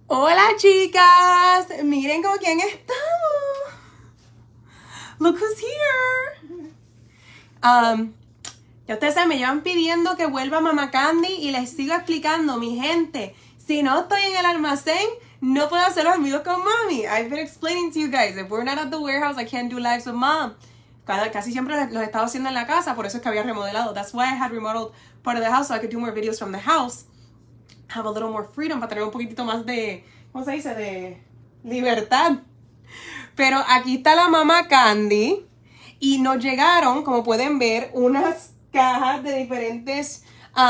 Hola chicas, miren con quién estamos. Look who's here. Ya ustedes saben, me llevan pidiendo que vuelva Mama Candy y les sigo explicando, mi gente, si no estoy en el almacén, no puedo hacer los amigos con mami. I've been explaining to you guys, if we're not at the warehouse, I can't do lives with mom. Casi siempre los he estado haciendo en la casa, por eso es que había remodelado. That's why I had remodeled part of the house, so I could do more videos from the house. Have a little more freedom, para tener un poquitito más de, ¿cómo se dice? De libertad. Pero aquí está la Mama Candy y nos llegaron, como pueden ver, unas cajas de diferentes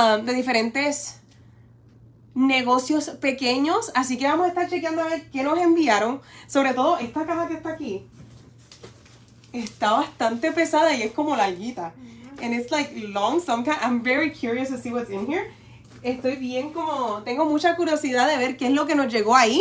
negocios pequeños. Así que vamos a estar chequeando a ver qué nos enviaron. Sobre todo esta caja que está aquí. Está bastante pesada y es como larguita. And it's like long, so I'm very curious to see what's in here. Estoy bien tengo mucha curiosidad de ver qué es lo que nos llegó ahí.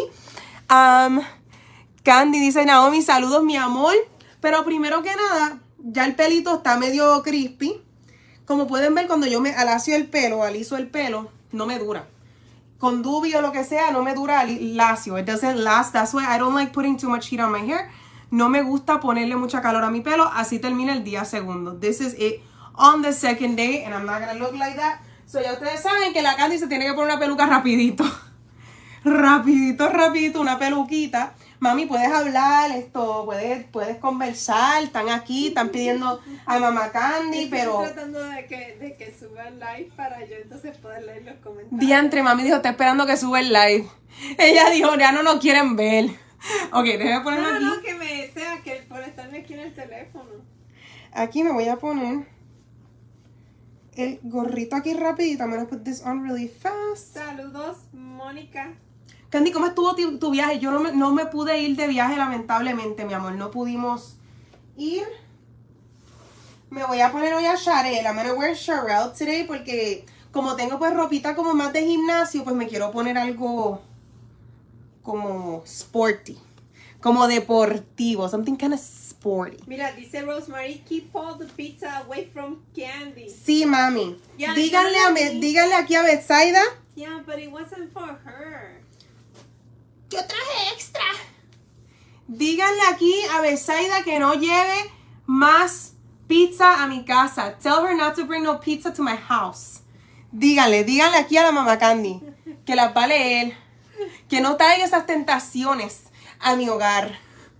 Candy dice, Naomi, saludos mi amor. Pero primero que nada, ya el pelito está medio crispy. Como pueden ver, cuando yo me aliso el pelo, no me dura. Con dubi o lo que sea, no me dura lacio. It doesn't last. That's why I don't like putting too much heat on my hair. No me gusta ponerle mucha calor a mi pelo. Así termina el día segundo. This is it on the second day. And I'm not gonna look like that. So ya ustedes saben que la Candy se tiene que poner una peluca rapidito. Rapidito, una peluquita. Mami, puedes hablar, puedes conversar. Están aquí, están pidiendo a Mama Candy, pero... Estoy tratando de que suba el live para yo entonces poder leer los comentarios. Diantre, mami dijo, está esperando que suba el live. Ella dijo, ya no nos quieren ver. Ok, déjame ponerlo aquí. No, que me sea, que por estarme aquí en el teléfono. Aquí me voy a poner el gorrito aquí rapidito. I'm gonna put this on really fast. Saludos, Mónica. Candy, ¿cómo estuvo tu viaje? Yo no me pude ir de viaje, lamentablemente, mi amor. No pudimos ir. Me voy a poner hoy a Sharel. I'm gonna wear Sharel today porque como tengo pues ropita como más de gimnasio, pues me quiero poner algo como sporty. Como deportivo. Something kind of sporty. Mira, dice Rosemary, keep all the pizza away from Candy. Sí, mami. Yeah, díganle aquí a Betsaida. Yeah, but it wasn't for her. Yo traje extra. Díganle aquí a Betsaida que no lleve más pizza a mi casa. Tell her not to bring no pizza to my house. Díganle aquí a la Mama Candy que las va a leer. Que no traiga esas tentaciones a mi hogar.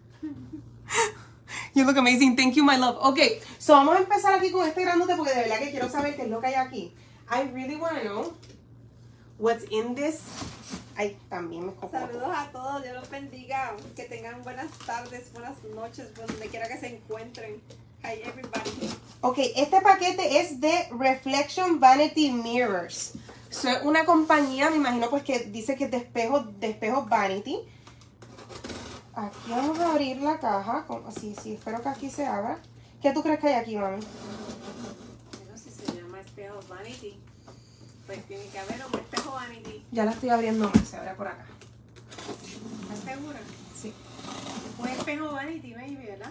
You look amazing. Thank you, my love. Ok, so vamos a empezar aquí con este grandote porque de verdad que quiero saber qué es lo que hay aquí. I really want to know what's in this. Ay, también me cojo. Saludos a todos, Dios los bendiga. Que tengan buenas tardes, buenas noches, donde quiera que se encuentren. Hi, everybody. Ok, este paquete es de Reflection Vanity Mirrors. So, es una compañía, me imagino pues que dice que es de espejos Vanity. Aquí vamos a abrir la caja. Sí, espero que aquí se abra. ¿Qué tú crees que hay aquí, mami? Bueno, si se llama espejo Vanity, pues tiene que haber un espejo Vanity. Ya la estoy abriendo más, se abre por acá. ¿Estás segura? Sí. Un espejo Vanity, baby, ¿verdad?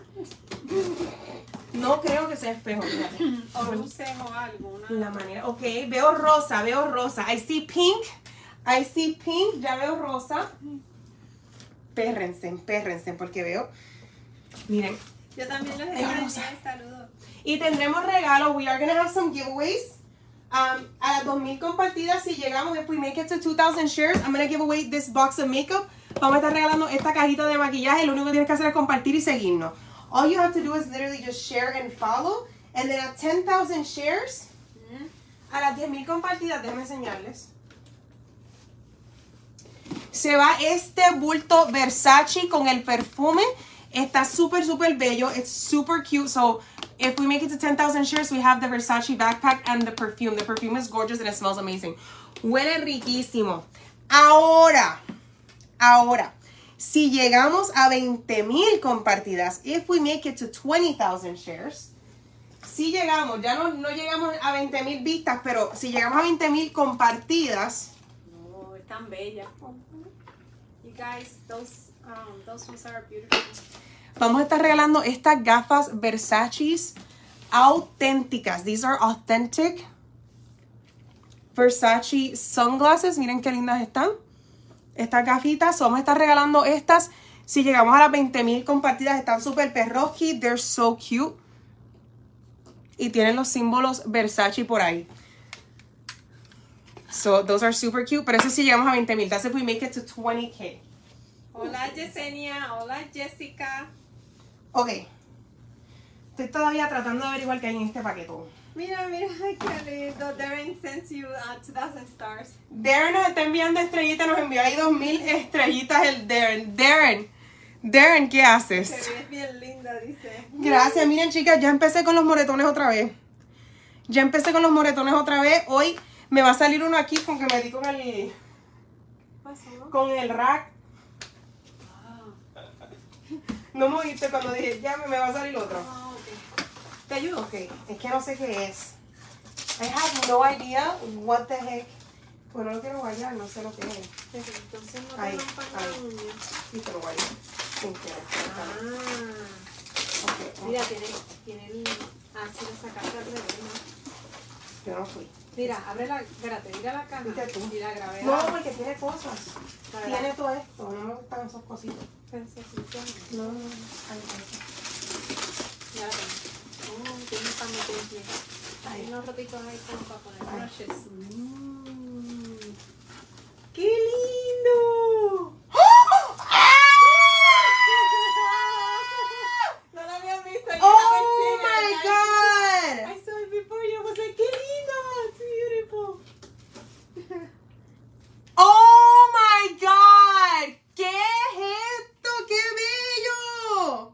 No creo que sea espejo, fíjate. O luces o algo. La manera, ok, veo rosa. I see pink, ya veo rosa. Pérrense, porque veo, miren. Yo también les envié saludos. Y tendremos regalos, we are going to have some giveaways. A las 2000 compartidas, si llegamos, if we make it to 2000 shares, I'm going to give away this box of makeup. Vamos a estar regalando esta cajita de maquillaje. Lo único que tienes que hacer es compartir y seguirnos. All you have to do is literally just share and follow. And then at 10,000 shares, a las 10,000 compartidas, déjenme enseñarles. Se va este bulto Versace con el perfume. Está súper bello. It's super cute. So, if we make it to 10,000 shares, we have the Versace backpack and the perfume. The perfume is gorgeous and it smells amazing. Huele riquísimo. Ahora, si llegamos a 20,000 compartidas, if we make it to 20,000 shares, si llegamos, ya no llegamos a 20,000 vistas, pero si llegamos a 20,000 compartidas. No, es tan bella. You guys, those ones are beautiful. Vamos a estar regalando estas gafas Versace auténticas. These are authentic Versace sunglasses. Miren qué lindas están. Estas gafitas, vamos a estar regalando estas. Si llegamos a las 20,000 compartidas, están súper perroski. They're so cute. Y tienen los símbolos Versace por ahí. So, those are super cute. Pero eso sí llegamos a 20,000. That's if we make it to 20K. Hola Yesenia, hola Jessica. Ok. Estoy todavía tratando de averiguar qué hay en este paquetón. Mira, mira, qué lindo. Darren sends you 2,000 stars. Darren nos está enviando estrellitas. Nos envió ahí 2,000 estrellitas el Darren. Darren, ¿qué haces? Te ves bien linda, dice. Gracias. Miren, chicas, ya empecé con los moretones otra vez. Hoy me va a salir uno aquí con que me di con el... ¿Pasó? Con el rack. No me oíste cuando dije, ya me va a salir otro. Ah, ok. ¿Te ayudo? Ok. Es que no sé qué es. I have no idea what the heck. Pues no lo quiero guayar, no sé lo que es. Entonces no te Ahí, rompan ahí. la uña. Sí, te lo guayé. Sin querer. Ah. Ok, Mira, tiene el... Ah, sí, lo sacaste al revés, ¿no? yo no fui. Mira, abre la... Espérate, mira la caja. ¿Viste tú? Y la gravedad. No, porque tiene cosas. Para Tiene todo esto. No me gustan esos cositos. Necesito... No, no, no. Ay, Ya la tengo. Tiene para meter bien. Hay ay. unos rotitos ahí como para poner Ay. brushes. ¡Qué lindo! No la había visto. ¡Oh, my God! I saw it before you. I was like, qué lindo. It's beautiful. ¡Oh, my God! ¿Qué es esto? ¡Qué bello!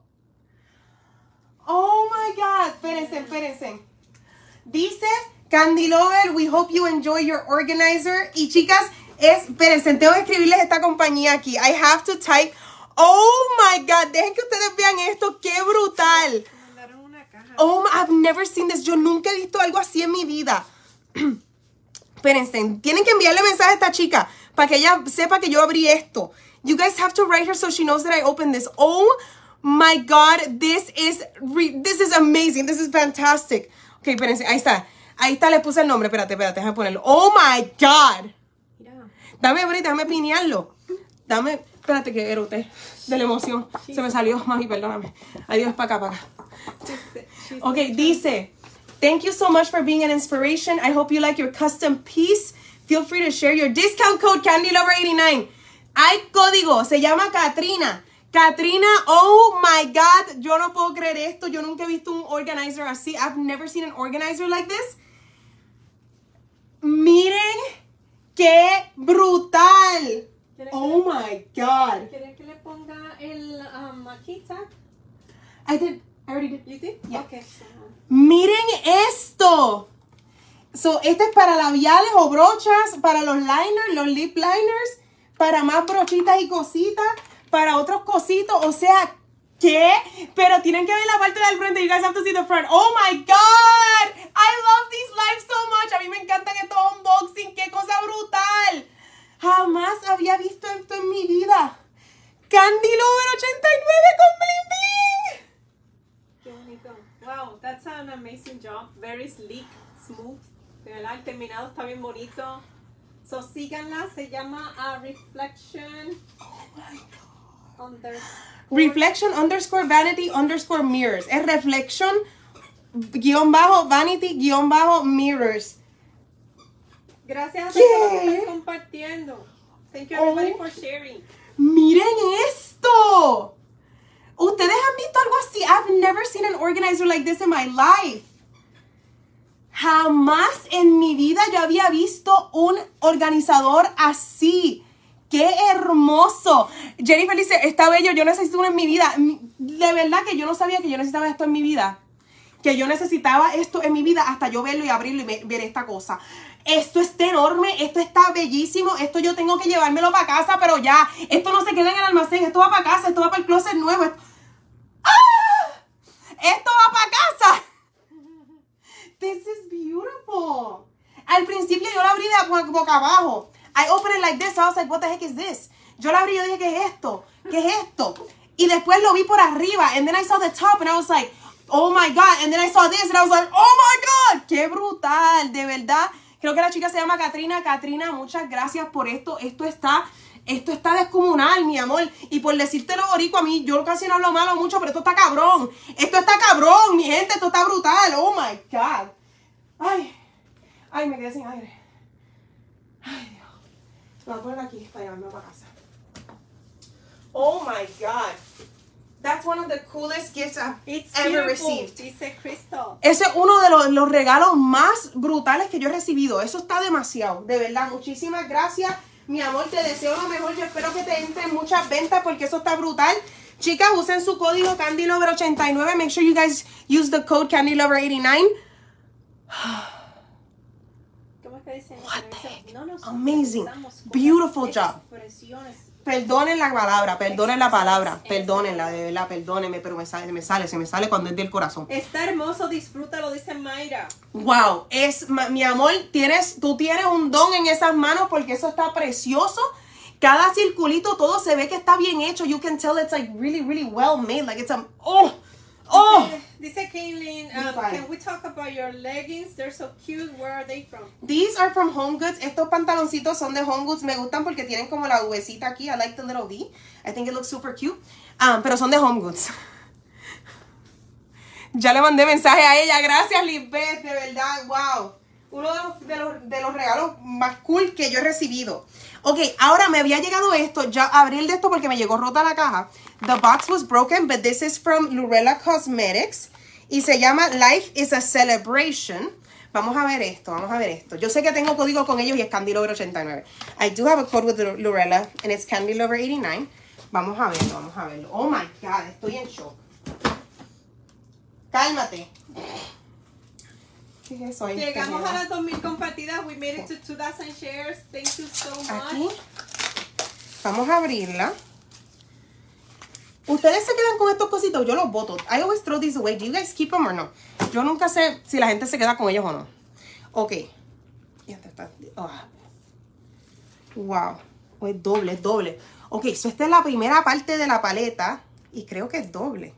¡Oh, my God! Espérense. Dice, Candy Lover, we hope you enjoy your organizer. Y chicas, espérense, tengo que escribirles esta compañía aquí. I have to type. ¡Oh, my God! Dejen que ustedes vean esto. ¡Qué brutal! Me mandaron una caja. Oh, I've never seen this. Yo nunca he visto algo así en mi vida. Espérense, tienen que enviarle mensaje a esta chica para que ella sepa que yo abrí esto. You guys have to write her so she knows that I opened this. Oh my God, this is amazing. This is fantastic. Ok, espérense, ahí está. Ahí está, le puse el nombre. Espérate, déjame ponerlo. Oh my God. Mira. Dame break, déjame pinearlo. Espérate que eroté de la emoción. Se me salió, mami, perdóname. Adiós, para acá. Ok, dice, thank you so much for being an inspiration. I hope you like your custom piece. Feel free to share your discount code CandyLover89. Hay código, se llama Katrina. Katrina, oh my God, yo no puedo creer esto. Yo nunca he visto un organizer así. I've never seen an organizer like this. Miren qué brutal. Oh my God. ¿Quieres que le ponga el aquí tag? I already did. You did? Yeah. Okay. Miren esto. So, este es para labiales o brochas, para los liners, los lip liners, para más brochitas y cositas, para otros cositos. O sea, ¿qué? Pero tienen que ver la parte del frente. You guys have to see the front. Oh my God. I love these lives so much. A mí me encantan estos unboxing. ¡Qué cosa brutal! Jamás había visto esto en mi vida. Candy Lover 89 con bling bling. Qué bonito. Wow, that's an amazing job. Very sleek, smooth. De verdad, el terminado está bien bonito. So, síganla. Se llama Reflection. Oh my God. Reflection _ vanity _ mirrors. Es reflection _ vanity _ mirrors. Gracias a todos los que están compartiendo. Thank you everybody for sharing. Miren esto. Ustedes han visto algo así. I've never seen an organizer like this in my life. Jamás en mi vida yo había visto un organizador así. ¡Qué hermoso! Jennifer dice, está bello, yo necesito uno en mi vida. De verdad que yo no sabía que yo necesitaba esto en mi vida. Que yo necesitaba esto en mi vida hasta yo verlo y abrirlo y ver esta cosa. Esto está enorme, esto está bellísimo. Esto yo tengo que llevármelo para casa, pero ya. Esto no se queda en el almacén, esto va para casa, esto va para el closet nuevo. ¡Ah! Esto va para casa. This is beautiful. Al principio yo la abrí de boca abajo. I opened it like this. I was like, what the heck is this? Yo la abrí y yo dije, ¿qué es esto? ¿Qué es esto? Y después lo vi por arriba. And then I saw the top and I was like, oh my God. And then I saw this and I was like, oh my God. ¡Qué brutal! De verdad. Creo que la chica se llama Katrina. Katrina, muchas gracias por esto. Esto está Esto está descomunal, mi amor. Y por decírtelo, boricua, a mí, yo casi no hablo malo mucho, pero esto está cabrón. Esto está cabrón, mi gente. Esto está brutal. Oh, my God. Ay, me quedé sin aire. Ay, Dios. Lo voy a poner aquí para llevarme para casa. Oh, my God. That's one of the coolest gifts I've ever received. Dice Crystal. Ese es uno de los regalos más brutales que yo he recibido. Eso está demasiado. De verdad, muchísimas gracias. Mi amor, te deseo lo mejor. Yo espero que te entren muchas ventas porque eso está brutal. Chicas, usen su código CandyLover89. Make sure you guys use the code CandyLover89. ¿Cómo es que dicen? What the heck? No nos Amazing. utilizamos Beautiful con job. expresiones. Perdonen la palabra, perdonen la palabra. Perdónenla, de verdad, perdónenme. Pero se me sale cuando es del corazón. Está hermoso, disfrútalo, dice Mayra. Wow, mi amor, tú tienes un don en esas manos porque eso está precioso. Cada circulito, todo se ve que está bien hecho. You can tell it's like really, really well made. Like it's Dice Kaylin, can we talk about your leggings? They're so cute. Where are they from? These are from Home Goods. Estos pantaloncitos son de Home Goods. Me gustan porque tienen como la Vcita aquí. I like the little V. I think it looks super cute. Pero son de Home Goods. Ya le mandé mensaje a ella. Gracias, Lisbeth. De verdad, wow. Uno de los regalos más cool que yo he recibido. Ok, ahora me había llegado esto. Ya abrí el de esto porque me llegó rota la caja. The box was broken, but this is from Lurella Cosmetics. Y se llama Life is a Celebration. Vamos a ver esto, vamos a ver esto. Yo sé que tengo código con ellos y es CandyLover89. I do have a code with Lurella and it's CandyLover89. Vamos a verlo, vamos a verlo. Oh my God, estoy en shock. Cálmate. ¿Qué es eso? Llegamos a las 2000 compartidas. We made it to 2000 shares. Thank you so much. Aquí. Vamos a abrirla. Ustedes se quedan con estos cositos, yo los boto. I always throw these away. Do you guys keep them or no? Yo nunca sé si la gente se queda con ellos o no. Ok. Wow. Oh, es doble, es doble. Ok, so esta es la primera parte de la paleta. Y creo que es doble.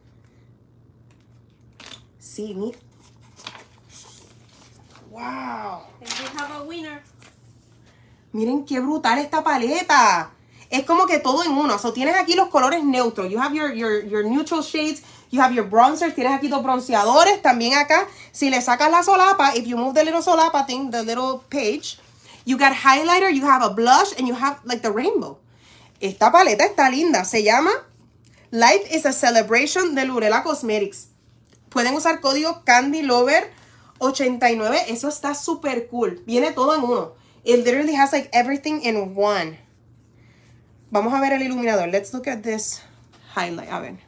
Sí, mira. Wow. And we have a winner. Miren qué brutal esta paleta. Es como que todo en uno. So, tienes aquí los colores neutros. You have your neutral shades. You have your bronzers. Tienes aquí dos bronceadores. También acá, si le sacas la solapa, if you move the little solapa thing, the little page, you got highlighter, you have a blush, and you have like the rainbow. Esta paleta está linda. Se llama Life is a Celebration de Lurella Cosmetics. Pueden usar código CandyLover89. Eso está súper cool. Viene todo en uno. It literally has like everything in one. Vamos a ver el iluminador. Let's look at this highlight. A ver.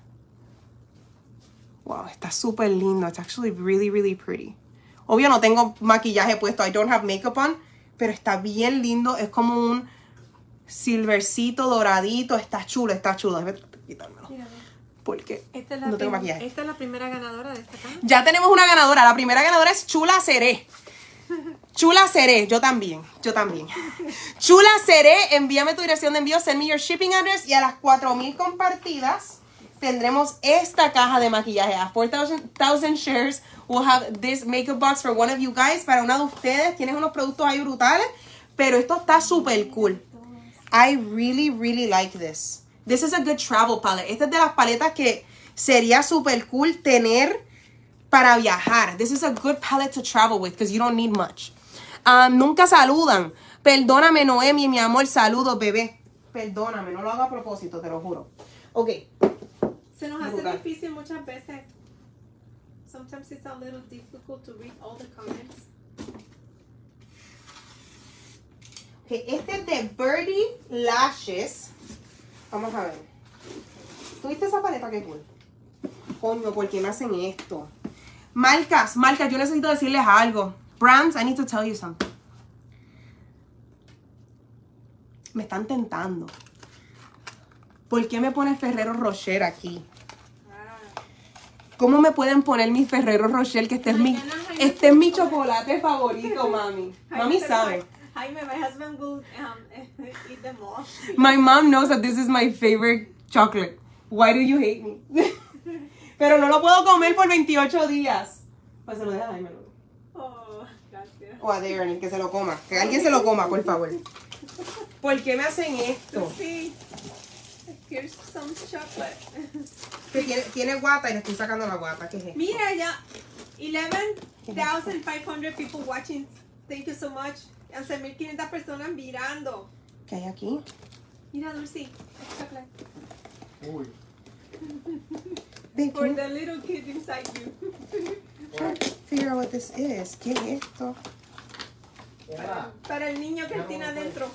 Wow, está súper lindo. It's actually really, really pretty. Obvio no tengo maquillaje puesto. I don't have makeup on. Pero está bien lindo. Es como un silvercito doradito. Está chulo, está chulo. Déjame quitármelo. Porque no tengo maquillaje. Esta es la primera ganadora de esta caja. Ya tenemos una ganadora. La primera ganadora es Chula Seré. Chula Seré, yo también. Chula Seré, envíame tu dirección de envío, send me your shipping address y a las 4000 compartidas tendremos esta caja de maquillaje. A 4000 shares, we'll have this makeup box for one of you guys. Para una de ustedes, tienes unos productos ahí brutales, pero esto está súper cool. I really, really like this. This is a good travel palette. Esta es de las paletas que sería súper cool tener para viajar. This is a good palette to travel with because you don't need much. Nunca saludan. Perdóname, Noemi, mi amor, saludos, bebé. Perdóname, no lo hago a propósito, te lo juro. Ok. Se nos hace difícil muchas veces. Sometimes it's a little difficult to read all the comments. Okay, este es de Birdie Lashes. Vamos a ver. ¿Tuviste esa paleta? Qué cool. Coño, ¿por qué me hacen esto? Marcas, yo necesito decirles algo. Brands, I need to tell you something. Me están tentando. ¿Por qué me pones Ferrero Rocher aquí? ¿Cómo me pueden poner mi Ferrero Rocher? Que este es mi chocolate favorito, mami. Mami sabe. Jaime, my husband will eat them all. My mom knows that this is my favorite chocolate. Why do you hate me? Pero no lo puedo comer por 28 días. Pues se lo deja a Jaime. Oh, gracias. O a Darren, que se lo coma. Que alguien se lo coma, por favor. ¿Por qué me hacen esto? Sí. Here's some chocolate. Que tiene guata y le estoy sacando la guata. ¿Qué es esto? Mira ya, 11,500 people watching. Thank you so much. 11,500 personas mirando. ¿Qué hay aquí? Mira, Dulce, it's chocolate. Uy. Babe, For can the little kid inside you. you figure out what this is? ¿Qué es esto? Para el niño que él tiene adentro.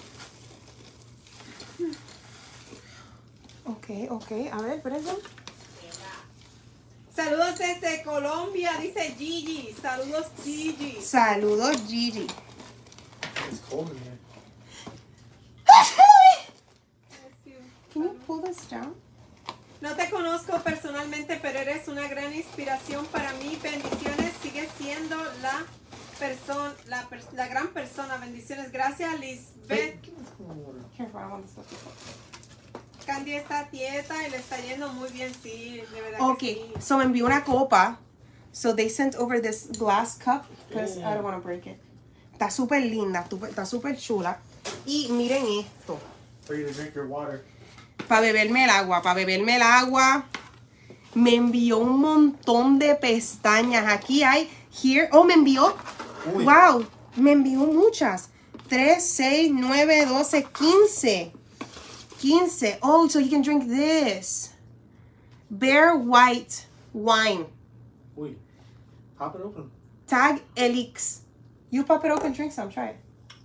Ok. A ver, espérense. Saludos desde Colombia, dice Gigi. Saludos, Gigi. Saludos, Gigi. It's cold in here. Can you pull this down? No te conozco personalmente, pero eres una gran inspiración para mí. Bendiciones, sigues siendo la gran persona. Bendiciones. Gracias, Lisbeth. Careful, I don't want this to Candy está tieta y le está yendo muy bien, sí, de verdad Ok, que sí. so me envió una copa. So they sent over this glass cup because I don't want to break it. Está súper linda, está súper chula. Y miren esto. For you to drink your water. Para beberme el agua. Me envió un montón de pestañas. Aquí hay, here, me envió, Uy. wow, me envió muchas. 3, 6, 9, 12, 15. 15. Oh, so you can drink this. Bare white wine. Uy. Pop it open. Tag Elix. You pop it open, drink some, try it.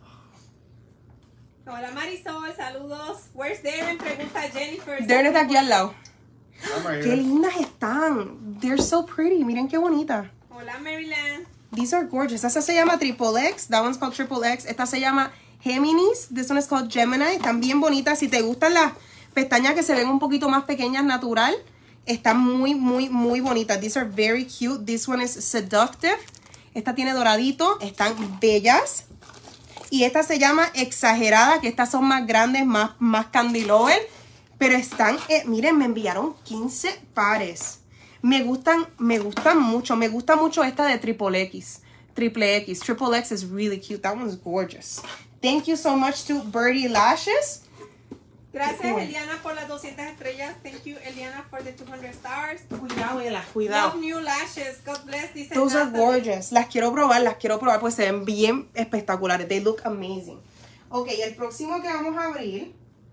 Hola Marisol, saludos. Where's Darren? Pregunta Jennifer. Darren está aquí al lado. I'm right Qué here. lindas están. They're so pretty. Miren qué bonita. Hola Maryland. These are gorgeous. Esta se llama Triple X. That one's called Triple X. Esta se llama Géminis. This one is called Gemini. Están bien bonitas. Si te gustan las pestañas que se ven un poquito más pequeñas, natural, están muy bonitas. These are very cute. This one is Seductive. Esta tiene doradito. Están bellas. Y esta se llama Exagerada, que estas son más grandes, más candy lover. Pero están, miren, me enviaron 15 pares. Me gustan mucho. Me gusta mucho esta de Triple X. Triple X is really cute. That one's gorgeous. Thank you so much to Birdie Lashes. Gracias Cool. Eliana por las 200 estrellas. Thank you Eliana for the 200 stars. Cuidado, Ela, cuidado. Love new lashes. God bless. Dice Those are Natalie. gorgeous. Las quiero probar, pues se ven bien espectaculares. They look amazing. Ok, el próximo que vamos a abrir.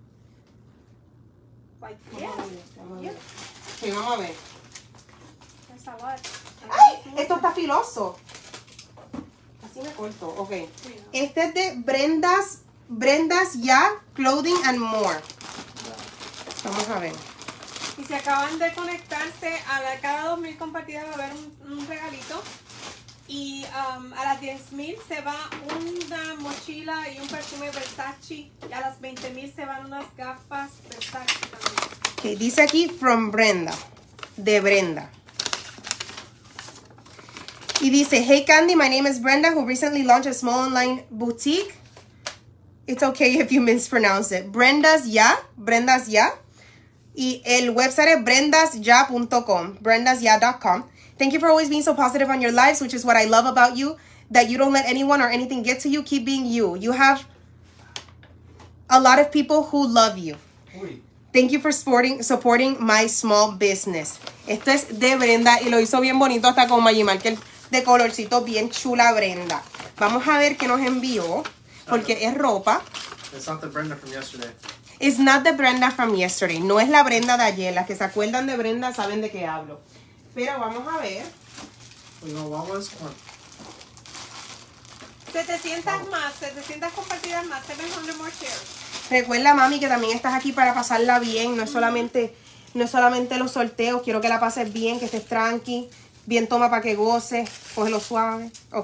Like, Vamos yeah. a ver, vamos a ver. Yeah. Ok, vamos a ver. There's a lot. ¡Ay! Esto está filoso. Así me corto. Ok. Este es de Brenda's Ya Clothing and More. Vamos a ver. Y si acaban de conectarse, cada 2,000 compartidas va a haber un regalito. Y a las 10,000 se va una mochila y un perfume Versace. Y a las 20,000 se van unas gafas Versace también. Ok, dice aquí from Brenda. De Brenda. Y dice, hey Candy, my name is Brenda, who recently launched a small online boutique. It's okay if you mispronounce it. Brenda's Ya. Y el website es brendasya.com. brendasya.com. Thank you for always being so positive on your lives, which is what I love about you, that you don't let anyone or anything get to you. Keep being you. You have a lot of people who love you. Uy. Thank you for supporting my small business. Esto es de Brenda y lo hizo bien bonito hasta con Maggie Marker de colorcito, bien chula Brenda. Vamos a ver qué nos envió, porque es ropa. It's not the Brenda from yesterday. It's not the Brenda from yesterday. No es la Brenda de ayer. Las que se acuerdan de Brenda saben de qué hablo. Pero vamos a ver. You know what was? Come on. 700 más, 700 compartidas más, 700 more shares. Recuerda, mami, que también estás aquí para pasarla bien. No es solamente los sorteos. Quiero que la pases bien, que estés tranqui. Bien toma para que goces. Cógelo suave. Ok.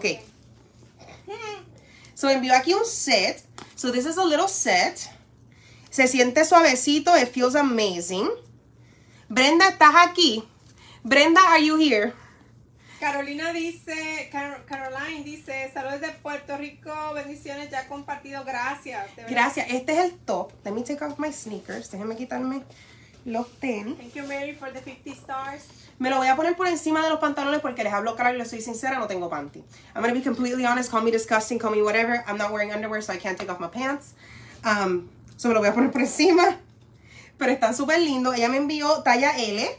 So envió aquí un set. So this is a little set. Se siente suavecito. It feels amazing. Brenda, ¿estás aquí? Brenda, are you here? Carolina dice, Caroline dice, saludos de Puerto Rico, bendiciones, ya compartido, gracias. de verdad. Gracias. Este es el top. Let me take off my sneakers. Déjenme quitarme los tenis. Thank you Mary for the 50 stars. Me lo voy a poner por encima de los pantalones porque les hablo claro y les soy sincera, no tengo panty. I'm gonna be completely honest. Call me disgusting, call me whatever. I'm not wearing underwear, so I can't take off my pants. So me lo voy a poner por encima. Pero están súper lindos. Ella me envió talla L.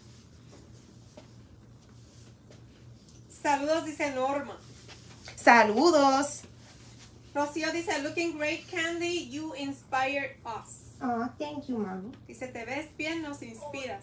Saludos, dice Norma. Saludos. Rocío dice, looking great, Candy. You inspired us. Oh, thank you, mami. Dice, te ves bien, nos inspiras.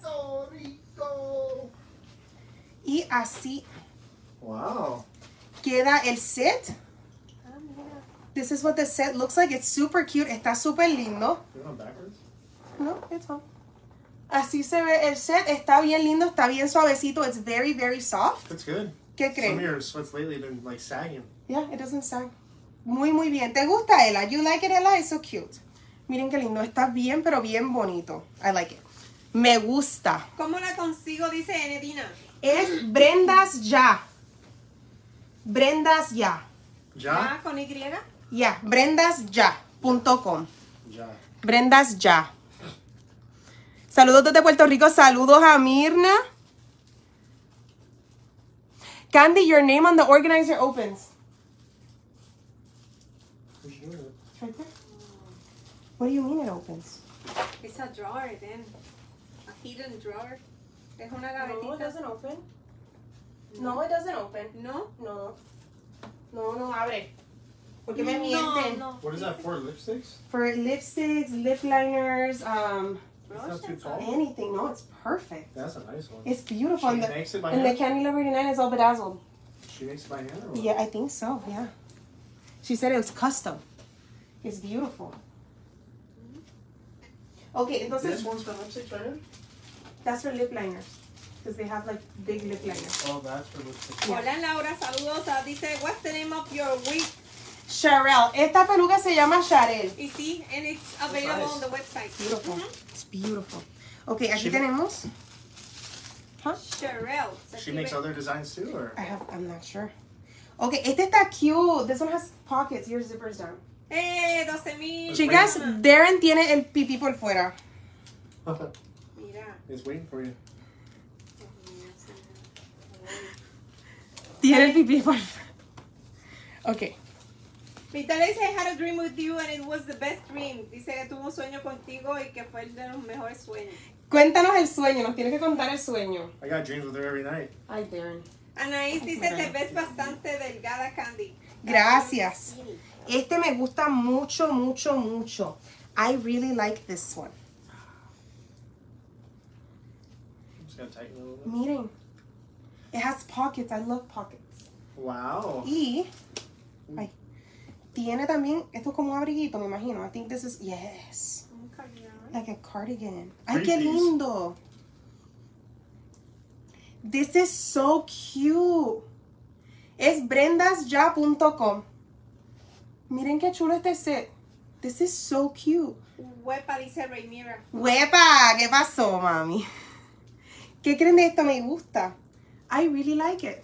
Y así Wow. queda el set. Ah, mira. This is what the set looks like. It's super cute. Está súper lindo. You going backwards? No, it's fine. Así se ve el set. Está bien lindo. Está bien suavecito. It's very, very soft. That's good. ¿Qué Some of creen? your sweats lately have been like sagging. Yeah, it doesn't sag. Muy, muy bien. ¿Te gusta, Ella? You like it, Ella? It's so cute. Miren qué lindo. Está bien, pero bien bonito. I like it. Me gusta. ¿Cómo la consigo? Dice Enedina. Es Brendas Ya. Brendas Ya. Ja? ¿Ya con Y? Ya. Brendasya.com. Ja. Brendas Ya. Saludos desde Puerto Rico. Saludos a Mirna. Candy, your name on the organizer opens. Who's doing it? It's right there. What do you mean it opens? It's a drawer, then. A hidden drawer. Es una No, it gavetita. doesn't open. No, it doesn't open. ¿No? No. No, no abre. Porque me mienten. No, What is that for? Lipsticks? For lipsticks, lip liners, It's not too tall. anything. No, it's perfect. That's a nice one. It's beautiful. She And the, makes it by and the hand? Candy Lover 99 is all bedazzled. She makes it by hand or what? Yeah, I think so, yeah. She said it was custom. It's beautiful. Okay, This entonces, one's for lipsticks right here? that's for lip liners. Because they have like big lip liners. Oh, that's for lipsticks. Yeah. Hola Laura, saludos. Dice, what's the name of your wig? Sharel. Esta peluca se llama Sharel. Y sí, and it's available nice. on the website. Beautiful. It's beautiful. Okay, aquí She- tenemos. Huh? Sherelle. Se She makes escribe- other designs too, or? I'm not sure. Okay, este está cute. This one has pockets. Your zipper's down. 12,000. Chicas, Darren tiene el pipí por fuera. Mira. It's waiting for you. Tiene el pipí por fuera. Okay. Vitale dice, I had a dream with you and it was the best dream. Dice que tuvo un sueño contigo y que fue el de los mejores sueños. Cuéntanos el sueño. Nos tienes que contar el sueño. I got dreams with her every night. Ay, Darren. Anaís dice, te ves bastante delgada, Candy. Gracias. Este me gusta mucho, mucho, mucho. I really like this one. I'm just gonna tighten it a little bit. Miren. It has pockets. I love pockets. Wow. Y ay, tiene también, esto es como un abriguito, me imagino. I think this is, yes, like a cardigan. Ay, qué Three-piece. lindo. This is so cute. Es brendasya.com. Miren qué chulo este set. This is so cute. Huepa, dice Raymira. ¡Huepa! ¿Qué pasó, mami? ¿Qué creen de esto? Me gusta. I really like it.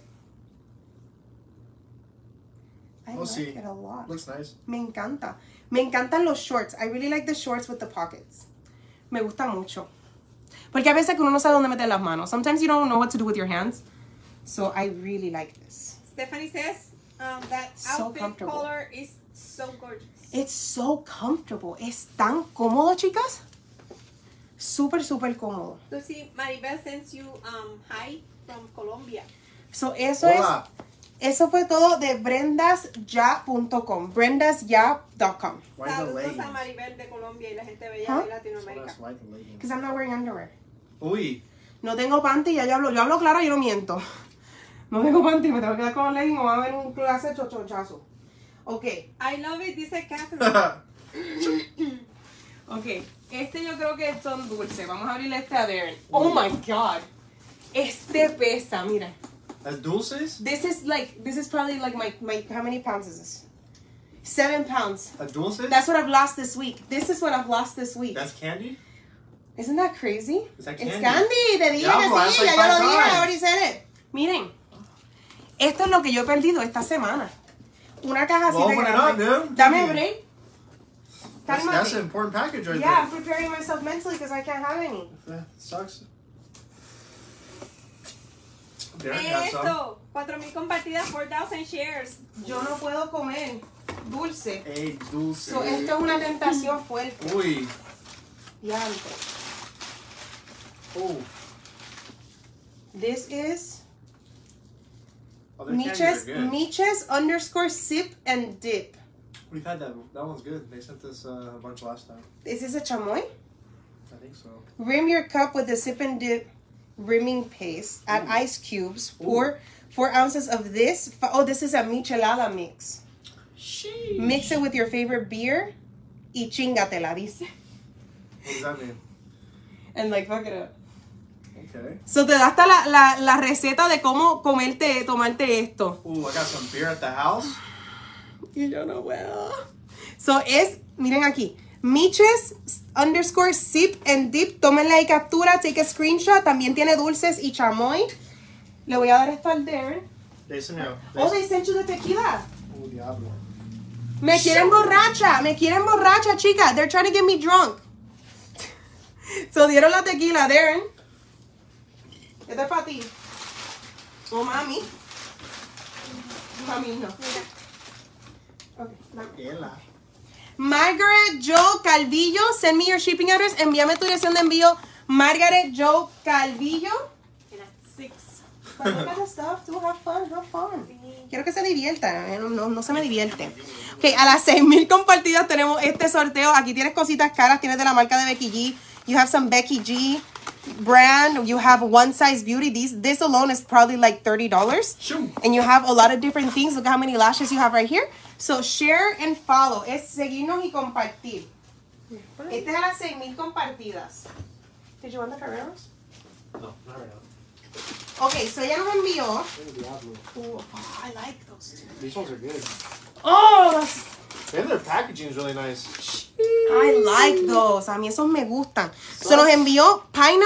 I We'll like see. it a lot. Looks nice. Me encanta. Me encantan los shorts. I really like the shorts with the pockets. Me gusta mucho. Porque a veces que uno no sabe dónde meter las manos. Sometimes you don't know what to do with your hands. So I really like this. Stephanie says that So outfit comfortable. color is so gorgeous. It's so comfortable. Es tan cómodo, chicas. Súper, súper cómodo. So see, Maribel sends you hi from Colombia. So eso Hola. Eso fue todo de brendasya.com. Brendasya.com. Why the Saludos a leggings? Maribel de Colombia y la gente bella Huh? de So Latinoamérica. that's why the leggings. Because I'm not wearing underwear. Uy. No tengo panty, ya yo hablo claro, yo no miento. No tengo panty, me tengo que quedar con los leggings o va a haber un clase de chochochazo. Ok, I love it, dice Catherine. ok. Este yo creo que son dulces. Vamos a abrirle este a Darren. Oh my god. Este pesa, mira. That's dulces? This is probably like my how many pounds is this? 7 pounds. A dulces? That's what I've lost this week. This is what I've lost this week. That's candy? Isn't that crazy? Is that It's candy? candy. Te dije Yeah, que bro, that's sí, like ya yo lo 5 dije, I times. already said it. Miren, esto es lo que yo he perdido esta semana. Una caja así Well, de open it grande. up, dude. Dame Yeah. break. That's Cálmate. an important package right Yeah, I'm preparing myself mentally because I can't have any. there. Sucks. Derek has some. Eso, 4,000 compartidas, 4,000 shares. Yo no puedo comer. dulce. Ey, dulce. So, esto es una tentación fuerte. Uy. Diantre. Oh. This is Oh, their candies are good. Miches _ sip and dip. We've had that. That one's good. They sent us a bunch last time. Is this a chamoy? I think so. Rim your cup with the sip and dip rimming paste. Add Ooh. ice cubes. Ooh. Pour 4 ounces of this. Oh, this is a michelada mix. Sheesh. Mix it with your favorite beer. Y chingatela, dice. What does that mean? And like, fuck it up. Okay. So te da hasta la receta de cómo tomarte esto. Ooh, I got some beer at the house. Y yo no puedo. So es, miren aquí, Miches _ sip and dip. Tómenle ahí captura, take a screenshot. También tiene dulces y chamoy. Le voy a dar esto al Darren. They sent me a. Oh, they sent you the tequila. Oh, diablo. Me quieren borracha, chica. They're trying to get me drunk. So dieron la tequila, Darren. Esto es para ti. Oh, mami. Mami, no. Okay, dame. Ela. Margaret Joe Calvillo, send me your shipping address. Envíame tu dirección de envío. Margaret Joe Calvillo. And at 6. But look at the stuff, too. Have fun. Quiero que se divierta. No se me divierte. Ok, a las 6,000 compartidas tenemos este sorteo. Aquí tienes cositas caras. Tienes de la marca de Becky G. You have some Becky G brand. You have One Size Beauty. This alone is probably like $30. Shoot. And you have a lot of different things. Look how many lashes you have right here. So share and follow. Es seguirnos y compartir. Este es a las 6,000 compartidas. Did you want the Ferreros? No, not right now. Okay, so ella nos envió. Oh, diablo. Oh, I like those two. These ones are good. Oh, that's, And their packaging is really nice. I like those. A mí esos me gustan. So nos envió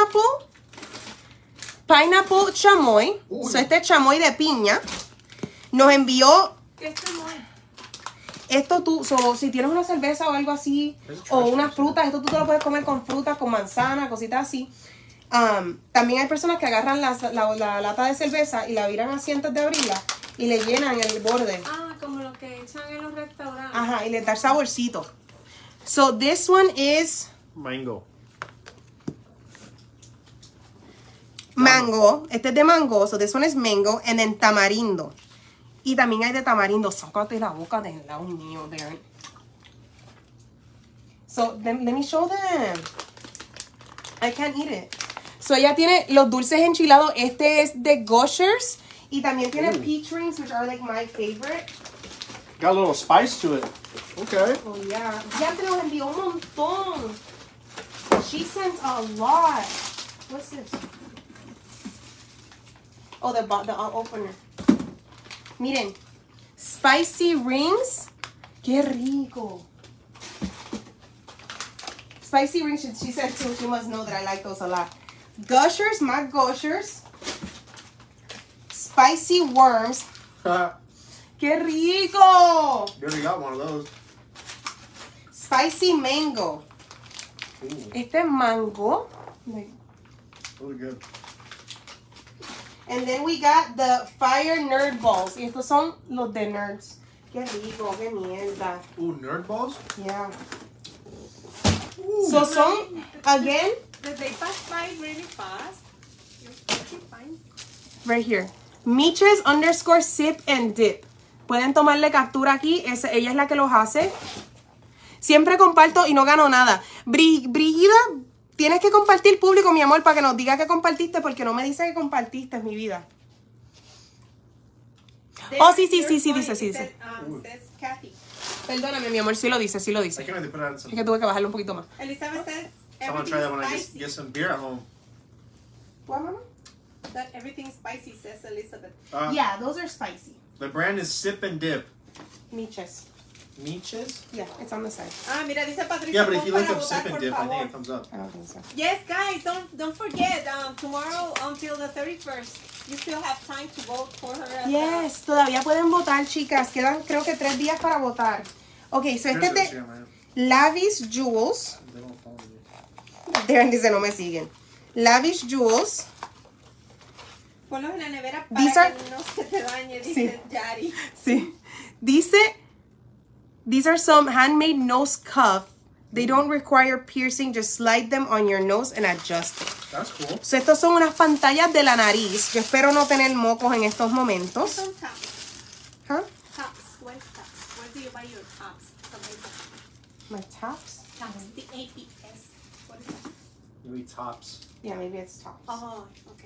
pineapple chamoy. Uy. So este es chamoy de piña. Nos envió Este no es. esto tú, so, si tienes una cerveza o algo así, Es o trash, unas frutas, esto tú te lo puedes comer con frutas, con manzana, cositas así. También hay personas que agarran la lata de cerveza y la viran así antes de abrirla y le llenan el borde. Ah, como lo que echan en los restaurantes. Ajá, y le da saborcito. So this one is Mango. mango. Este es de mango, so this one is mango. And then tamarindo. Y también hay de tamarindo. Sácate la boca del lado mío, Darren. So, let me show them. I can't eat it. So, ella tiene los dulces enchilados. Este es de Gushers. Y también tiene Ooh. peach rings, which are like my favorite. Got a little spice to it. Okay. Oh, yeah. Ya te los envió un montón. She sends a lot. What's this? Oh, the opener. Miren. Spicy rings. Qué rico. Spicy rings, she said too. She must know that I like those a lot. Gushers, my Gushers. Spicy worms. Qué rico. You already got one of those. Spicy mango. Ooh, Este es mango. really good. And then we got the fire nerd balls. Y estos son los de nerds. Qué rico, qué mierda. Ooh, nerd balls? Yeah. Ooh. So son, again, That they pass by really fast. You're fine. right here. Miches _ sip and dip. Pueden tomarle captura aquí. Ella es la que los hace. Siempre comparto y no gano nada. Brigida, tienes que compartir público, mi amor, para que nos diga que compartiste, porque no me dice que compartiste, es mi vida. Oh, sí, dice. Says Kathy. Perdóname, mi amor, sí lo dice. I can't wait to put it on some. Es que tuve que bajarlo un poquito más. Elizabeth says I want to try that when I spicy. get some beer at home. What, mama? That everything spicy, says Elizabeth. Yeah, those are spicy. The brand is Sip and Dip. Miches. Miches? Yeah, it's on the side. Ah, mira, dice Patricia. Yeah, but if you para look up votar, Sip and por Dip, I favor. think it comes up. I don't think so. Yes, guys, don't forget. Tomorrow until the 31st, you still have time to vote for her. As Yes, todavía pueden votar, chicas. Quedan, creo que 3 días para votar. Ok, so este es Here's de the man. Lavish Jewels. They don't follow me. Darren dice, no me siguen. Lavish Jewels. Ponlos en la nevera These para are- que no se te dañe, dice Sí. Yari. Sí. Dice These are some handmade nose cuff. They don't require piercing. Just slide them on your nose and adjust it. That's cool. So, estos son unas pantallas de la nariz. Yo espero no tener mocos en estos momentos. Son tops. Huh? Tops. Where's tops? Where do you buy your tops? My tops? Tops. The APS. What is that? Maybe tops. Yeah, maybe it's tops. Oh, okay.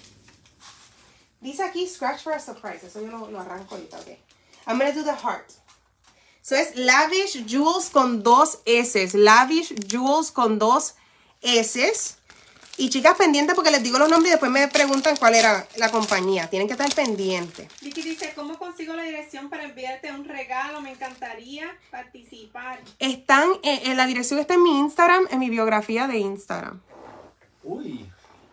Dice aquí, scratch for a surprise. Eso yo lo arranco ahorita, ok. I'm going to do the heart. So, es Lavish Jewels con 2 S. Lavish Jewels con 2 S. Y chicas, pendientes porque les digo los nombres y después me preguntan cuál era la compañía. Tienen que estar pendientes. Vicky dice, ¿cómo consigo la dirección para enviarte un regalo? Me encantaría participar. Están, en la dirección está en mi Instagram, en mi biografía de Instagram. Uy.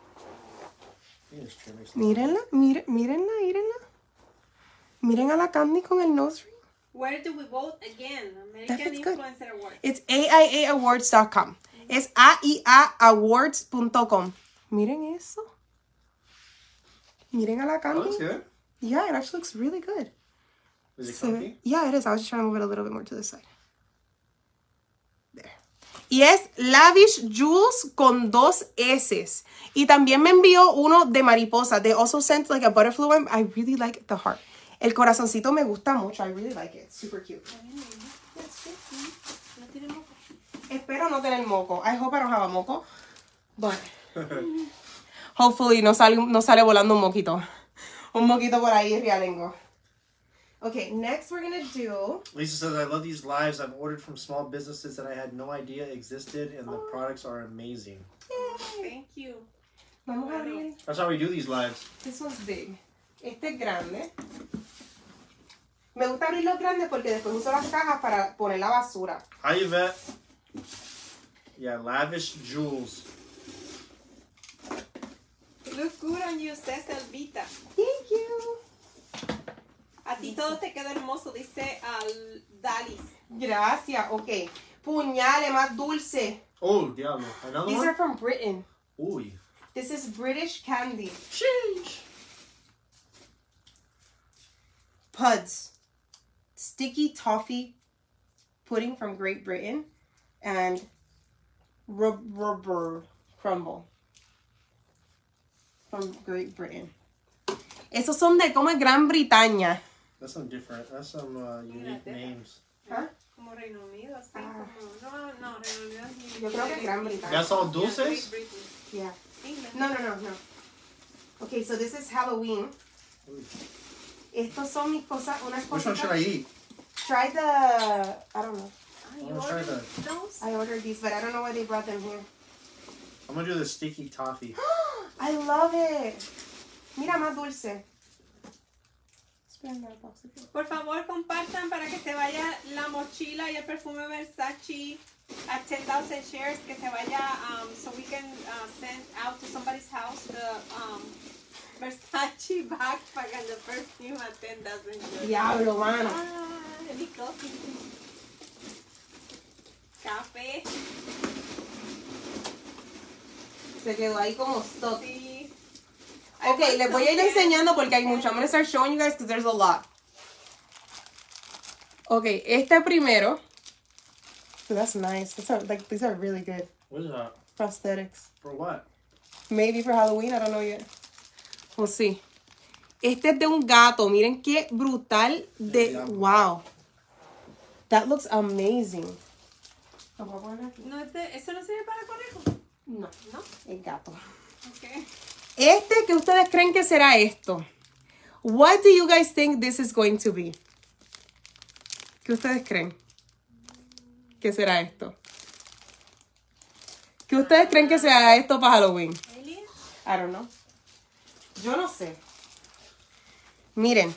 Mírenla, mírenla. Miren a la Candy con el nose ring. Where do we vote again? American That's good. Influencer Award. It's AIAawards.com. Es AIAawards.com. Miren eso. Miren a la Oh, Candy. that's good. Yeah, it actually looks really good. Is it So, comfy? yeah, it is. I was just trying to move it a little bit more to the side. There. Y es Lavish Jewels con 2 S. Y también me envió uno de mariposa. They also sent like a butterfly one. I really like the heart. El corazoncito me gusta mucho. I really like it. It's super cute. No tiene moco. Espero no tener moco. I hope I don't have a moco. But hopefully no sale volando un moquito. Un moquito por ahí realengo. Okay, next we're going to do... Lisa says, I love these lives. I've ordered from small businesses that I had no idea existed, and the products are amazing. Thank you. Vamos a abrir. That's how we do these lives. This one's big. Este es grande. Me gusta abrir los grandes porque después uso las cajas para poner la basura. Hi, Yvette. Yeah, Lavish Jewels. Look good on you, says Elvita. Thank you. A ti todo te queda hermoso, dice Dalis. Gracias. Ok. Puñales más dulce. Oh, diablo. Another These one? are from Britain. Uy. This is British candy. Sheesh. Puds. Sticky toffee pudding from Great Britain. And rubber crumble from Great Britain. Esos son de como Gran Bretaña. That's some different. That's some unique names. Huh? Como Reino Unido, así como... No, Reino Unido es Yo creo que Gran Bretaña. That's all Great dulces? Britain. Yeah. England. No. Okay, so this is Halloween. Estos son mis cosas, unas Which one cosas. should I eat? Try the, I don't know. Ah, I you wanna try ordered that. those? I ordered these, but I don't know why they brought them here. I'm gonna do the sticky toffee. I love it. Mira, más dulce. Por favor, compartan para que se vaya la mochila y el perfume Versace at 10,000 shares, que se vaya, so we can send out to somebody's house the Versace backpack and the perfume at 10,000 shares. Diablo, mano. Ah, any coffee. Café. Se quedó ahí como stuck. Sí. Ok, les voy a ir enseñando porque hay mucho. I'm going to start showing you guys because there's a lot. Ok, este primero. Oh, that's nice. These are really good. What is that? Prosthetics. For what? Maybe for Halloween, I don't know yet. We'll see. Este es de un gato. Miren qué brutal de... Wow. That looks amazing. ¿Lo puedo poner aquí? No, ¿eso no sirve para conejo? No, No. el gato. Okay. Este, ¿qué ustedes creen que será esto? What do you guys think this is going to be? ¿Qué ustedes creen? ¿Qué será esto? ¿Qué ustedes creen que sea esto para Halloween? Alien? I don't know. Yo no sé. Miren.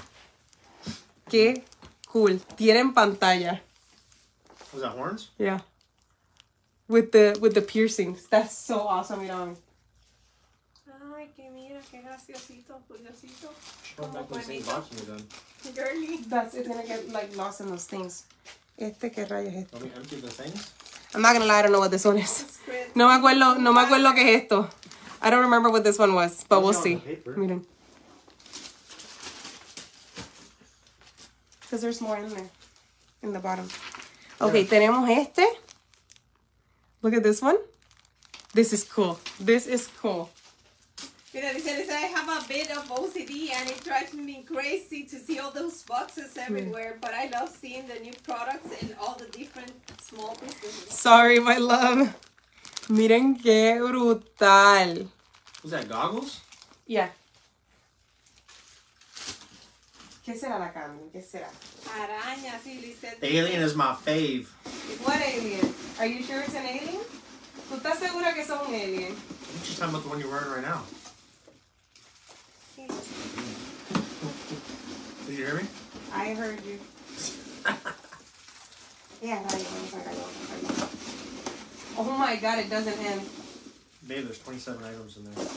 Qué cool. Tienen pantalla. Was that horns? Yeah. With the piercings. That's so awesome. Mira. Ay, que mira, qué graciosito, curiosito. Put back in the same box when you're done. Girly. It's gonna get like lost in those things. Este, ¿qué rayos es esto? Let me empty the things. I'm not gonna lie, I don't know what this one is. Squid. No me acuerdo qué es esto. I don't remember what this one was, but we'll see. Miren. Because there's more in there. in the bottom. Okay, tenemos este. Look at this one. This is cool. This is cool. Mira, dice, I have a bit of OCD and it drives me crazy to see all those boxes everywhere, but I love seeing the new products and all the different small businesses. Sorry, my love. Miren qué brutal. Was that goggles? Yeah. ¿Qué será la Candy? ¿Qué será? Arañas, sí, Lisette. Alien is my fave. What alien? Are you sure it's an alien? ¿Tú estás segura que son un alien? I'm just talking about the one you're wearing right now. Did you hear me? I heard you. Yeah, vamos a sacarlo. Oh my god, it doesn't end. Babe, there's 27 items in there.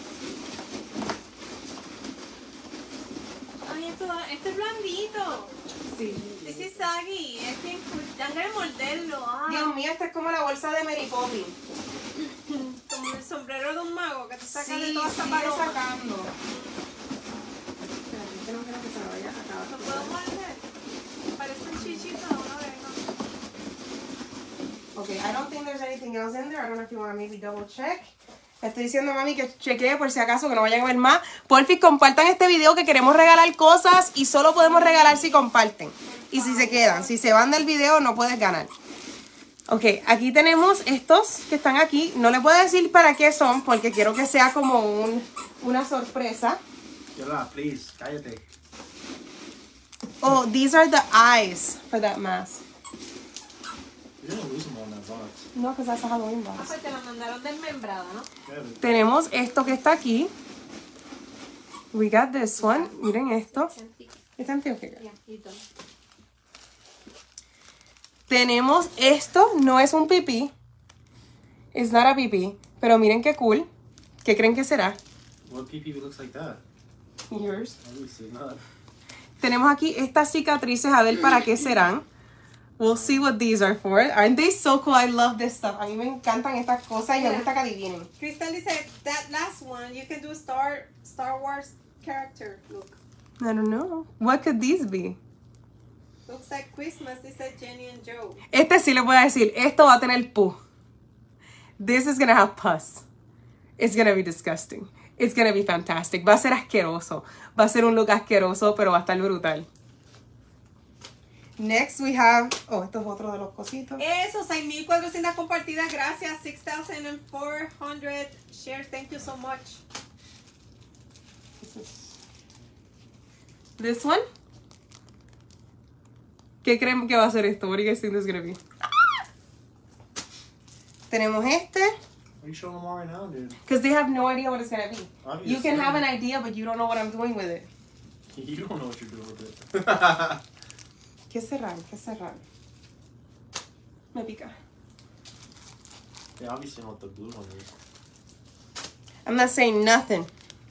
Ay, esto es blandito. Sí. This is saggy. Es que dan ganas de morderlo. Ah. Dios mío, esta es como la bolsa de Mary Poppins. Como el sombrero de un mago que te saca Sí, de toda esta sigue paloma. sacando. Espérate, es que no quiero que se me vaya a acabar. ¿Lo puedo morder? Parece un chichito de una oreja. Okay, I don't think there's anything else in there. I don't know if you want to maybe double check. Le estoy diciendo a mami que chequee por si acaso, que no vayan a ver más. Porfi, compartan este video que queremos regalar cosas y solo podemos regalar si comparten. Y si se quedan, si se van del video no puedes ganar. Ok, aquí tenemos estos que están aquí. No les puedo decir para qué son porque quiero que sea como una sorpresa. Yola, please, cállate. Oh, these are the eyes for that mask. You're gonna lose them all in that box. No, because that's a Halloween Ah, box. pues te la mandaron desmembrada, ¿no? Yeah, Tenemos esto que está aquí. We got this one. Miren esto. It's antioquia. Ya, y todo. Tenemos esto. No es un pipí. It's not a pipí. Pero miren qué cool. ¿Qué creen que será? what PP looks like that? Yours. Obviously not. Tenemos aquí estas cicatrices. A ver para qué serán. We'll see what these are for. Aren't they so cool? I love this stuff. A mí me encantan estas cosas y me gusta que adivinen. Crystal dice, that last one, you can do Star Wars character look. I don't know. What could these be? Looks like Christmas, dice Jenny and Joe. Este sí le voy a decir. Esto va a tener pus. This is gonna have pus. It's gonna be disgusting. It's gonna be fantastic. Va a ser asqueroso. Va a ser un look asqueroso, pero va a estar brutal. Next we have... Oh, esto es otro de los cositos. Eso, 6,400 compartidas, gracias. 6,400 shares, thank you so much. This one. ¿Qué creen que va a ser esto? What do you guys think this is gonna be? Tenemos este. Why are you showing them all right now, dude? Because they have no idea what it's gonna be. Obviously. You can have an idea, but you don't know what I'm doing with it. You don't know what you're doing with it. ¿Qué serán? ¿Qué serán? Me pica. They obviously know what the blue one is. I'm not saying nothing.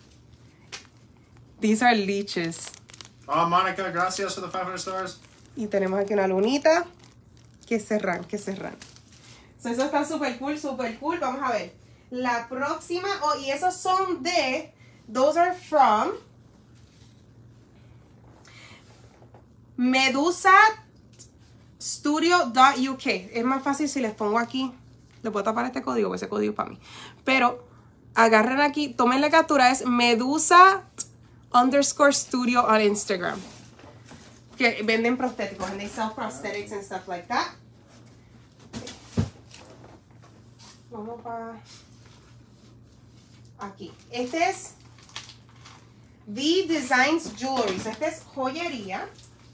These are leeches. Oh, Monica, gracias for the 500 stars. Y tenemos aquí una lunita. ¿Qué serán? ¿Qué serán? So, eso está súper cool, súper cool. Vamos a ver. La próxima. Oh, y esos son de... Those are from... medusastudio.uk. Es más fácil si les pongo aquí. Le puedo tapar este código, porque ese código es para mí. Pero agarren aquí, tomen la captura. Es medusa_studio on Instagram. Que venden prostéticos. And they sell prosthetics and stuff like that. Vamos para aquí. Este es V Designs Jewelry. Este es joyería.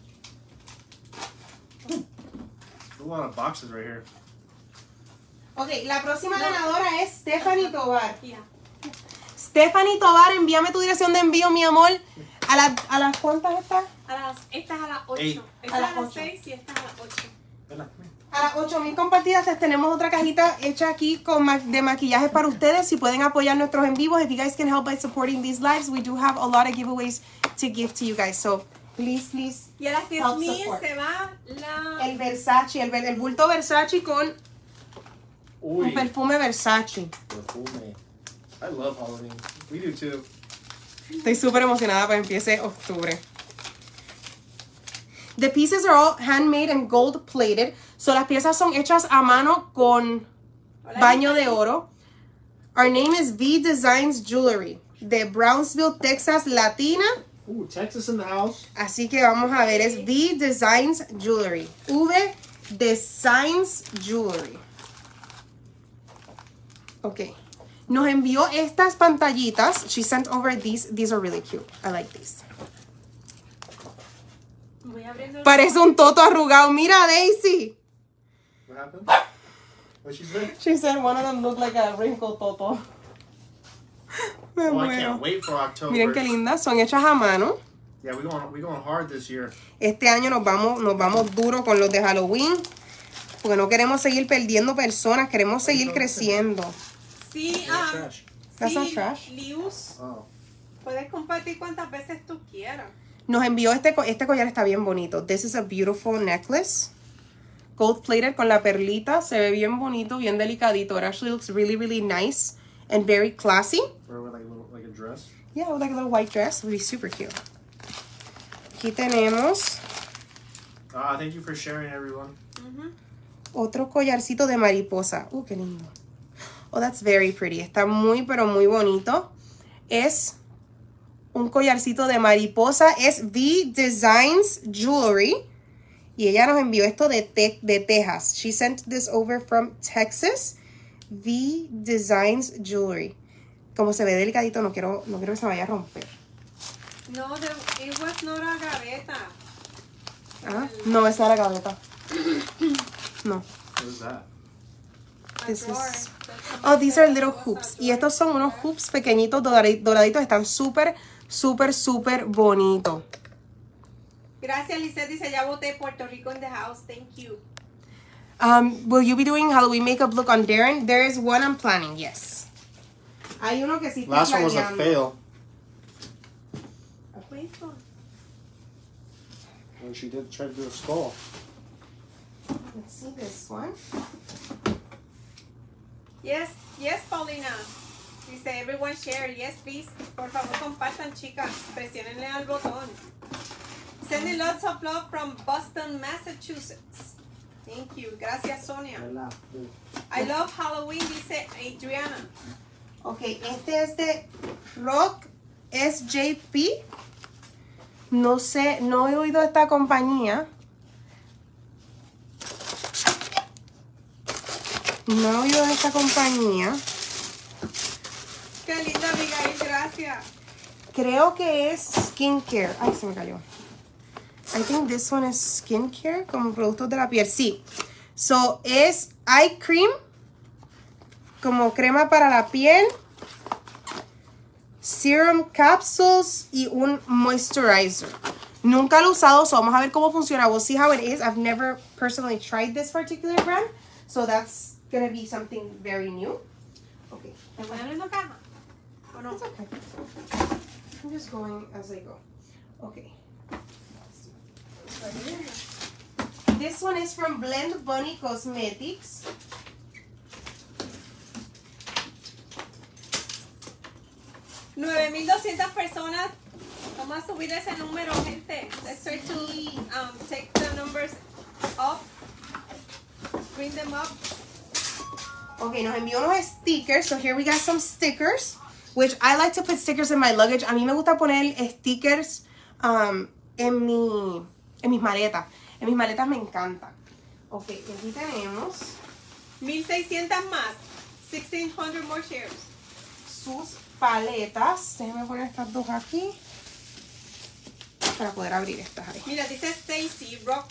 A lot of boxes right here. Ok, la próxima ganadora es Stephanie Tobar. Yeah. Stephanie Tobar, envíame tu dirección de envío, mi amor. ¿A las cuántas está? Esta es a las 8. Ey. Esta A es las a las 8. 6 y esta es a las 8. Vela, come here. A las 8,000 compartidas les tenemos otra cajita hecha aquí con de maquillaje para ustedes. Si pueden apoyar nuestros en vivos, if you guys can help by supporting these lives, we do have a lot of giveaways to give to you guys. So, please, please. Y a las Help 10,000 support. se va la... El Versace, el bulto Versace con un Uy, perfume Versace. perfume. I love Halloween. We do too. Estoy súper emocionada para que empiece octubre. The pieces are all handmade and gold plated. So las piezas son hechas a mano con baño de oro. Our name is V Designs Jewelry de Brownsville, Texas, Latina. Ooh, Texas in the house. Así que vamos a ver, es V Designs Jewelry. V Designs Jewelry. Ok. Nos envió estas pantallitas. She sent over these. These are really cute. I like these. Voy abriendo el- Parece un toto arrugado. Mira, Daisy. What happened? What she said? She said one of them looked like a wrinkled toto. Me Oh, I muero. can't wait for October. Miren qué lindas. Son hechas a mano. Yeah, we going hard this year. Este año nos vamos duro con los de Halloween. Porque no queremos seguir perdiendo personas. Queremos seguir creciendo. Sí, That's trash. That's sí, not trash. Lius, Oh. puedes compartir cuantas veces tú quieras. Nos envió este collar, está bien bonito. This is a beautiful necklace. Gold plated con la perlita. Se ve bien bonito, bien delicadito. It actually looks really, really nice and very classy. Or with like a dress. Yeah, with like a little white dress. It would be super cute. Aquí tenemos Thank you for sharing, everyone. otro collarcito de mariposa. Qué lindo. Oh, that's very pretty. Está muy, pero muy bonito. Es un collarcito de mariposa. Es V Designs Jewelry. Y ella nos envió esto de Texas. She sent this over from Texas. V Designs Jewelry. Como se ve delicadito, no quiero que se vaya a romper. No, it was not a gaveta. Ah, no, esa era la gaveta. No. What is that? A This drawer. is- Oh, these are little hoops. Y estos son unos hoops pequeñitos, doraditos. Están súper, súper, súper bonitos. Gracias, Lizette. Dice, ya voté Puerto Rico in the house. Thank you. Will you be doing Halloween makeup look on Darren? There is one I'm planning, yes. Hay uno que sí estoy Last one was a planeando. fail. Wait for- When she did try to do a skull. Let's see this one. Yes, yes, Paulina. Dice, everyone share. Yes, please. Por favor, compartan, chicas. Presionenle al botón. Sending lots of love from Boston, Massachusetts. Thank you. Gracias, Sonia. I love Halloween, dice Adriana. Ok, este es de Rock SJP. No sé, no he oído esta compañía. No he oído de esta compañía. Qué linda, Abigail. Gracias. Creo que es skincare. Ay, se me cayó. I think this one is skincare, como productos de la piel. Sí. So, es eye cream, como crema para la piel, serum capsules y un moisturizer. Nunca lo he usado, so vamos a ver cómo funciona. We'll see how it is. I've never personally tried this particular brand, so that's gonna be something very new. Okay. ¿Te voy a dar una caja? ¿O no? It's okay. I'm just going as I go. Okay. This one is from Blend Bunny Cosmetics. $9,200 personas. Vamos a subir ese número, gente. Let's try to take the numbers up. Bring them up. Okay, nos envió unos stickers. So here we got some stickers, which I like to put stickers in my luggage. A mí me gusta poner stickers en mis maletas. En mis maletas me encanta. Ok, y aquí tenemos 1,600 más. 1,600 more shares. sus paletas. Déjenme poner estas dos aquí para poder abrir estas ahí. Mira, dice Stacy, rock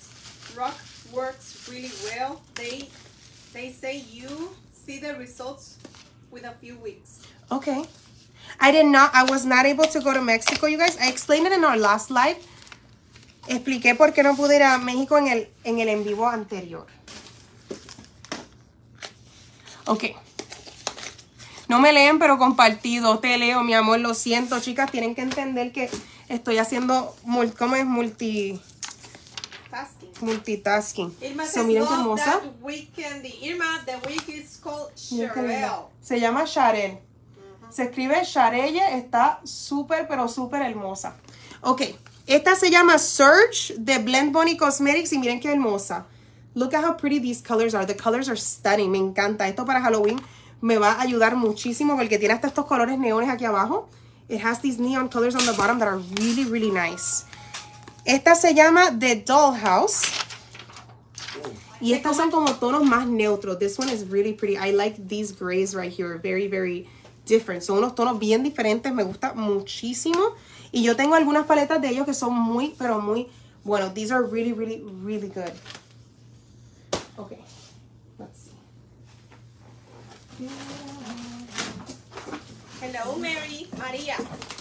works really well. They say you see the results with a few weeks. Okay. I was not able to go to Mexico, you guys. I explained it in our last live. Expliqué por qué no pude ir a México en el en vivo anterior. Ok. No me leen, pero compartido. Te leo, mi amor. Lo siento, chicas. Tienen que entender que estoy haciendo, ¿cómo es? Multitasking. Irma So, says, miren qué love hermosa. that week candy. Irma, the week is called Miren qué linda. Sharel. Se llama Sharel. Se escribe Sharelle. Está súper, pero súper hermosa. Ok. Esta se llama Surge de Blend Bunny Cosmetics y miren qué hermosa. Look at how pretty these colors are. The colors are stunning. Me encanta. Esto para Halloween me va a ayudar muchísimo porque tiene hasta estos colores neones aquí abajo. It has these neon colors on the bottom that are really, really nice. Esta se llama The Dollhouse. Y estas son como tonos más neutros. This one is really pretty. I like these grays right here. Very, very different. Son unos tonos bien diferentes. Me gusta muchísimo. Y yo tengo algunas paletas de ellos que son muy, pero muy buenos. These are really, really, really good. Okay. Let's see. Hello, Mary. Maria.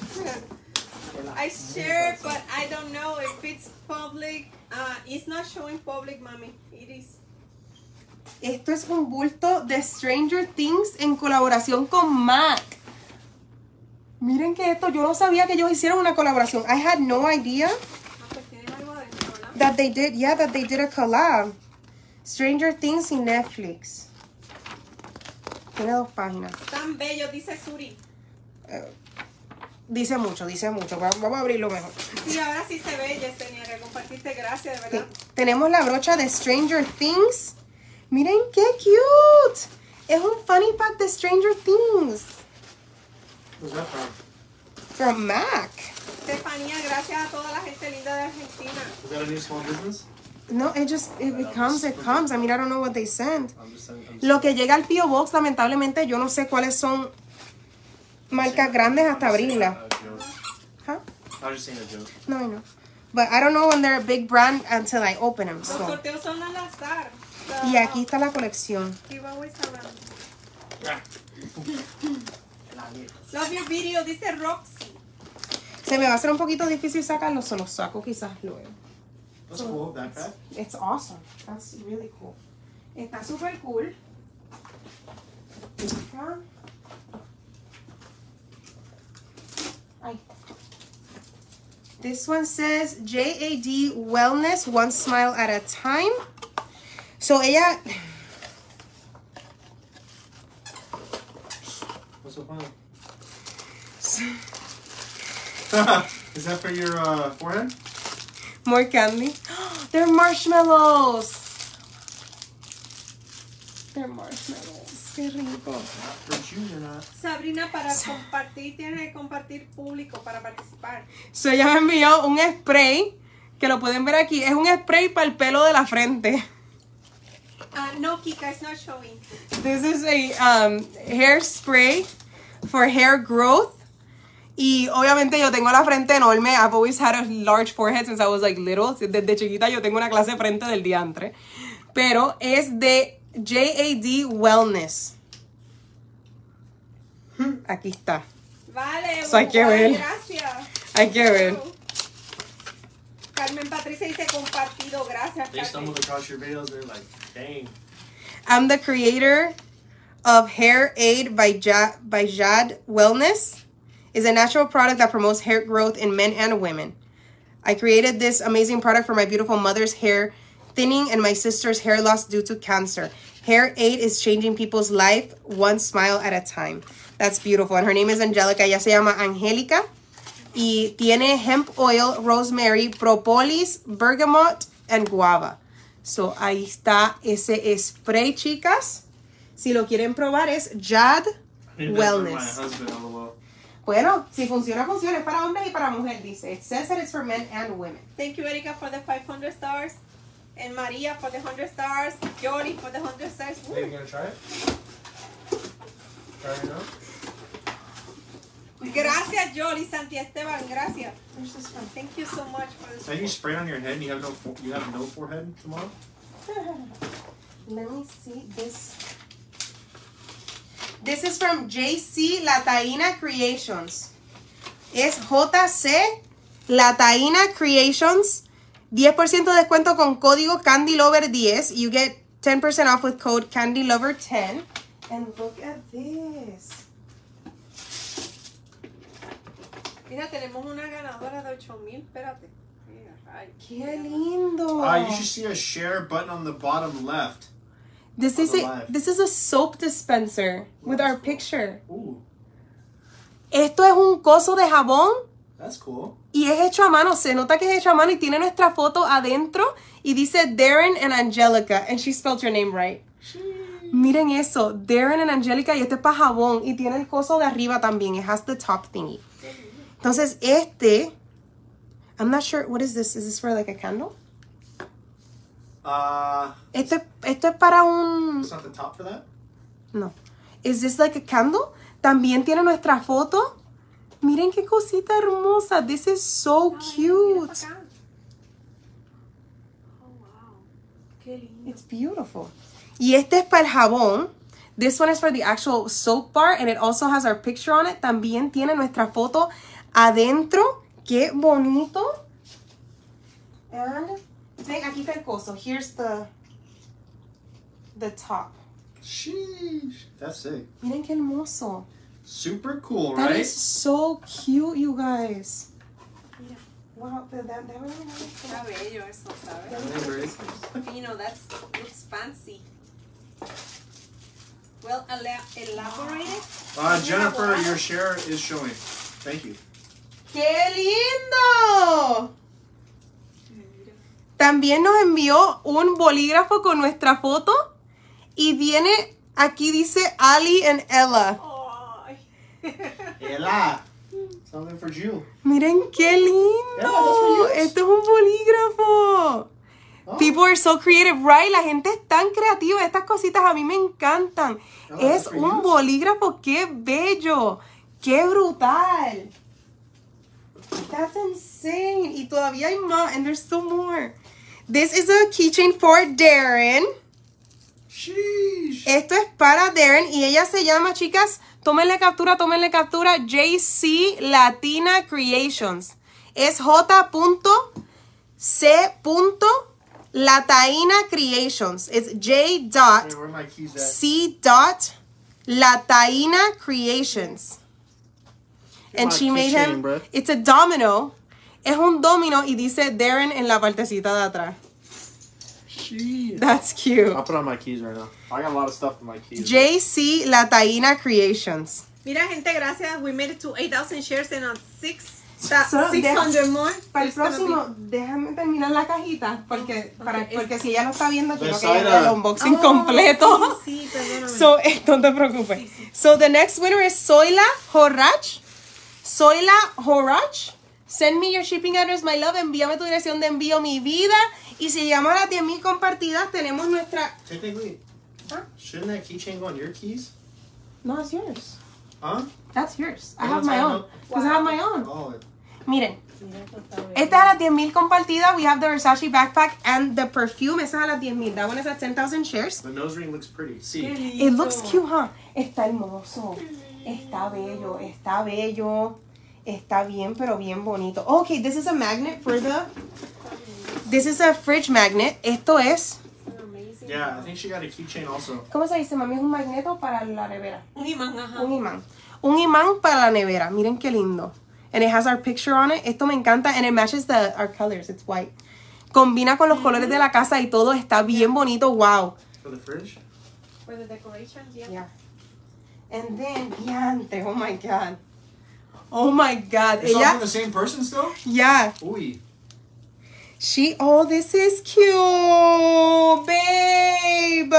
I share, but I don't know if it's public. It's not showing public, mommy. It is. Esto es un bulto de Stranger Things en colaboración con MAC. Miren que esto, yo no sabía que ellos hicieron una colaboración. I had no idea that they did, that they did a collab. Stranger Things y Netflix. Tiene 2 páginas. Tan bello, dice Suri. Dice mucho, dice mucho. Vamos a abrirlo mejor. Sí, ahora sí se ve, Yesenia, que compartiste. Gracias, de verdad. Tenemos la brocha de Stranger Things. Miren qué cute. Es un funny pack de Stranger Things. Who's that from? From MAC. Estefanía, gracias a toda la gente linda de Argentina. Is that a new small business? No, it comes. I mean, I don't know what they send. I'm just Lo que llega al P.O. Box, lamentablemente, yo no sé cuáles son marcas grandes hasta abrirla. Huh? I was just saying a joke. No, I know. But I don't know when they're a big brand until I open them. Los So. sorteos son al azar. Y aquí está la colección. Giveaways around. Love your video, dice Roxy. Se me va a hacer un poquito difícil sacarlo, se los saco quizás luego. That's cool, backpack. It's awesome. That's really cool. Está súper cool. Acá. Ay. This one says JAD Wellness, one smile at a time. So ella... What's so funny? Is that for your forehead? More candy. They're marshmallows. They're marshmallows. Qué rico. Not for you, you're not. Sabrina, para compartir, tienes que compartir público para participar. So ella me envió un spray, que lo pueden ver aquí. Es un spray para el pelo de la frente. No, Kika, it's not showing. This is a hairspray for hair growth. Y obviamente yo tengo la frente enorme. I've always had a large forehead since I was like little. Desde chiquita yo tengo una clase de frente del diantre. Pero es de JAD Wellness. Aquí está. Vale, So hay que ver. Gracias. Hay que ver. Carmen Patricia dice compartido. Gracias, They Carmen. stumbled across your videos, they're like, dang. I'm the creator of Hair Aid by Jad Wellness. It's a natural product that promotes hair growth in men and women. I created this amazing product for my beautiful mother's hair thinning and my sister's hair loss due to cancer. Hair Aid is changing people's life one smile at a time. That's beautiful. And her name is Angelica. Ella se llama Angélica. Y tiene hemp oil, rosemary, propolis, bergamot, and guava. So, ahí está ese spray, chicas. Si lo quieren probar, es Jad Wellness. My husband, LOL. Bueno, si funciona, funciona. Es para hombres y para mujeres, dice. It says that it's for men and women. Thank you, Erika, for the 500 stars. And Maria for the 100 stars. Jory for the 100 stars. Woo. Hey, you gonna try it? Try it now? Gracias, Jory, Santi Esteban. Gracias. Where's this from? Thank you so much for this. So you spray on your head and you have no forehead tomorrow? Let me see this. This is from JC Lataina Creations. Es JC Lataina Creations. 10% de descuento con código CandyLover10. You get 10% off with code CandyLover10. And look at this. Mira, tenemos una ganadora de 8,000. Espérate. Mira, ay. Qué lindo. You should see a share button on the bottom left. This is a soap dispenser with our picture. Ooh. Esto es un coso de jabón That's cool. Y es hecho a mano, se nota que es hecho a mano y tiene nuestra foto adentro y dice Darren and Angelica. And she spelled your name right. Miren eso, Darren and Angelica, y este es para jabón y tiene el coso de arriba también. It has the top thingy. Entonces I'm not sure, what is this? Is this for like a candle? Esto es para un... It's not the top for that? No. Is this like a candle? También tiene nuestra foto. Miren qué cosita hermosa. This is so cute. Oh, wow. Qué lindo. It's beautiful. Y este es para el jabón. This one is for the actual soap bar and it also has our picture on it. También tiene nuestra foto adentro. Qué bonito. And ven, aquí está el coso. Here's the top. Sheesh. That's sick. Miren qué hermoso. Super cool, That right? is so cute, you guys. Mira, Wow, that really está bello eso, ¿sabes? Yeah, very cool. Fino, that looks fancy. Well, elaborated. Jennifer, your share is showing. Thank you. ¡Qué lindo! También nos envió un bolígrafo con nuestra foto y viene, aquí dice Ali and Ella. Ay. Ella. Something for you. Miren qué lindo. Yeah, that's for you. Esto es un bolígrafo. Oh. People are so creative, right? La gente es tan creativa. Estas cositas a mí me encantan. Oh, Es that's for un you. bolígrafo. Qué bello. Qué brutal. That's insane. Y todavía hay más. And there's still more. This is a keychain for Darren. Sheesh. Esto es para Darren y ella se llama, chicas, tómenle captura, JC Latina Creations. Es J.C. Creations. It's Hey, J.C. where are my keys at? Latina Creations. And my she made keychain, him, bruh. it's a domino. Es un domino y dice Darren en la partecita de atrás. Sheesh. That's cute. I'll put on my keys right now. I got a lot of stuff in my keys. JC Latina Creations. Mira, gente, gracias. We made it to 8,000 shares and on 600 600 more. Para el There's gonna próximo, déjame terminar la cajita porque, porque si ella lo está viendo, quiero que Besaida. ella vea el unboxing Oh, completo. Sí, sí, perdóname. So, no te preocupes. So, the next winner is Zoila Horach. Zoila Horach. Send me your shipping address, my love. Envíame tu dirección de envío, mi vida. Y si llegamos a las 10,000 compartidas, tenemos nuestra... Technically, Huh? shouldn't that keychain go on your keys? No, it's yours. Huh? That's yours. I Oh, have my it's own. Because I have my own. Oh, Miren. Mira, esto está bello. Esta es a las 10,000 compartidas. We have the Versace backpack and the perfume. Esa es a las 10,000. That one is at 10,000 shares. the nose ring looks pretty. Qué See, lindo. It looks cute, huh? Está hermoso. Está bello. Está bello. Está bien, pero bien bonito. Okay, this is a magnet for the... This is a fridge magnet. Esto es... Amazing. yeah, I think she got a keychain also. ¿Cómo se dice, mami? Es un magneto para la nevera. Un imán, ajá. Un imán. Un imán para la nevera. Miren qué lindo. And it has our picture on it. Esto me encanta. And it matches our colors. It's white. Combina con los colores de la casa y todo. Está bien bonito. Wow. For the fridge? For the decorations, yeah. Yeah. And then, diante. Oh my God. Oh my God. It's all Ella, from the same person still? yeah. Uy. Oh, this is cute, babe.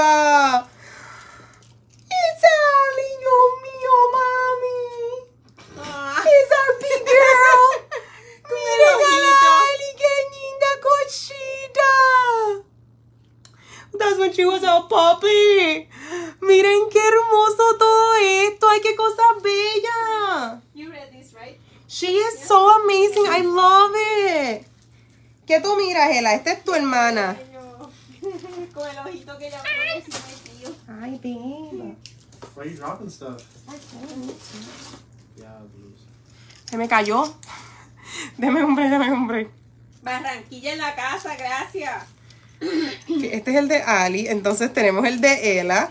It's Ali, oh mío, mami. Ah. It's our big girl. Miren a ojito. Ali, qué linda cochita. That's when she was a puppy. Miren qué hermoso todo esto. Ay, qué cosa bella. You read this, right? She is so amazing. I love it. ¿Qué tú miras, Ela? Esta es tu hermana. Bello. Con el ojito que ella pone encima de tío. Ay, babe. Why are you dropping stuff? Yeah, blues. Se me cayó. Deme un break. Barranquilla en la casa, gracias. Este es el de Ali. Entonces tenemos el de Ela.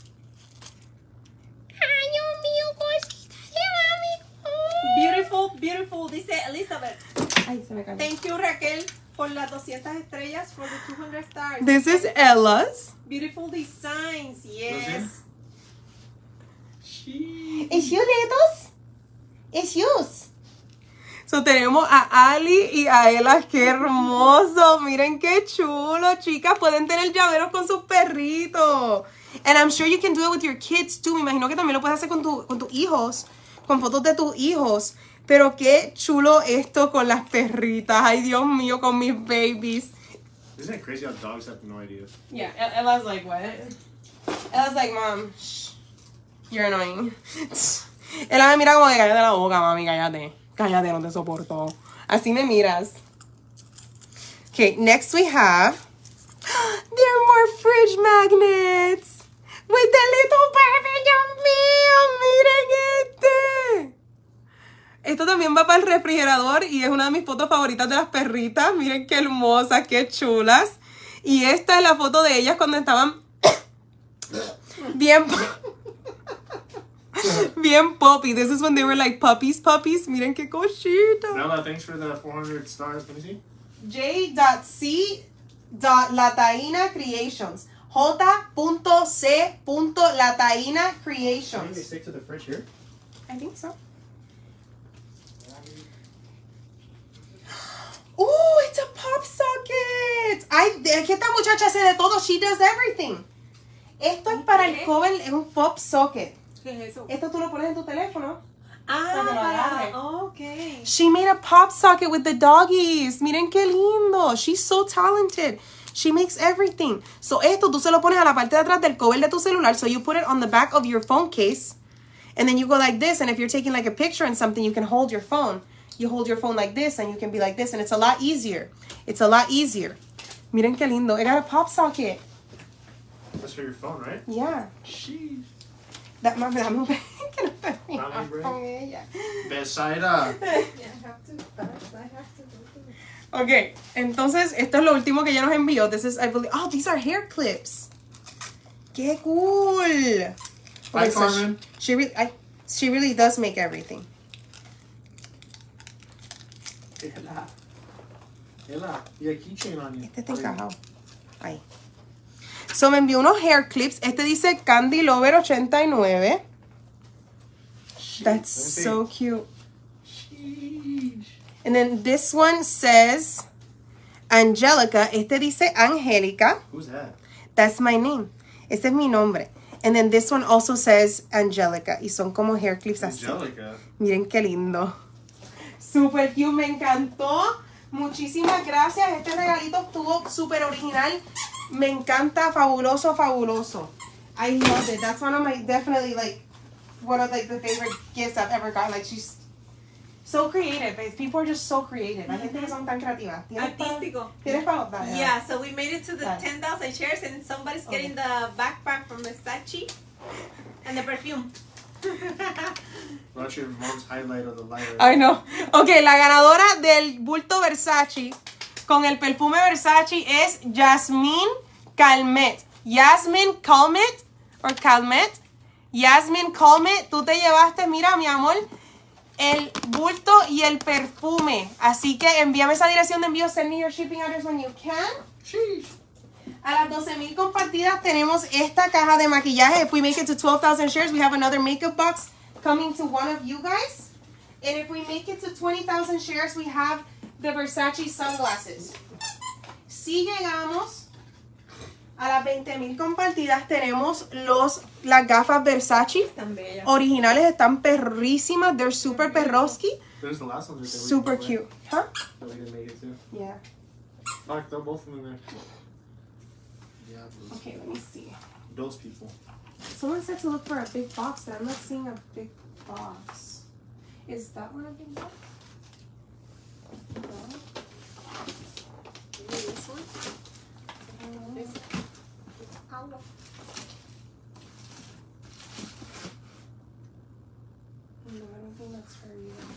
Ay, Dios mío, cosita de mami. Beautiful, beautiful, dice Elizabeth. Ay, se me cayó. Thank you, Raquel, por las 200 estrellas, for the 200 stars. This is Ella's. Beautiful designs, yes. She. It's you, Letos. It's yours. So, tenemos a Ali y a Ela. ¡Qué hermoso! Miren qué chulo, chicas. Pueden tener llaveros con sus perritos. And I'm sure you can do it with your kids too. Me imagino que también lo puedes hacer con tus hijos. Con fotos de tus hijos. Pero qué chulo esto con las perritas. Ay, Dios mío, con mis babies. Isn't it crazy how dogs have no idea? Yeah, Ella's like, what? Ella's like, Mom, shh, you're annoying. Ella me mira como de cállate la boca, mami, cállate. Cállate, no te soporto. Así me miras. Okay, next we have, there are more fridge magnets. With the little baby, Dios mío, miren este. Esto también va para el refrigerador y es una de mis fotos favoritas de las perritas. Miren qué hermosas, qué chulas. Y esta es la foto de ellas cuando estaban bien puppy. This is when they were like puppies. Miren qué cosita. Bella, thanks for the 400 stars. Let me see. J.C.Lataina Creations. J.C.Lataina Can Creations. they stick to the fridge here? I think so. Oh, it's a pop socket. Ay, es que esta muchacha hace de todo. She does everything. Esto es para el cover, es un pop socket. ¿Qué es eso? Esto tú lo pones en tu teléfono. Ah, ok. She made a pop socket with the doggies. Miren qué lindo. She's so talented. She makes everything. So esto tú se lo pones a la parte de atrás del cover de tu celular. So you put it on the back of your phone case. And then you go like this. And if you're taking like a picture and something, you can hold your phone. You hold your phone like this and you can be like this. And it's a lot easier. It's a lot easier. Miren qué lindo. It got a pop socket. That's for your phone, right? Yeah. Sheesh. That mami, dame un que no te Dame un con ella. Besaida. Yeah, I have to. I have to. Ok, entonces esto es lo último que ella nos envió. This is, I believe, oh, these are hair clips. ¡Qué cool! Hi, Okay, so Carmen. she really does make everything. Ella, y a keychain on you. Este está encajado. Ahí. So me envió unos hair clips. Este dice Candy Lover 89. Sheesh, That's let me see. so cute. Sheesh. And then this one says Angelica. Este dice Angélica. Who's that? That's my name. Ese es mi nombre. And then this one also says Angelica. Y son como hair clips así. Angelica. Miren qué lindo. Super cute, me encantó. Muchísimas gracias. Este regalito estuvo súper original. Me encanta, fabuloso, fabuloso. I love it. That's one of my, definitely like, one of like the favorite gifts I've ever gotten. Like she's so creative. People are just so creative. Hay gente que son tan creativas. Artístico. ¿Tienes para otra? Yeah, so we made it to the Right. 10,000 shares and somebody's getting the backpack from Versace and the perfume. Watch your mom's highlight of the lighter. Ay, no. Ok, la ganadora del bulto Versace con el perfume Versace es Yasmine Calmet. Yasmine Calmet, or Calmet. Yasmine Calmet, tú te llevaste, mira, mi amor, el bulto y el perfume. Así que envíame esa dirección de envío. Send me your shipping address when you can. Sheesh. A las 12,000 compartidas tenemos esta caja de maquillaje. If we make it to 12,000 shares, we have another makeup box coming to one of you guys. And if we make it to 20,000 shares, we have the Versace sunglasses. Si llegamos a las 20,000 compartidas, tenemos las gafas Versace. Tan bella. Originales, están perrísimas. They're super perroski. There's the last ones. Super cute. Huh? That we didn't make it to. Yeah. Fuck, throw both of them in there. Yeah, those, Okay, let me see. those people. Someone said to look for a big box, but I'm not seeing a big box. Is that one a big box? No. Maybe this one? This No, I don't think that's her either.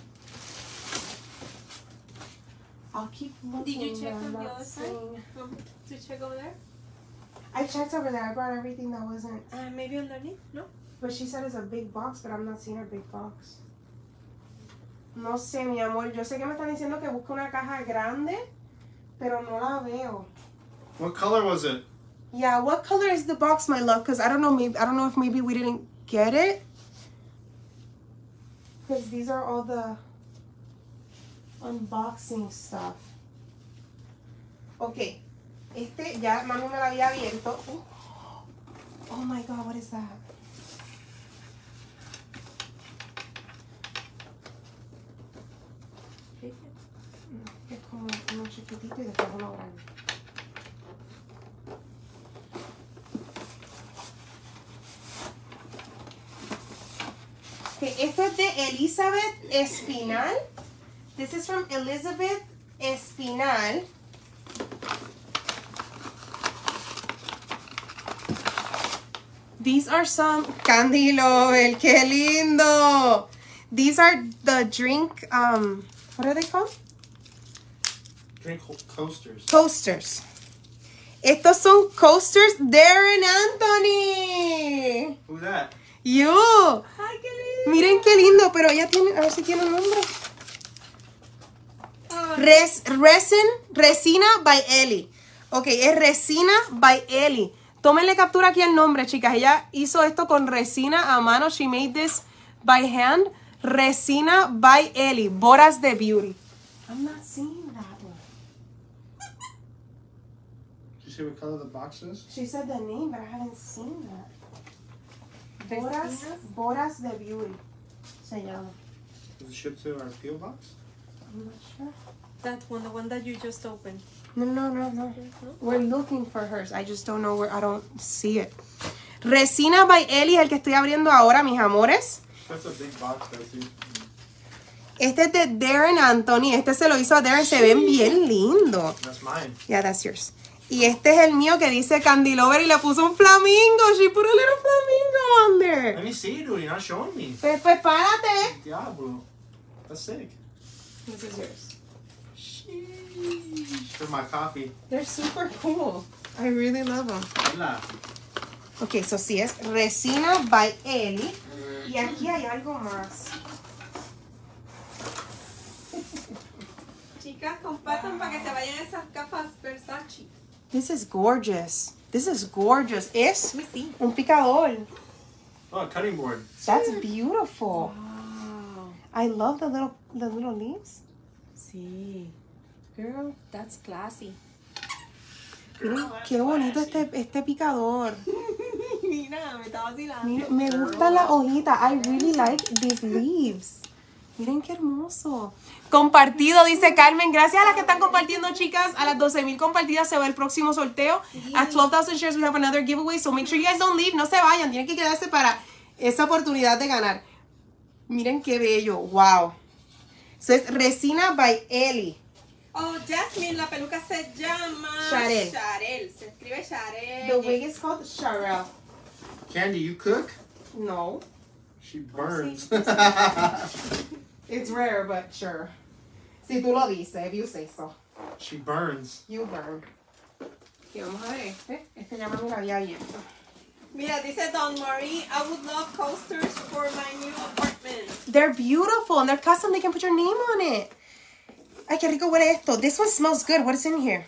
I'll keep looking. Did you check but I'm on the not other side? seeing- To check over there? I checked over there. I brought everything that wasn't. Maybe underneath? No? But she said it's a big box, but I'm not seeing a big box. No sé, mi amor. Yo sé que me están diciendo que busque una caja grande, pero no la veo. What color was it? Yeah, what color is the box, my love? Because I don't know. Maybe I don't know if maybe we didn't get it. Because these are all the. unboxing stuff. Ok, este ya mami me lo había abierto. Oh my god, what is that? Es como uno chiquitito y después uno grande. Okay, esto es de Elizabeth Espinal. This is from Elizabeth Espinal. These are some Candy Lover. ¡Qué lindo! These are the drink, what are they called? Drink coasters. Coasters. Estos son coasters. Darren Anthony. Who's that? You. Ay, qué lindo. Miren qué lindo, pero ya tiene, a ver si tiene un nombre. Resina by Ellie. Ok, es Resina by Ellie. Tómenle captura aquí el nombre, chicas. Ella hizo esto con resina a mano. She made this by hand. Resina by Ellie. Boras de Beauty. I'm not seeing that one. Did you see what color the box is? She said the name, but I haven't seen that. Resinas. Boras de Beauty. Se llama. Does it ship to our PO box? I'm not sure. That one, the one that you just opened. No. We're looking for hers. I just don't know where. I don't see it. Resina by Ellie es el que estoy abriendo ahora, mis amores. That's a big box, Betsy. Este es de Darren Anthony. Este se lo hizo a Darren. Se ven bien lindos. That's mine. Yeah, that's yours. Y este es el mío que dice Candy Lover y le puso un flamingo. She put a little flamingo on there. Let me see, dude. You're not showing me. Pues párate. Diablo. That's sick. This is yours. Sheesh. For my coffee. They're super cool. I really love them. Hola. Ok, so sí es Resina by Ellie. Y aquí hay algo más. Chicas, compartan para que se vayan esas gafas Versace. This is gorgeous. This is gorgeous. Es Let me see. un picador. Oh, a cutting board. That's beautiful. Wow. I love the little leaves. Sí. Girl, that's classy. Miren qué bonito este picador. Mira, me está vacilando. Miren, me gusta la hojita. I really like these leaves. Miren qué hermoso. Compartido, dice Carmen. Gracias a las que están compartiendo, chicas. A las 12,000 compartidas se va el próximo sorteo. At 12,000 shares we have another giveaway. So make sure you guys don't leave. No se vayan. Tienen que quedarse para esa oportunidad de ganar. Miren qué bello. Wow. So es Resina by Ellie. Oh, Jasmine, la peluca se llama Sharel. Sharel. Se escribe Sharel. The wig is called Sharel. Candy, you cook? No. She burns. It's rare, but sure. Si tú lo dices, if you say so. She burns. You burn. Y vamos a ver este. Este ya me lo había abierto. Mira, dice Don Marie, I would love coasters for my new apartment. They're beautiful and they're custom. They can put your name on it. Ay, qué rico huele esto. This one smells good. What is in here?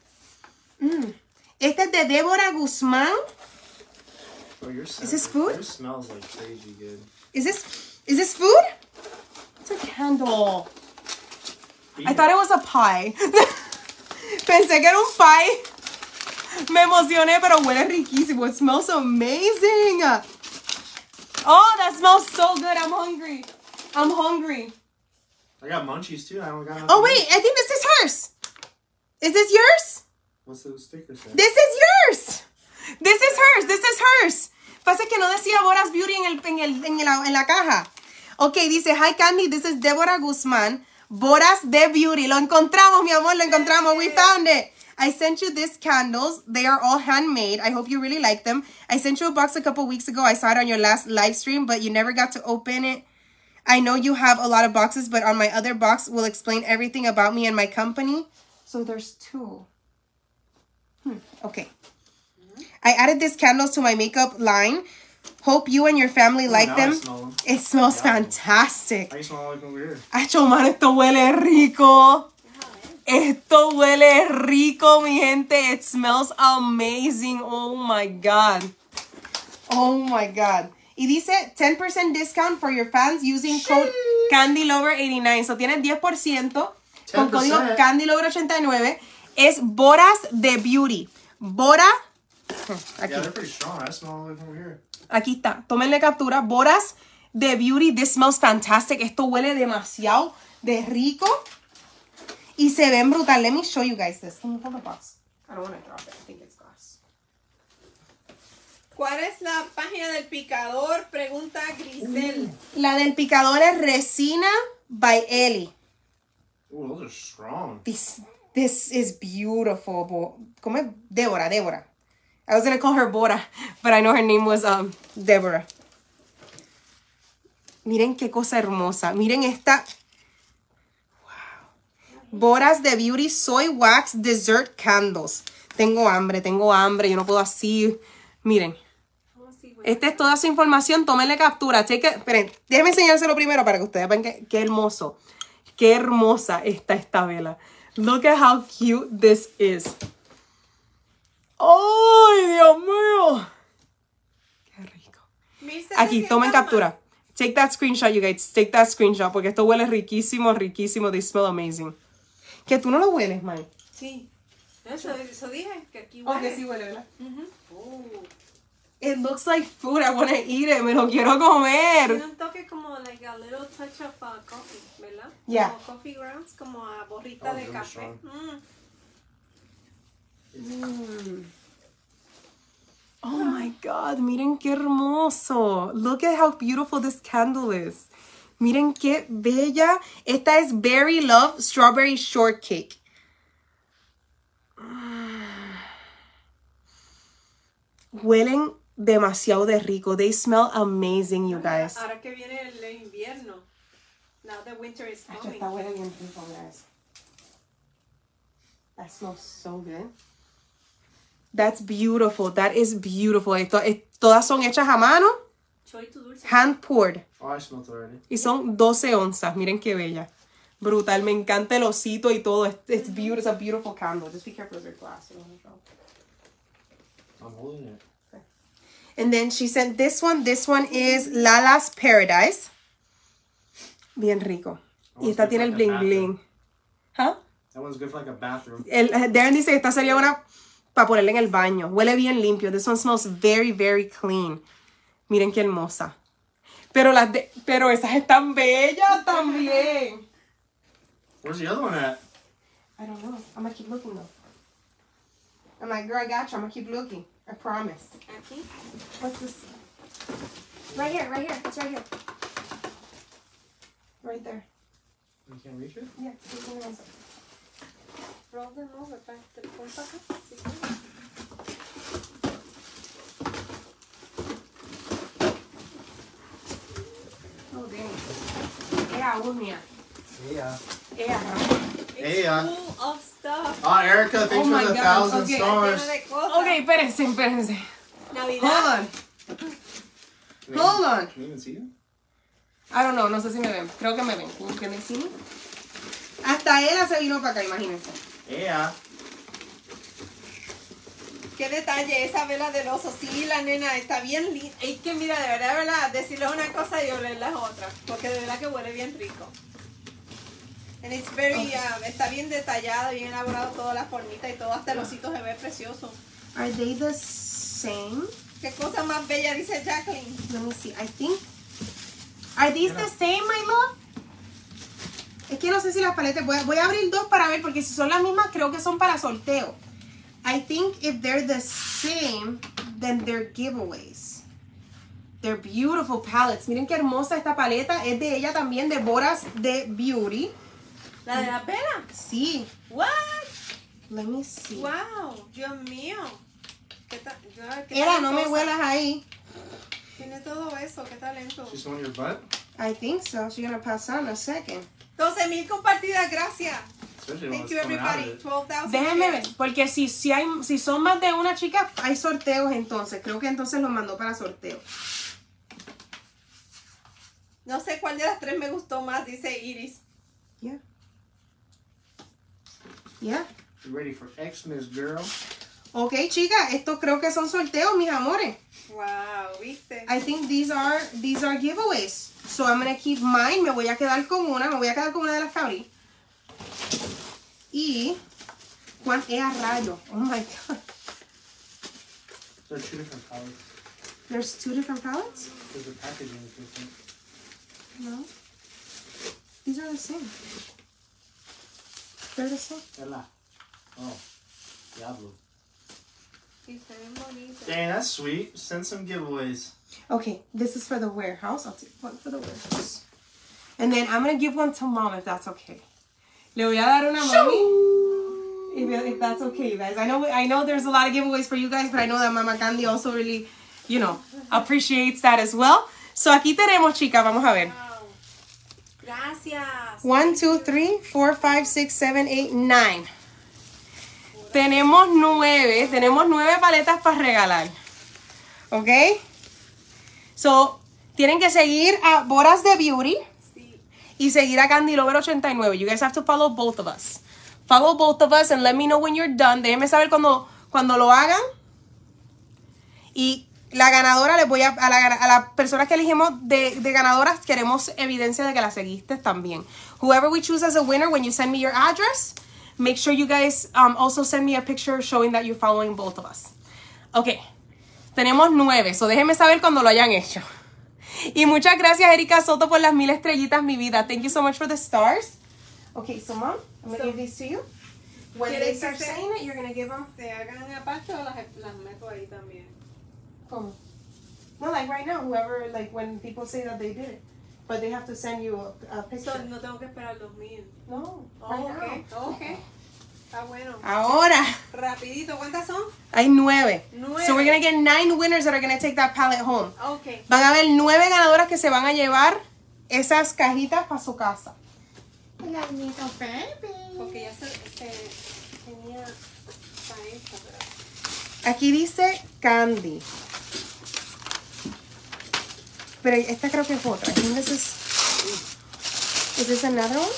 Este es de Débora Guzmán. Oh, your Is this food? Yours smells like crazy good. Is this food? It's a candle. I thought it was a pie. Pensé que era un pie. Me emocioné, pero huele riquísimo. It smells amazing. Oh, that smells so good. I'm hungry. I'm hungry. I got munchies too. I don't got. Oh, wait. I think this is hers. Is this yours? What's the sticker say? This is yours. This is hers. This is hers. Pasa que no decía Boras Beauty en la caja. Ok, dice, hi Candy, this is Débora Guzmán. Boras de Beauty. Lo encontramos, mi amor, lo encontramos. We found it. I sent you these candles. They are all handmade. I hope you really like them. I sent you a box a couple weeks ago. I saw it on your last live stream, but you never got to open it. I know you have a lot of boxes, but on my other box will explain everything about me and my company. So there's two. Okay. I added these candles to my makeup line. Hope you and your family like now them. I smell them. It smells Yeah. fantastic. I smell like over here. Acho, man, esto huele rico. Esto huele rico, mi gente. It smells amazing. Oh my God. Oh my God. Y dice 10% discount for your fans using code CandyLover89. So tienes 10% con 10%. código CandyLover89. Es Boras de Beauty. Bora. Aquí. Yeah, they're pretty strong. I smell it over here. Aquí está. Tómenle captura. Boras de Beauty. This smells fantastic. Esto huele demasiado de rico. Y se ven brutal. Let me show you guys this. Can you hold the box? I don't want to drop it. I think it's glass. ¿Cuál es la página del picador? Pregunta Grisel. La del picador es Resina by Ellie. Ooh, those are strong. This is beautiful. ¿Cómo es? Débora. I was going to call her Bora, but I know her name was Deborah. Miren qué cosa hermosa. Miren esta. Wow. Boras de Beauty Soy Wax Dessert Candles. Tengo hambre. Yo no puedo así. Miren. Esta es toda su información. Tómenle captura. Esperen, déjenme enseñárselo primero para que ustedes vean qué hermoso. Qué hermosa está esta vela. Look at how cute this is. ¡Ay, Dios mío! ¡Qué rico! Aquí, tomen captura. Take that screenshot, you guys. Take that screenshot, porque esto huele riquísimo. They smell amazing. ¿Que tú no lo hueles, Mai? Sí. Eso dije, que aquí huele. Ok, sí huele, ¿verdad? It looks like food. I want to eat it. Me lo quiero comer. Tiene un toque como like a little touch of coffee, ¿verdad? Yeah. Como coffee grounds, como a borrita de really café. Oh my God, miren qué hermoso. Look at how beautiful this candle is. Miren qué bella. Esta es Berry Love Strawberry Shortcake. Huelen demasiado de rico. They smell amazing, you guys. Ahora que viene el invierno. Now the winter is coming. Está huele bien rico, guys. That smells so good. That's beautiful. That is beautiful. Todas son hechas a mano. Choy tu dulce. Hand poured. Oh, I smelled it already. Y son 12 onzas. Miren qué bella. Brutal. Me encanta el osito y todo. It's beautiful. It's a beautiful candle. Just be careful with your glass. You don't want to drop. I'm holding it. Okay. And then she sent this one. This one is Lala's Paradise. Bien rico. Y esta tiene el bling bling. ¿Huh? That one's good for like a bathroom. Darren dice que esta sería una para ponerla en el baño. Huele bien limpio. This one smells very, very clean. Miren qué hermosa. Pero esas están bellas también. Where's the other one at? I don't know. I'm gonna keep looking though. I'm like, girl, I got you. I'm gonna keep looking. I promise. Aquí. What's this? Right here. It's right here. Right there. You can't reach it? Yeah. Roll them over. Te pon para acá. Sí, sí. Oh, dang. Ea, uña. Yeah. Ea. Hey, Full of stuff. Oh, Erica, thanks Oh my for the God, 1,000 okay. stars. Lleno de cosas. Ok, espérense. Navidad. Hold on. Hold on. Can you even see it? I don't know, no sé si me ven. Creo que me ven. Can they see me? Hasta ella se vino para acá, imagínense. Yeah. Qué detalle esa vela del oso. Sí, la nena está bien linda. Es que mira, de verdad, decirle una cosa y olerla otra. Porque de verdad que huele bien rico. And it's very, está bien detallada, bien elaborado toda la formita y todo. Hasta el osito se ve precioso. Are they the same? Qué cosa más bella, dice Jacqueline. Let me see. I think. Are these the same, my love? Es que no sé si las paletas. Voy a abrir dos para ver, porque si son las mismas, creo que son para sorteo. I think if they're the same, then they're giveaways. They're beautiful palettes. Miren qué hermosa esta paleta. Es de ella también, de Boras de Beauty. ¿La de la vela? Sí. What? Let me see. Wow, Dios mío. ¿Qué Era, no me talentosa. huelas ahí. Tiene todo eso, qué talento. She's on your butt? I think so. She's gonna pass on a second. 12,000 compartidas, gracias. Especially when Thank it's you coming out of everybody. it. 12,000 Déjenme ver, shares. porque si son más de una chica, hay sorteos entonces. Creo que entonces los mandó para sorteo. No sé cuál de las tres me gustó más, dice Iris. Yeah. Yeah. You ready for Xmas, girl? Ok, chicas, estos creo que son sorteos, mis amores. Wow, ¿viste? I think these are giveaways. So I'm gonna keep mine. Me voy a quedar con una de las que abrí. Y Juan es a rayo. Oh my god. There are 2 different palettes. There's 2 different palettes? Because the packaging is different. No. These are the same. They're the same. Ella. Oh. Diablo. Sí, está bien bonito. Dang, that's sweet. Send some giveaways. Okay, this is for the warehouse. I'll take one for the warehouse. And then I'm going to give one to mom if that's okay. Le voy a dar una a mami. If that's okay, you guys. I know there's a lot of giveaways for you guys, but I know that Mama Candy also really, you know, appreciates that as well. So aquí tenemos, chicas, vamos a ver. Wow. Gracias. 1, 2, 3, 4, 5, 6, 7, 8, 9. Tenemos 9 paletas para regalar. ¿Ok? So, tienen que seguir a Boras de Beauty Sí. y seguir a Candy Lover 89. You guys have to follow both of us. Follow both of us and let me know when you're done. Déjenme saber cuando lo hagan. Y la ganadora, les voy a las personas que elegimos de ganadoras, queremos evidencia de que la seguiste también. Whoever we choose as a winner, when you send me your address, make sure you guys also send me a picture showing that you're following both of us. Ok, tenemos 9, so déjenme saber cuando lo hayan hecho. Y muchas gracias, Erika Soto, por las 1000 estrellitas, mi vida. Thank you so much for the stars. Okay, so mom, I'm going to give these to you. When they start saying it, you're going to give them... ¿Se hagan aparte o las meto ahí también? ¿Cómo? No, like right now, whoever, like when people say that they did it. But they have to send you a picture. So, no tengo que esperar 2000. No, Oh, right okay. now. Okay. Está bueno. Ahora, Rapidito, ¿cuántas son? hay 9. 9. So we're going to get 9 winners that are going to take that palette home. Okay. Van a haber 9 ganadoras que se van a llevar esas cajitas para su casa. Porque ya se tenía para esta, pero... Aquí dice Candy. Pero esta creo que es otra. I think is this another one?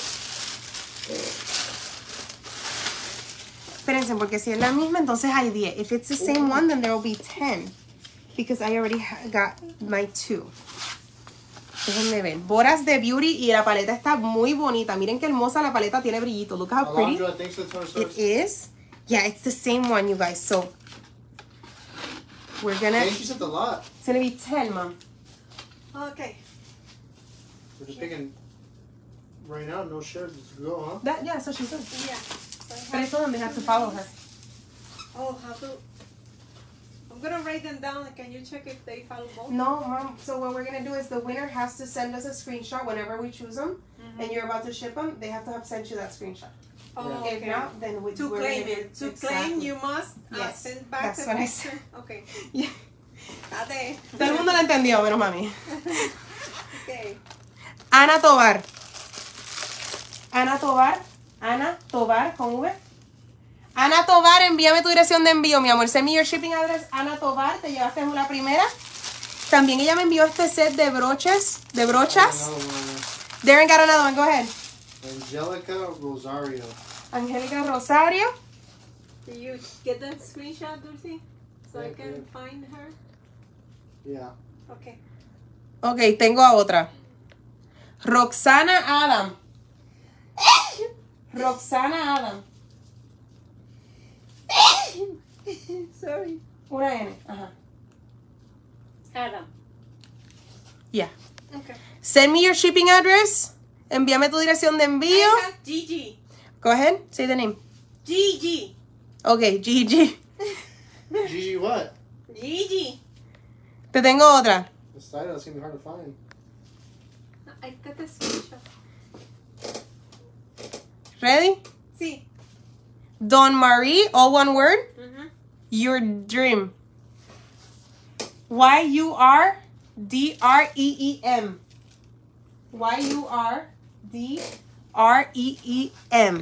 Espérense, porque si es la misma, entonces hay 10. If it's the same one, then there will be 10. Because I already got my 2. Déjenme ver. Boras de Beauty y la paleta está muy bonita. Miren qué hermosa la paleta, tiene brillito. Look how pretty Alondra, thanks for the 20 it stars. is. Yeah, it's the same one, you guys. So, we're gonna... Hey, she said a lot. It's gonna be 10, Mom. Okay. We're just picking right now, no shares. Let's go, huh? That, yeah, so she said. Yeah. But I told them they have to follow her. Oh, how to... I'm gonna write them down. Can you check if they follow both? No, Mom. So what we're gonna do is the winner has to send us a screenshot whenever we choose them, and you're about to ship them. They have to have sent you that screenshot. Oh, Yeah. If okay. not, then we're To gonna claim do it. To exactly. claim, you must Yes, send back that's the what I picture. said. Okay. Yeah. Ate. Todo el mundo lo entendió, menos mami. Okay. Ana Tobar. Ana Tobar. Ana Tobar con V. Ana Tobar, envíame tu dirección de envío, mi amor. Send me your shipping address. Ana Tobar, te llevaste la primera. También ella me envió este set de brochas. Another one. Darren got another one. Go ahead. Angelica Rosario. Angélica Rosario. Did you get that screenshot, Dulce? So I Yeah, can yeah. find her? Yeah. Okay. Ok, tengo a otra. Roxana Adam. Roxana Adam. Sorry. Una N. Ajá. Adam. Yeah. Okay. Send me your shipping address. Envíame tu dirección de envío. I have Gigi. Go ahead. Say the name. Gigi. Ok, Gigi. Gigi, what? Gigi. Te tengo otra. This title seems hard to find. I got the screenshot. Ready? Sí. Don Marie, all one word. Mhm. Your dream. Y-U-R-D-R-E-E-M. Y-U-R-D-R-E-E-M.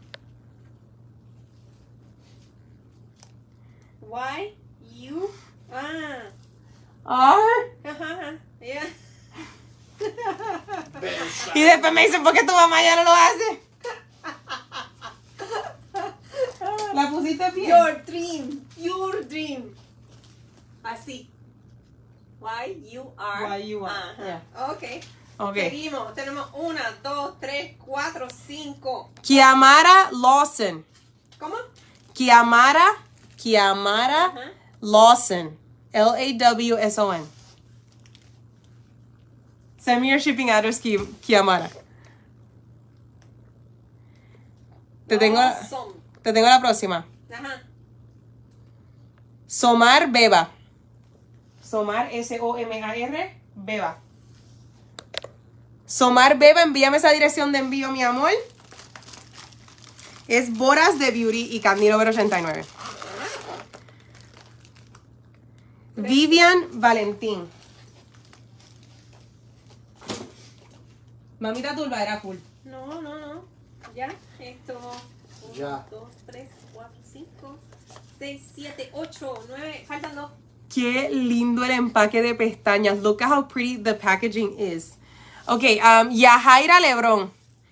Y U R. Yeah. Y después me dicen, ¿por qué tu mamá ya no lo hace? ¿La pusiste bien? Your dream. Your dream. Así. Y U R. Y-U-R. Ajá. Yeah. Okay. Ok. Seguimos. Tenemos 1, 2, 3, 4, 5. Kiamara Lawson. ¿Cómo? Kiamara Ajá. Lawson. Lawson. Send me your shipping address, Kiamara. Te tengo Awesome. la próxima. Ajá. Somar Beba. Somar, S-O-M-A-R, Beba. Somar Beba, envíame esa dirección de envío, mi amor. Es Boras de Beauty y Candy Lover 89. Vivian Valentín. Mamita Turba era cool. No. Ya. Esto. 1, Ya. 2, 3, 4, 5, 6, 7, 8, 9. Faltan 2. Qué lindo el empaque de pestañas. Look at how pretty the packaging is. Ok, Yajaira Lebrón.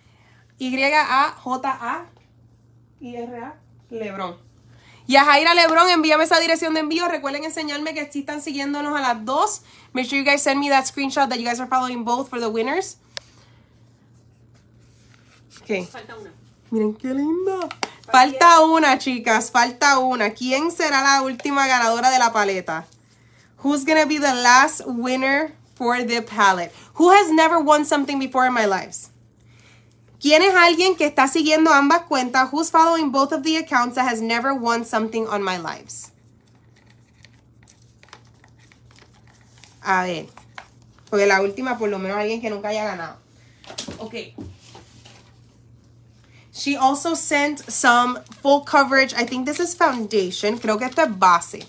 Y-A-J-A-I-R-A Lebrón. Yajaira Lebrón, envíame esa dirección de envío. Recuerden enseñarme que sí están siguiéndonos a las 2. Make sure you guys send me that screenshot that you guys are following both for the winners. Ok. Falta 1. Miren qué linda. Falta una, chicas. Falta una. ¿Quién será la última ganadora de la paleta? Who's gonna be the last winner for the palette? Who has never won something before in my lives? ¿Quién es alguien que está siguiendo ambas cuentas? Who's following both of the accounts that has never won something on my lives? A ver. Porque la última, por lo menos, alguien que nunca haya ganado. Ok. She also sent some full coverage. I think this is foundation. Creo que esto es base.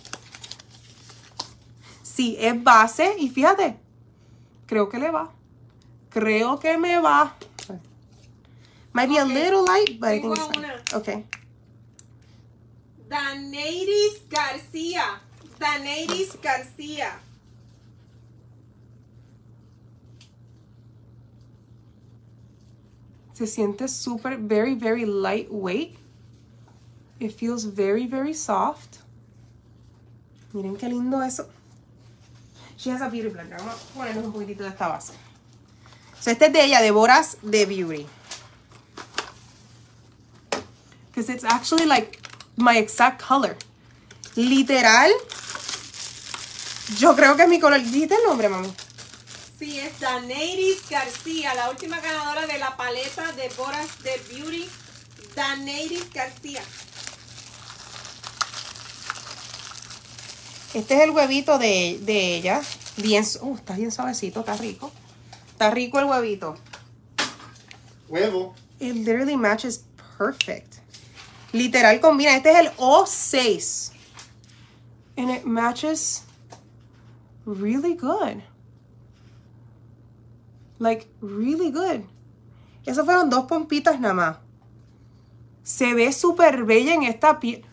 Sí, es base. Y fíjate. Creo que le va. Creo que me va. Might be a little light, but I think it's fine. Okay. Daneiris García. Daneiris García. Se siente súper, very, very lightweight. It feels very, very soft. Miren qué lindo eso. She has a beauty blender. Vamos a ponernos un poquitito de esta base. So, este es de ella, de Boras de Beauty. Because it's actually like my exact color. Literal. Yo creo que es mi color. ¿Dijiste el nombre, mami? Sí, es Daneiris García, la última ganadora de la paleta de Boras de Beauty. Daneiris García. Este es el huevito de ella. Bien, está bien suavecito, está rico. Está rico el huevito. Huevo. It literally matches perfect. Literal combina. Este es el O6. And it matches really good. Like, really good. Esas fueron 2 pompitas nada más. Se ve súper bella en esta piel.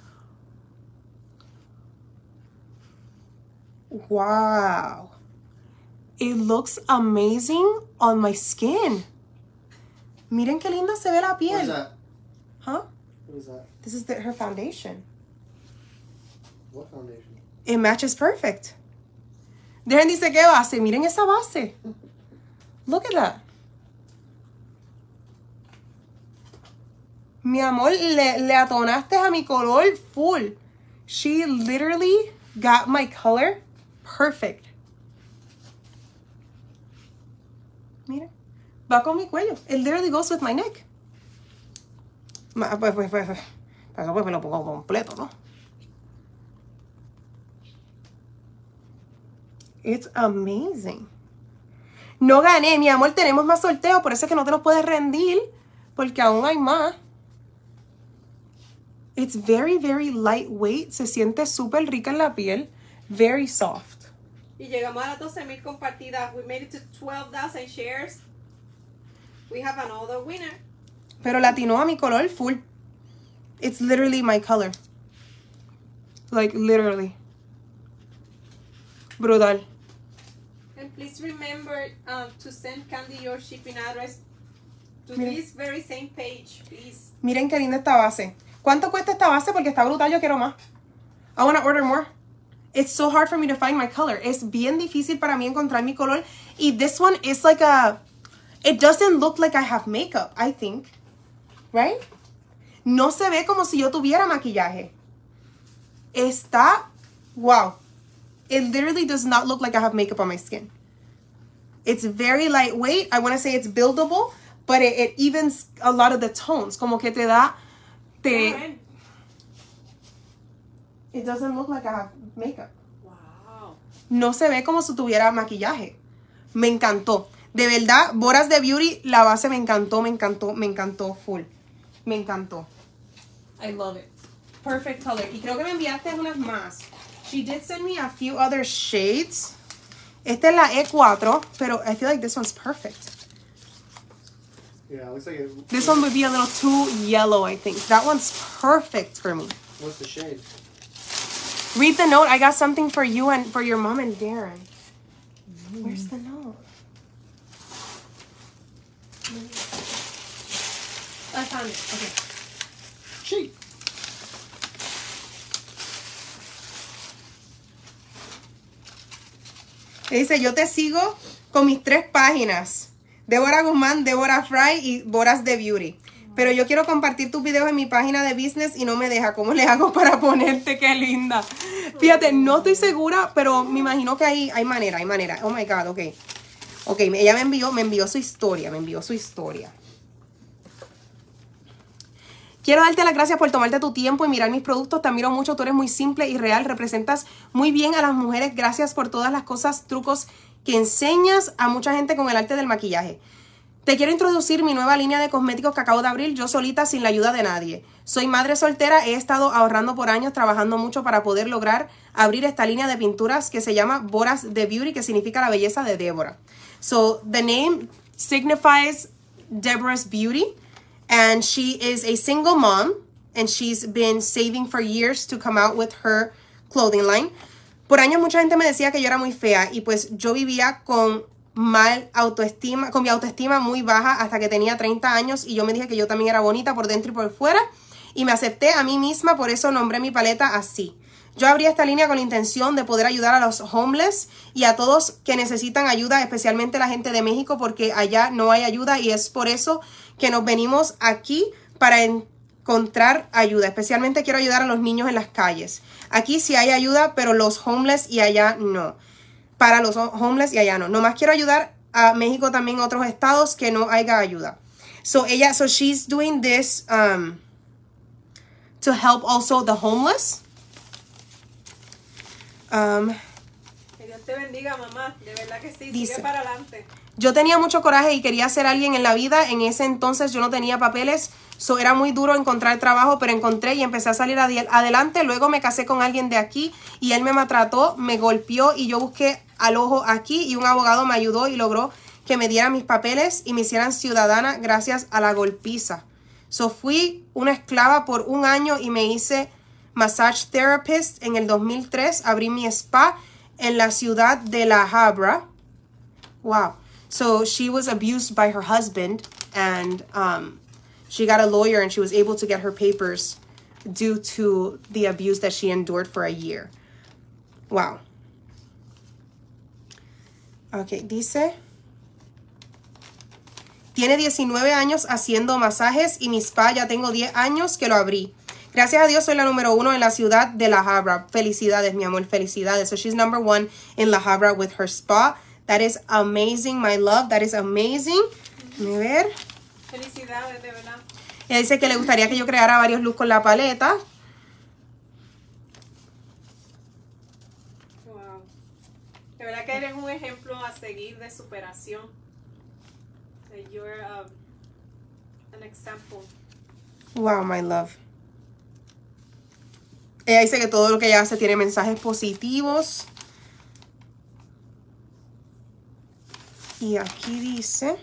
Wow. It looks amazing on my skin. Miren qué linda se ve la piel. What is that? Huh? What is that? This is her foundation. What foundation? It matches perfect. Dejen dice qué base. Miren esa base. Look at that. Mi amor, le atonaste a mi color full. She literally got my color perfect. Mira. Va con mi cuello. It literally goes with my neck. Pues me lo pongo completo, ¿no? It's amazing. No gané, mi amor, tenemos más sorteo, por eso es que no te los puedes rendir, porque aún hay más. It's very, very lightweight, se siente súper rica en la piel, very soft. Y llegamos a las 12,000 compartidas. We made it to 12,000 shares. We have another winner. Pero latinó a mi color full. It's literally my color. Like, literally. Brutal. And please remember to send Candy your shipping address to Mira. this very same page, please. Miren qué linda esta base. ¿Cuánto cuesta esta base? Porque está brutal, yo quiero más. I want to order more. It's so hard for me to find my color. Es bien difícil para mí encontrar mi color. Y this one is like a It doesn't look like I have makeup, I think. Right? No se ve como si yo tuviera maquillaje. Está, wow. It literally does not look like I have makeup on my skin. It's very lightweight. I want to say it's buildable, but it evens a lot of the tones. Como que te da, it doesn't look like I have makeup. Wow. No se ve como si tuviera maquillaje. Me encantó. De verdad, Boras de Beauty, la base me encantó, me encantó, me encantó full. Me encantó. I love it. Perfect color. Y creo que me enviaste unas más. She did send me a few other shades. Esta es la E4, pero I feel like this one's perfect. Yeah, it looks like it. This one would be a little too yellow, I think. That one's perfect for me. What's the shade? Read the note. I got something for you and for your mom and Darren. Where's the note? I found it. Okay. Shade. Dice, yo te sigo con mis 3 páginas. Débora Guzmán, Débora Fry y Boras de Beauty. Pero yo quiero compartir tus videos en mi página de business y no me deja. ¿Cómo le hago para ponerte? ¡Qué linda! Fíjate, no estoy segura, pero me imagino que hay manera, hay manera. Oh my God, ok. Ok, ella me envió su historia, Quiero darte las gracias por tomarte tu tiempo y mirar mis productos. Te admiro mucho, tú eres muy simple y real. Representas muy bien a las mujeres. Gracias por todas las cosas, trucos que enseñas a mucha gente con el arte del maquillaje. Te quiero introducir mi nueva línea de cosméticos que acabo de abrir yo solita sin la ayuda de nadie. Soy madre soltera, he estado ahorrando por años, trabajando mucho para poder lograr abrir esta línea de pinturas que se llama Boras de Beauty, que significa la belleza de Débora. So, the name signifies Deborah's Beauty. And she is a single mom, and she's been saving for years to come out with her clothing line. Por años mucha gente me decía que yo era muy fea, y pues yo vivía con mi autoestima muy baja hasta que tenía 30 años, y yo me dije que yo también era bonita por dentro y por fuera, y me acepté a mí misma, por eso nombré mi paleta así. Yo abrí esta línea con la intención de poder ayudar a los homeless y a todos que necesitan ayuda, especialmente la gente de México, porque allá no hay ayuda, y es por eso que nos venimos aquí para encontrar ayuda. Especialmente quiero ayudar a los niños en las calles. Aquí sí hay ayuda, pero los homeless y allá no. Para los homeless y allá no. Nomás quiero ayudar a México, también a otros estados que no haya ayuda. So she's doing this to help also the homeless. Que Dios te bendiga, mamá. De verdad que sí. Dice, sigue para adelante. Yo tenía mucho coraje y quería ser alguien en la vida. En ese entonces yo no tenía papeles. Era muy duro encontrar trabajo, pero encontré y empecé a salir adelante. Luego me casé con alguien de aquí y él me maltrató, me golpeó, y yo busqué al ojo aquí y un abogado me ayudó y logró que me dieran mis papeles y me hicieran ciudadana gracias a la golpiza. Fui una esclava por 1 año y me hice massage therapist en el 2003. Abrí mi spa en la ciudad de La Habra. Wow. So she was abused by her husband, and she got a lawyer and she was able to get her papers due to the abuse that she endured for a year. Wow. Ok, dice, tiene 19 años haciendo masajes y mi spa ya tengo 10 años que lo abrí. Gracias a Dios soy la número 1 en la ciudad de La Habra. Felicidades, mi amor, felicidades. So she's number 1 in La Habra with her spa. That is amazing, my love. That is amazing. Déjame ver. Felicidades, de verdad. Ella dice que le gustaría que yo creara varios looks con la paleta. Wow. De verdad que eres un ejemplo a seguir de superación. You're an example. Wow, my love. Ella dice que todo lo que ella hace tiene mensajes positivos. Y aquí dice,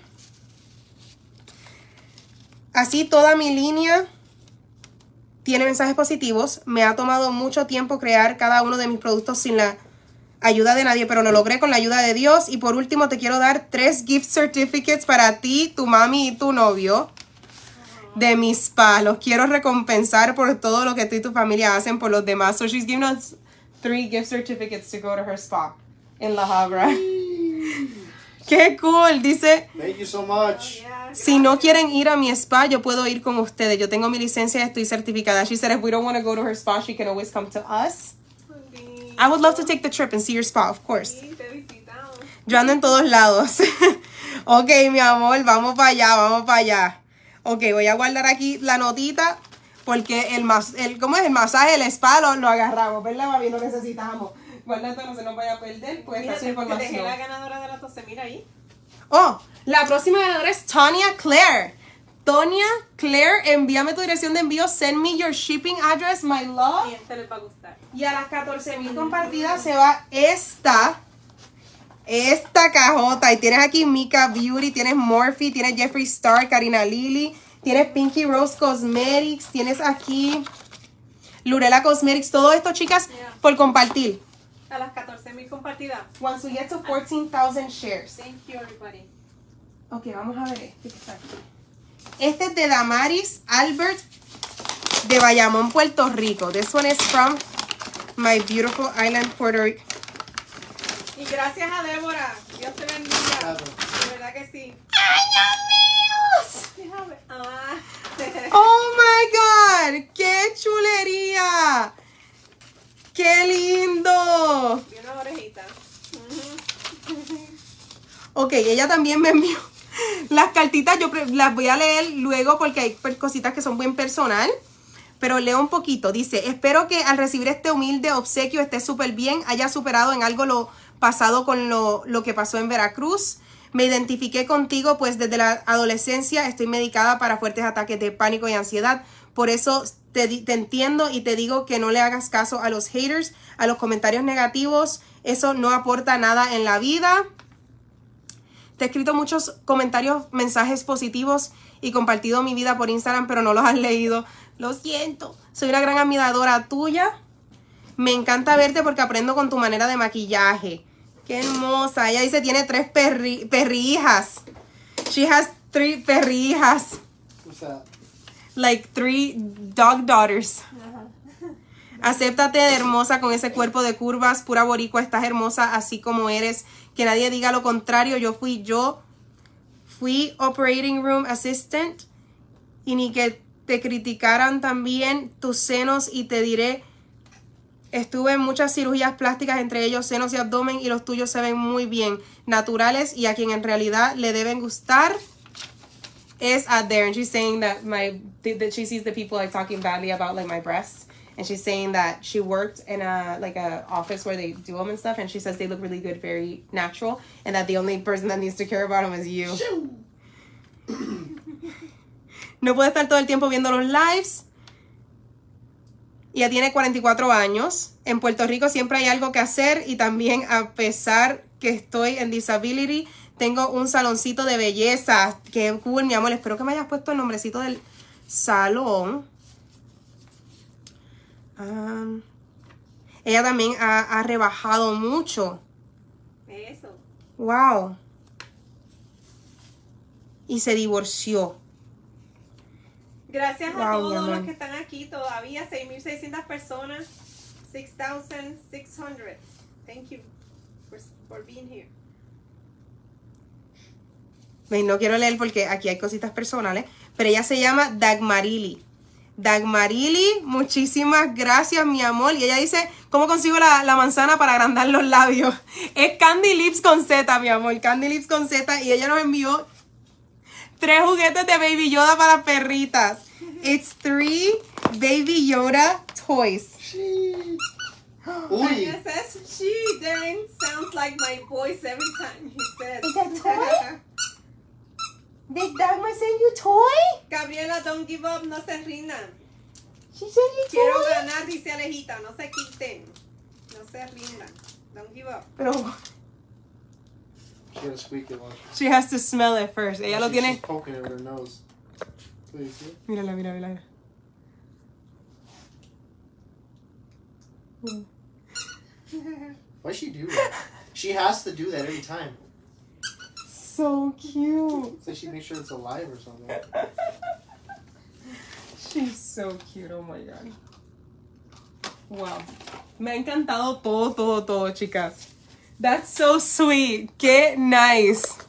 así toda mi línea tiene mensajes positivos. Me ha tomado mucho tiempo crear cada uno de mis productos sin la ayuda de nadie, pero lo logré con la ayuda de Dios. Y por último te quiero dar 3 gift certificates para ti, tu mami y tu novio de mi spa. Los quiero recompensar por todo lo que tú y tu familia hacen por los demás. So she's giving us 3 gift certificates to go to her spa in La Habra. ¡Qué cool! Dice, Thank you so much. Yeah, si no quieren ir a mi spa, yo puedo ir con ustedes. Yo tengo mi licencia y estoy certificada. She said if we don't want to go to her spa, she can always come to us. I would love to take the trip and see your spa, of course. Sí, te visitamos. Yo ando en todos lados. Ok, mi amor, vamos para allá, vamos para allá. Ok, voy a guardar aquí la notita porque ¿cómo es? El masaje, el spa lo agarramos, ¿verdad, mami? Lo necesitamos. Guarda esto, no se nos vaya a perder, pues Mira, esta dejé información. la ganadora de la 12, mira ahí. Oh, la próxima ganadora es Tonya Claire. Tonya Claire, envíame tu dirección de envío. Send me your shipping address, my love. Y este les va a gustar. Y a las 14,000 compartidas se va esta cajota. Y tienes aquí Mika Beauty, tienes Morphe, tienes Jeffree Star, Karina Lily, tienes Pinky Rose Cosmetics, tienes aquí Lurela Cosmetics. Todo esto, chicas, Yeah. por compartir. A las 14,000 compartidas. Once we get to 14,000 shares. Thank you, everybody. Ok, vamos a ver este que está aquí. Este es de Damaris Albert de Bayamón, Puerto Rico. This one is from my beautiful island, Puerto Rico. Y gracias a Débora. Dios te bendiga. Claro. De verdad que sí. ¡Ay, Dios mío! Déjame. Ah. ¡Oh, my God! ¡Qué chulería! ¡Qué lindo! Y una orejita. Ok, ella también me envió las cartitas. Yo las voy a leer luego porque hay cositas que son bien personal. Pero leo un poquito. Dice, espero que al recibir este humilde obsequio estés súper bien, haya superado en algo lo pasado con lo que pasó en Veracruz. Me identifiqué contigo, pues desde la adolescencia estoy medicada para fuertes ataques de pánico y ansiedad. Por eso te entiendo y te digo que no le hagas caso a los haters, a los comentarios negativos. Eso no aporta nada en la vida. Te he escrito muchos comentarios, mensajes positivos y compartido mi vida por Instagram, pero no los has leído. Lo siento. Soy una gran admiradora tuya. Me encanta verte porque aprendo con tu manera de maquillaje. Qué hermosa. Ella dice tiene 3 perrijas. She has 3 perrijas. What's that? Like 3 dog daughters. Acéptate de hermosa con ese cuerpo de curvas. Pura boricua, estás hermosa así como eres. Que nadie diga lo contrario. Yo fui operating room assistant. Y ni que te criticaran también tus senos. Y te diré, estuve en muchas cirugías plásticas, entre ellos senos y abdomen. Y los tuyos se ven muy bien, naturales. Y a quien en realidad le deben gustar is out there. And she's saying that that she sees the people like talking badly about like my breasts. And she's saying that she worked in a office where they do them and stuff. And she says they look really good, very natural. And that the only person that needs to care about them is you. No puede estar todo el tiempo viendo los lives. Ella tiene 44 años. En Puerto Rico siempre hay algo que hacer. Y también a pesar que estoy en disability, tengo un saloncito de belleza. Qué cool, mi amor. Espero que me hayas puesto el nombrecito del salón. Ella también ha rebajado mucho. Eso. Wow. Y se divorció. Gracias a Wow, mi todos amor. los que están aquí. Todavía 6,600 personas. 6,600. Thank you for being here. No quiero leer porque aquí hay cositas personales. Pero ella se llama Dagmarili. Dagmarili, muchísimas gracias, mi amor. Y ella dice, ¿cómo consigo la manzana para agrandar los labios? Es Candy Lips con Z, mi amor. Candy Lips con Z. Y ella nos envió 3 juguetes de Baby Yoda para perritas. It's 3 Baby Yoda toys. Uy. Anya says, she then sounds like my voice every time he says. Is that toy? Did Dagmar send you toy? Gabriela, don't give up, no se rindan. She sent you Quiero toy? ganar, dice Alejita, no se quiten. No se rindan. Don't give up. Pero She had to squeak it once. she has to smell it first. Ella lo She's tiene. poking it with her nose. Please see? Mírala, mírala. Why'd she do that? She has to do that every time. So cute. So she makes sure it's alive or something. She's so cute, oh my god. Wow. Me ha encantado todo, chicas. That's so sweet. Qué nice.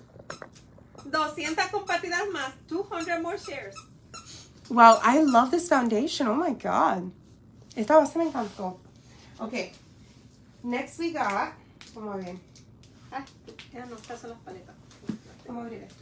200 compartidas más. 200 more shares. Wow, I love this foundation. Oh my god. Esta base me encantó. Okay. Next we got. Vamos a ver. Ah, ya no, estas son las paletas. Vamos a abrir esto.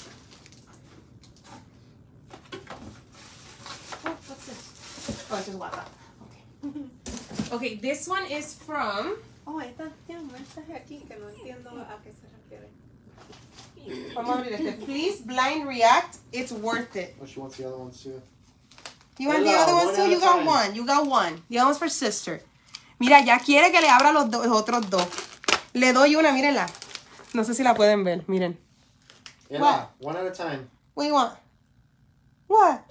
Oh, what's this? Oh, it's just WhatsApp. Okay. Okay, this one is from. Oh, esta tiene un mensaje aquí que no entiendo a qué se refiere. Vamos a abrir este. Please blind react. It's worth it. Oh, she wants the other ones too. You want the other ones too? You got one. You got one. The other one's for sister. Mira, ya quiere que le abra los otros dos. Le doy una, mírenla. No sé si la pueden ver, miren. Yeah, What? one at a time. What do you want? What?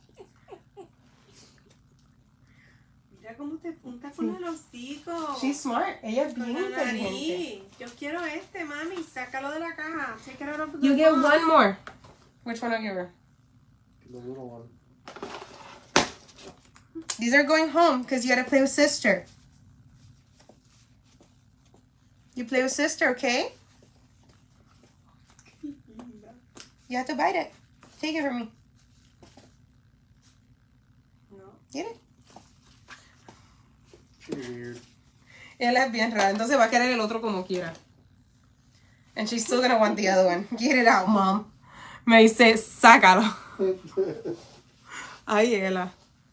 Mira cómo te punta con el hocico. She's smart. Ella es Con bien la inteligente. nariz. Yo quiero este, mami. Sácalo de la caja. Take it out of the You get box. one more. Which one I'll give her? The little one. These are going home because you gotta play with sister. You play with sister, okay? You have to bite it. Take it from me. No. Get it? Pretty weird. Él es bien rara, entonces va a querer el otro como quiera. And she's still gonna want the other one. Get it out, mom. Me dice, sácalo. Ay, ella.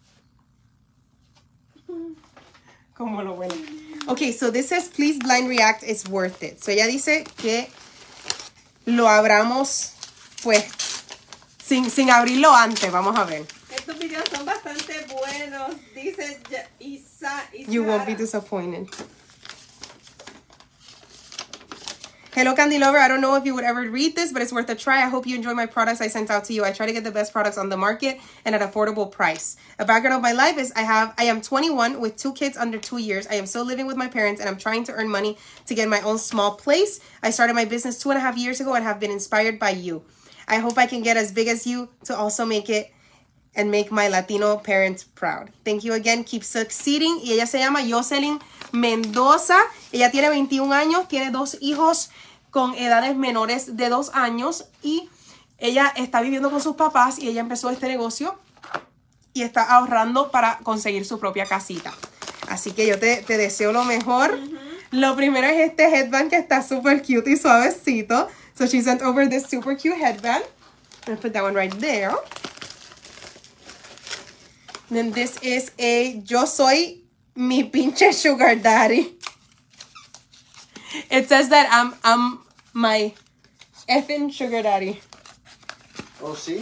Como lo bueno. Okay, so this says, please blind react, it's worth it. So ella dice que lo abramos, pues, sin abrirlo antes. Vamos a ver. Estos videos son bastante buenos. Dice Isa. You won't be disappointed. Hello, Candy Lover. I don't know if you would ever read this, but it's worth a try. I hope you enjoy my products I sent out to you. I try to get the best products on the market and at affordable price. A background of my life is I am 21 with 2 kids under 2 years. I am still living with my parents and I'm trying to earn money to get my own small place. I started my business 2.5 years ago and have been inspired by you. I hope I can get as big as you to also make it and make my Latino parents proud. Thank you again. Keep succeeding. Y ella se llama Jocelyn Mendoza. Ella tiene 21 años, tiene 2 hijos con edades menores de 2 años y ella está viviendo con sus papás y ella empezó este negocio y está ahorrando para conseguir su propia casita. Así que yo te deseo lo mejor. Lo primero es este headband que está súper cute y suavecito. So she sent over this super cute headband. I'm going to put that one right there. Then this is a Yo Soy Mi Pinche Sugar Daddy. It says that I'm my effing sugar daddy. Oh, see?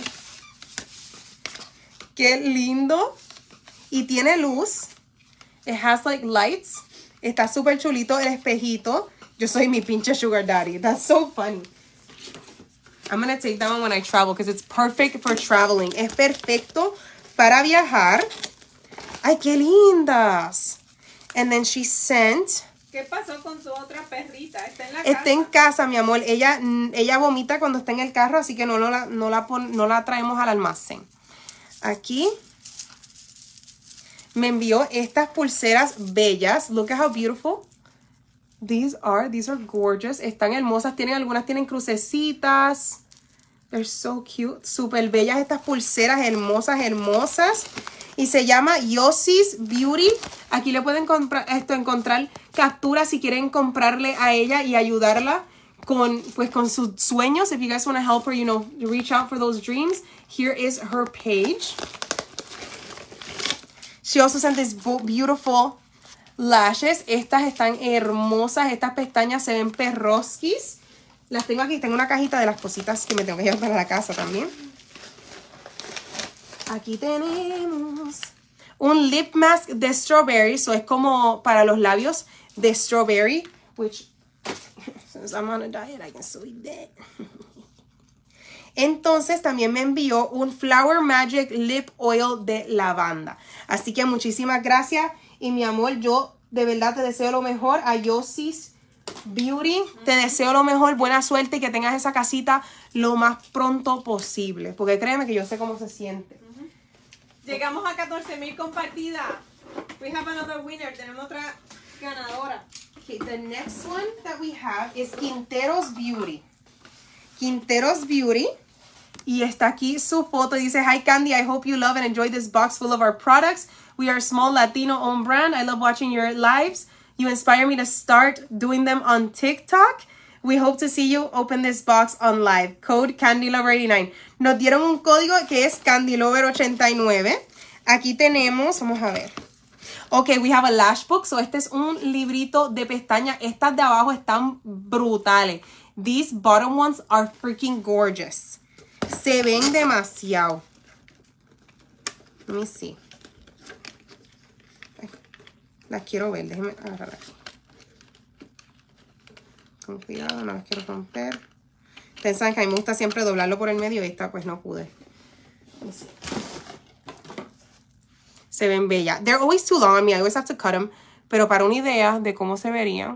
Qué lindo. Y tiene luz. It has like lights. Está súper chulito el espejito. Yo soy mi pinche sugar daddy. That's so funny. I'm going to take that one when I travel because it's perfect for traveling. Es perfecto para viajar. Ay, qué lindas. And then she sent... ¿Qué pasó con su otra perrita? Está en la Está casa. en casa, mi amor. Ella vomita cuando está en el carro, así que no la traemos al almacén. Aquí me envió estas pulseras bellas. Look at how beautiful these are. These are gorgeous. Están hermosas. Algunas tienen crucecitas. They're so cute. Súper bellas estas pulseras. Hermosas, hermosas. Y se llama Yossi's Beauty. Aquí le pueden encontrar capturas si quieren comprarle a ella y ayudarla con sus sueños. If you guys want to help her, reach out for those dreams. Here is her page. She also sent these beautiful lashes. Estas están hermosas. Estas pestañas se ven perroskis. Las tengo aquí. Tengo una cajita de las cositas que me tengo que llevar para la casa también. Aquí tenemos un lip mask de strawberry. So es como para los labios de strawberry. Which, since I'm on a diet, I can still eat that. Entonces también me envió un Flower Magic Lip Oil de lavanda. Así que muchísimas gracias. Y mi amor, yo de verdad te deseo lo mejor. A Yossi's Beauty, te deseo lo mejor. Buena suerte y que tengas esa casita lo más pronto posible. Porque créeme que yo sé cómo se siente. Llegamos a 14,000 compartidas. We have another winner. Tenemos otra ganadora. Okay, the next one that we have is Quinteros Beauty. Quinteros Beauty. Y está aquí su foto. Dice, hi Candy, I hope you love and enjoy this box full of our products. We are a small Latino-owned brand. I love watching your lives. You inspire me to start doing them on TikTok. We hope to see you open this box on live. Code CandyLover89. Nos dieron un código que es CandyLover89. Aquí tenemos, vamos a ver. Ok, we have a lash book. So este es un librito de pestañas. Estas de abajo están brutales. These bottom ones are freaking gorgeous. Se ven demasiado. Let me see. Las quiero ver. Déjenme agarrar aquí. Con cuidado, no las quiero romper. Ustedes saben que a mí me gusta siempre doblarlo por el medio y esta pues no pude. Let me see. Se ven bellas. They're always too long on me. I always have to cut them. Pero para una idea de cómo se verían.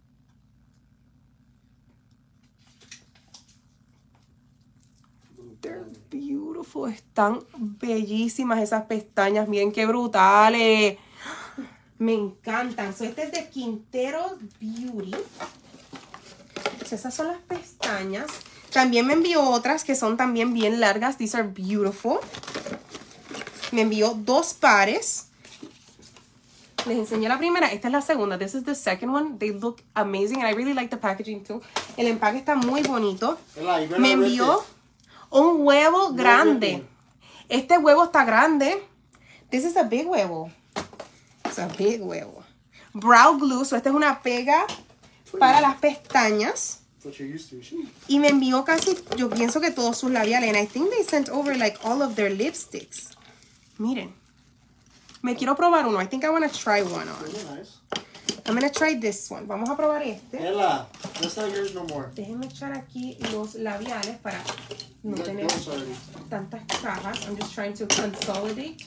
They're beautiful. Están bellísimas esas pestañas. Miren qué brutales. Me encantan. So, este es de Quinteros Beauty. So, esas son las pestañas. También me envió otras que son también bien largas. These are beautiful. Me envió 2 pares. Les enseñé la primera. Esta es la segunda. This is the second one. They look amazing. And I really like the packaging too. El empaque está muy bonito. Me envió un huevo grande. Este huevo está grande. This is a big huevo. It's a big huevo. Brow glue. So esta es una pega para las pestañas. Y me envió casi, yo pienso que todos sus labiales. And I think they sent over like all of their lipsticks. Miren. Me quiero probar uno. I think I want to try one on. Nice. I'm going to try this one. Vamos a probar este. Ella, that's not yours no more. Déjenme echar aquí los labiales para no tener tantas cajas. I'm just trying to consolidate.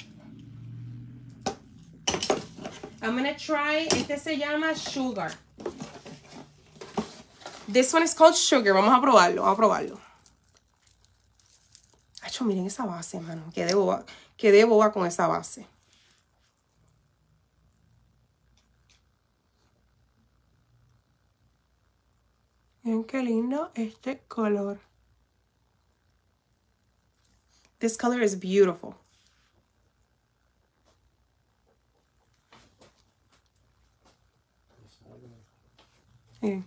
I'm going to try, este se llama Sugar. This one is called Sugar. Vamos a probarlo, vamos a probarlo. Acho, miren esa base, mano. Quedé boba con esa base. Miren qué lindo este color. This color is beautiful. Miren.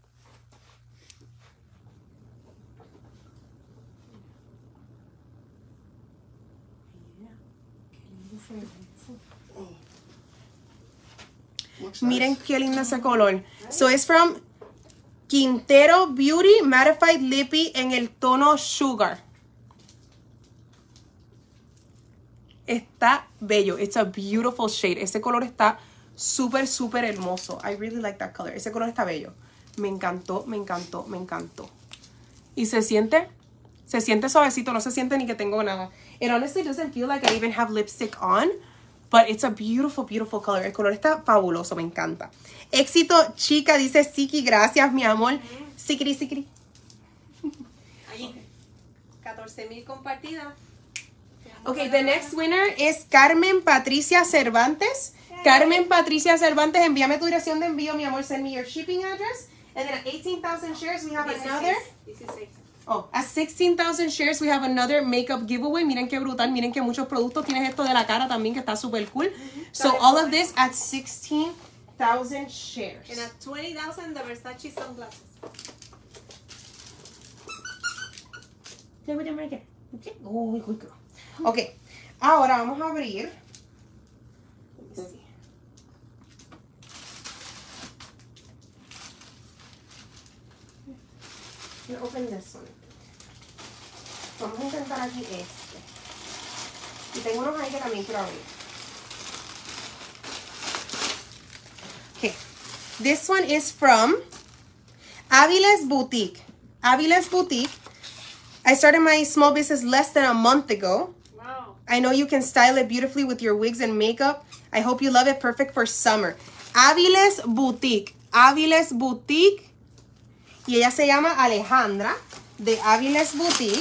Miren qué lindo ese color. So it's from Quintero Beauty Mattified Lippy en el tono Sugar. Está bello. It's a beautiful shade. Ese color está súper, súper hermoso. I really like that color. Ese color está bello. Me encantó, me encantó, me encantó. Y se siente suavecito. No se siente ni que tengo nada. It honestly doesn't feel like I even have lipstick on. But it's a beautiful, beautiful color. El color está fabuloso. Me encanta. Éxito, chica, dice Siki. Gracias, mi amor. Sikiri, sikiri. Ahí. 14,000 compartidas. Okay, the next winner is Carmen Patricia Cervantes. Carmen Patricia Cervantes, envíame tu dirección de envío, mi amor. Send me your shipping address. And then at 18,000 shares, we have another. 16. Oh, at 16,000 shares, we have another makeup giveaway. Miren qué brutal. Miren que muchos productos. Tienes esto de la cara también que está súper cool. So all of this at 16,000 shares. And at 20,000, the Versace sunglasses. Ok, ahora vamos a abrir. Open this one. Vamos a intentar aquí este. Y tengo unos ahí que también quiero abrir. Okay. This one is from Aviles Boutique. Aviles Boutique. I started my small business less than a month ago. Wow. I know you can style it beautifully with your wigs and makeup. I hope you love it. Perfect for summer. Aviles Boutique. Aviles Boutique. Y ella se llama Alejandra de Aviles Boutique.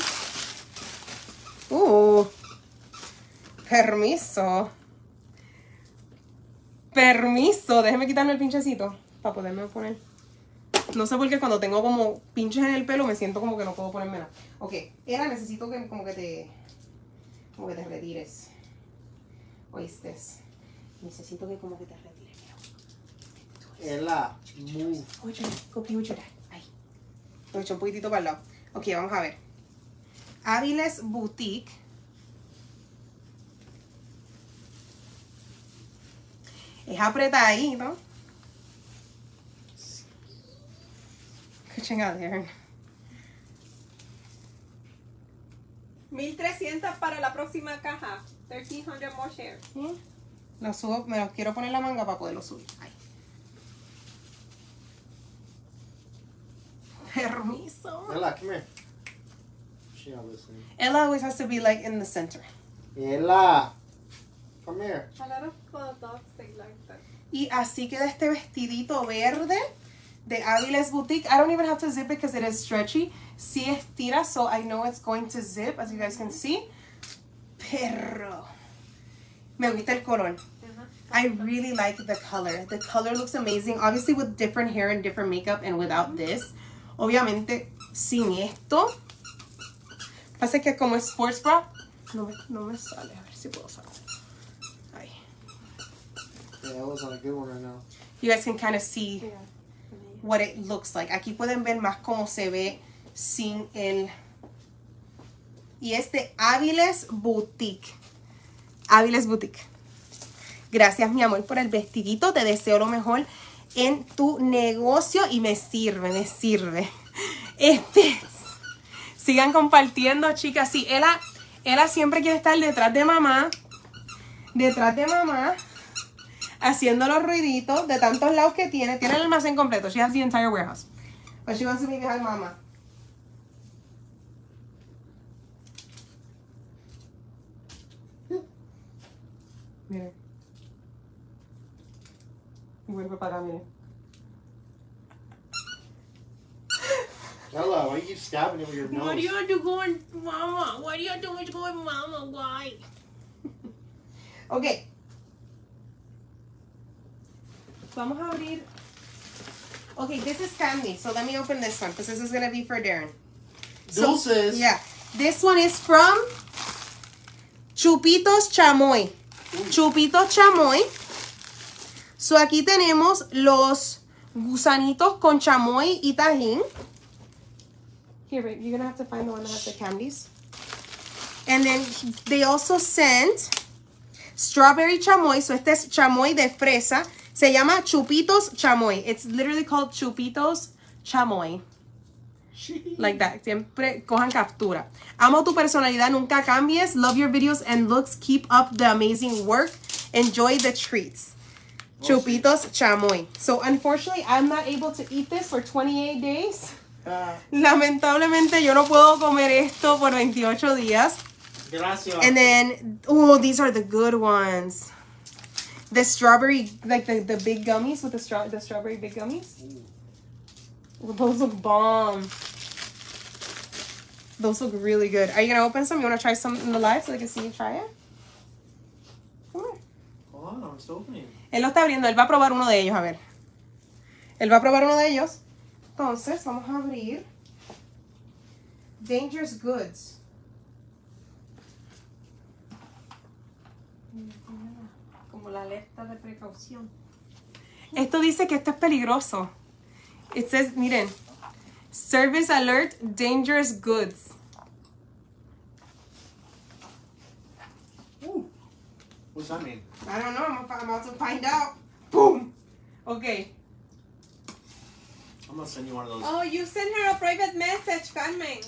Permiso. Permiso. Déjeme quitarme el pinchecito para poderme poner. No sé por qué cuando tengo como pinches en el pelo me siento como que no puedo ponerme nada. Ok, Ela, necesito que como que te retires. ¿Oíste? Necesito que como que te retires. Ela, move. Oye, copy with your dad. Ahí. Lo he hecho un poquitito para el lado. Ok, vamos a ver. Áviles Boutique. Es apretadito. Qué chingadera. 1300 para la próxima caja. 1300 more shares. ¿Sí? Lo subo, me los quiero poner la manga para poderlo subir. Ahí. Permiso. Ela, come here. She's not listening. Ella always has to be like in the center. Ela, come here. A lot of dogs they like that. Y así queda este vestidito verde de Áviles Boutique. I don't even have to zip it because it is stretchy. Sí estira, so I know it's going to zip, as you guys can see. Pero me gusta el color. I really like the color. The color looks amazing. Obviously with different hair and different makeup and without this. Obviamente sin esto. Pasa que como es sports bra, no me sale. A ver si puedo sacar. Ahí. Yeah, that was on a good one right now. You guys can kind of see what it looks like. Aquí pueden ver más cómo se ve sin el... Y es de Áviles Boutique. Áviles Boutique. Gracias, mi amor, por el vestidito. Te deseo lo mejor en tu negocio y me sirve, me sirve. Sigan compartiendo, chicas. Sí, Ela siempre quiere estar detrás de mamá. Haciendo los ruiditos de tantos lados que tiene. Tiene el almacén completo. She has the entire warehouse. But she wants to be behind mama. Miren. Y vuelve para acá, miren. Ela, why you keep stabbing it with your nose? What do you have to go in mama? What do you have to go in mama? Why? Okay. Vamos a abrir. Okay, this is candy. So let me open this one because this is going to be for Darren. Dulces. Yeah. This one is from Chupitos Chamoy. Chupitos Chamoy. So aquí tenemos los gusanitos con chamoy y tajín. Here, babe, you're going to have to find the one that has the candies. And then they also sent strawberry chamoy. So este es chamoy de fresa. Se llama Chupitos Chamoy. It's literally called Chupitos Chamoy. Like that. Siempre cojan captura. Amo tu personalidad. Nunca cambies. Love your videos and looks. Keep up the amazing work. Enjoy the treats. Chupitos Chamoy. So, unfortunately, I'm not able to eat this for 28 days. Lamentablemente, yo no puedo comer esto por 28 días. Gracias. And then, oh, these are the good ones. The strawberry, like the big gummies with the strawberry big gummies. Ooh, those look bomb. Those look really good. Are you gonna open some? You wanna try some in the live so they can see you try it? Come on. Hold on, I'm still opening. Él lo está abriendo. Él va a probar uno de ellos. A ver. Él va a probar uno de ellos. Entonces, vamos a abrir Dangerous Goods. Como la alerta de precaución. Esto dice que esto es peligroso. It says, miren, Service Alert, Dangerous Goods. Ooh. What's that mean? I don't know. I'm about to find out. Boom. Okay. I'm gonna send you one of those. Oh, you sent her a private message, Carmen.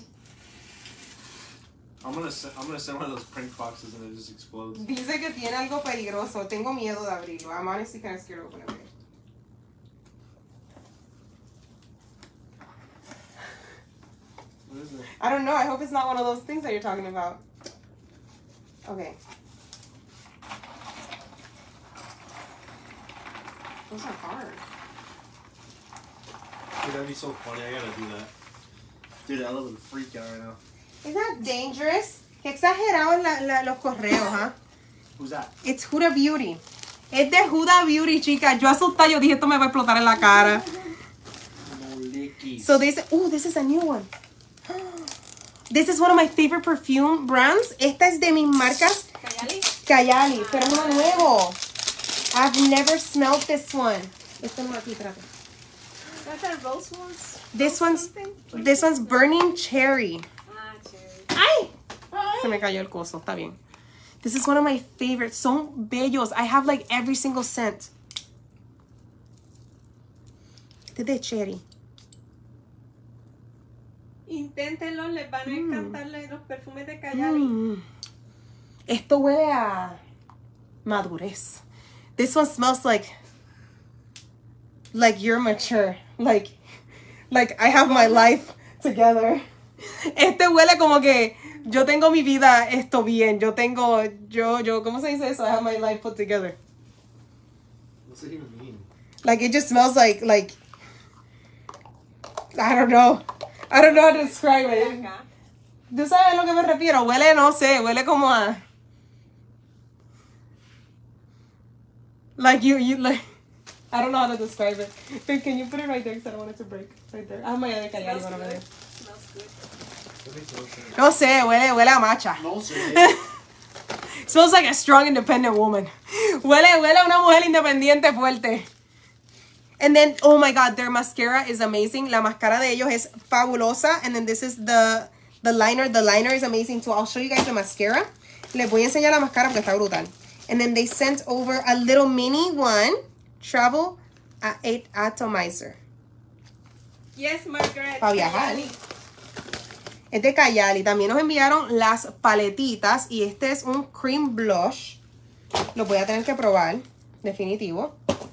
I'm gonna send one of those prank boxes and it just explodes. Dice que tiene algo peligroso. Tengo miedo de abrirlo. I'm honestly kind of scared to open it. What is it? I don't know. I hope it's not one of those things that you're talking about. Okay. Those are hard. Dude, that'd be so funny. I gotta do that. Dude, I love a freak out right now. Isn't that dangerous? Qué exagerados los correos, ¿ah? Who's that? It's Huda Beauty. Es de Huda Beauty, chicas. Yo asustada, yo dije, esto me va a explotar en la cara. Dickies. So this is a new one. This is one of my favorite perfume brands. Esta es de mis marcas Kayali. Kayali, pero es uno nuevo. I've never smelled this one. Este no aquí, espérate. That's a rose ones. This one's Something? burning cherry. Ah, cherry. ¡Ay! Se me cayó el coso, está bien. This is one of my favorites. Son bellos. I have like every single scent. Este es de cherry. Inténtenlo, les van a encantar los perfumes de Kayali. Esto huele a madurez. This one smells like you're mature. Like I have my life together. Este huele como que yo tengo mi vida esto bien. Yo, ¿cómo se dice eso? I have my life put together. What's it even mean? Like it just smells like I don't know. I don't know how to describe it. Acá. ¿Tú sabes a lo que me refiero? Huele, no sé, huele como a... Like you like... I don't know how to describe it. Babe, can you put it right there? Because I don't want it to break. Right there. I have my other Kayali one over there. Smells good. That makes no sense. No sé, huele a matcha. No, sir. Smells like a strong, independent woman. Huele a una mujer independiente fuerte. And then, oh my God, their mascara is amazing. La máscara de ellos es fabulosa. And then this is the liner. The liner is amazing too. I'll show you guys the mascara. Les voy a enseñar la máscara porque está brutal. And then they sent over a little mini one. Travel Atomizer. Yes, Margaret. Pa' viajar. Kayali. Es de Kayali. También nos enviaron las paletitas. Y este es un cream blush. Lo voy a tener que probar. Definitivo.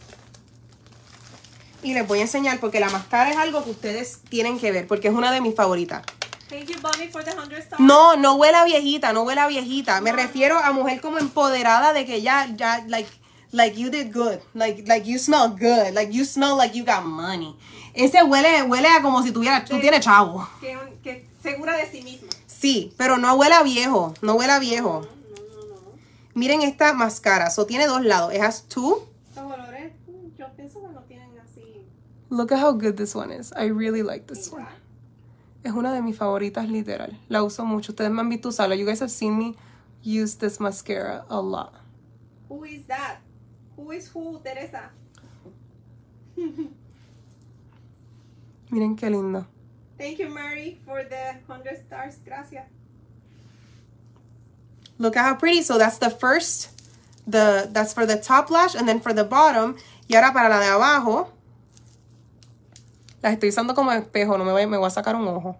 Y les voy a enseñar porque la máscara es algo que ustedes tienen que ver. Porque es una de mis favoritas. Thank you, Bonnie, for the 100 stars. No huele a viejita. No huele a viejita. Me refiero a mujer como empoderada de que ya, like you did good. Like you smell good. Like you smell like you got money. Ese huele a como si tú tienes chavo. Que segura de sí misma. Sí, pero no huele a viejo. No huele a viejo. No. Miren esta máscara. So tiene dos lados. It has two. Los olores, yo pienso que no tienen así. Look at how good this one is. I really like this one. Es una de mis favoritas, literal. La uso mucho. Ustedes me han visto usarla. You guys have seen me use this mascara a lot. Who is that? Who is who, Teresa? Miren qué lindo. Thank you, Mary, for the 100 stars. Gracias. Look at how pretty. So that's the first. That's for the top lash and then for the bottom. Y ahora para la de abajo. Las estoy usando como espejo. No me voy a sacar un ojo.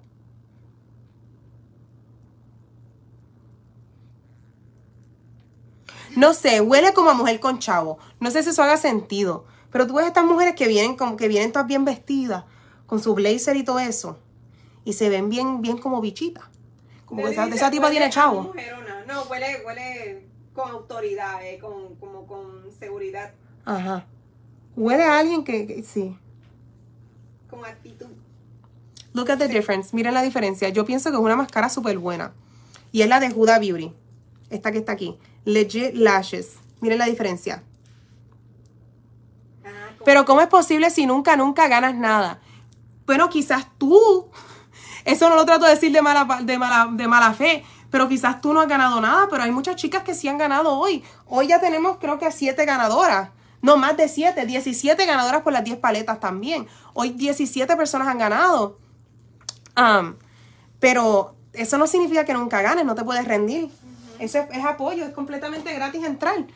No sé, huele como a mujer con chavo. No sé si eso haga sentido. Pero tú ves estas mujeres que vienen todas bien vestidas, con su blazer y todo eso. Y se ven bien como bichitas. Como que esa tipa tiene chavo. Mujerona. No, huele con autoridad, como con seguridad, Ajá. Huele a alguien que sí. con actitud. Look at the difference. Miren la diferencia. Yo pienso que es una máscara súper buena. Y es la de Huda Beauty. Esta que está aquí. Legit Lashes. Miren la diferencia. Pero ¿cómo es posible si nunca ganas nada? Bueno, quizás tú, eso no lo trato de decir de mala fe, pero quizás tú no has ganado nada, pero hay muchas chicas que sí han ganado hoy. Hoy ya tenemos creo que 7 ganadoras. No, más de 7. 17 ganadoras por las 10 paletas también. Hoy 17 personas han ganado. Pero eso no significa que nunca ganes, no te puedes rendir. Eso es apoyo, es completamente gratis entrar.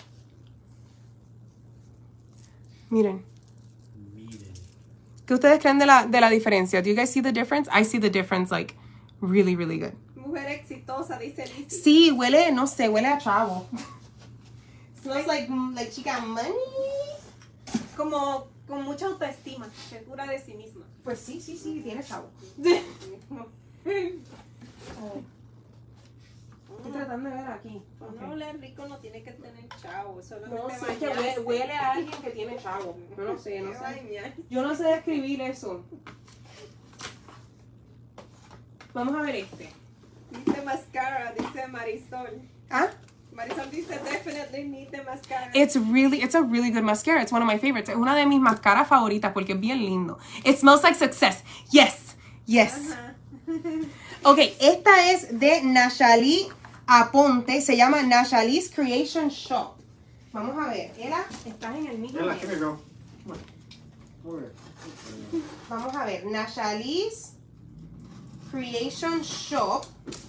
Miren. ¿Qué ustedes creen de la diferencia? Do you guys see the difference? I see the difference like really, really good. Mujer exitosa, dice Lizzie. Sí, huele, no sé, huele a chavo. Smells like chica money. Como con mucha autoestima, segura de sí misma. Pues sí, tiene chavo. Estoy tratando de ver aquí. Cuando huele rico no tiene que tener chavo, solamente No sé, es que bañarse. huele a alguien que tiene chavo. Yo no sé, no Qué sé. bañar. Yo no sé describir eso. Vamos a ver este. Dice mascara, dice Marisol. ¿Ah? Marisol dice, definitely need the mascara. It's a really good mascara. It's one of my favorites. Es una de mis mascaras favoritas porque es bien lindo. It smells like success. Yes. Ok, esta es de Nashali Aponte. Se llama Nashali's Creation Shop. Vamos a ver. Ela, estás en el mismo. Ella, come here, girl. Come on. Over here. Vamos a ver. Nashali's Creation Shop.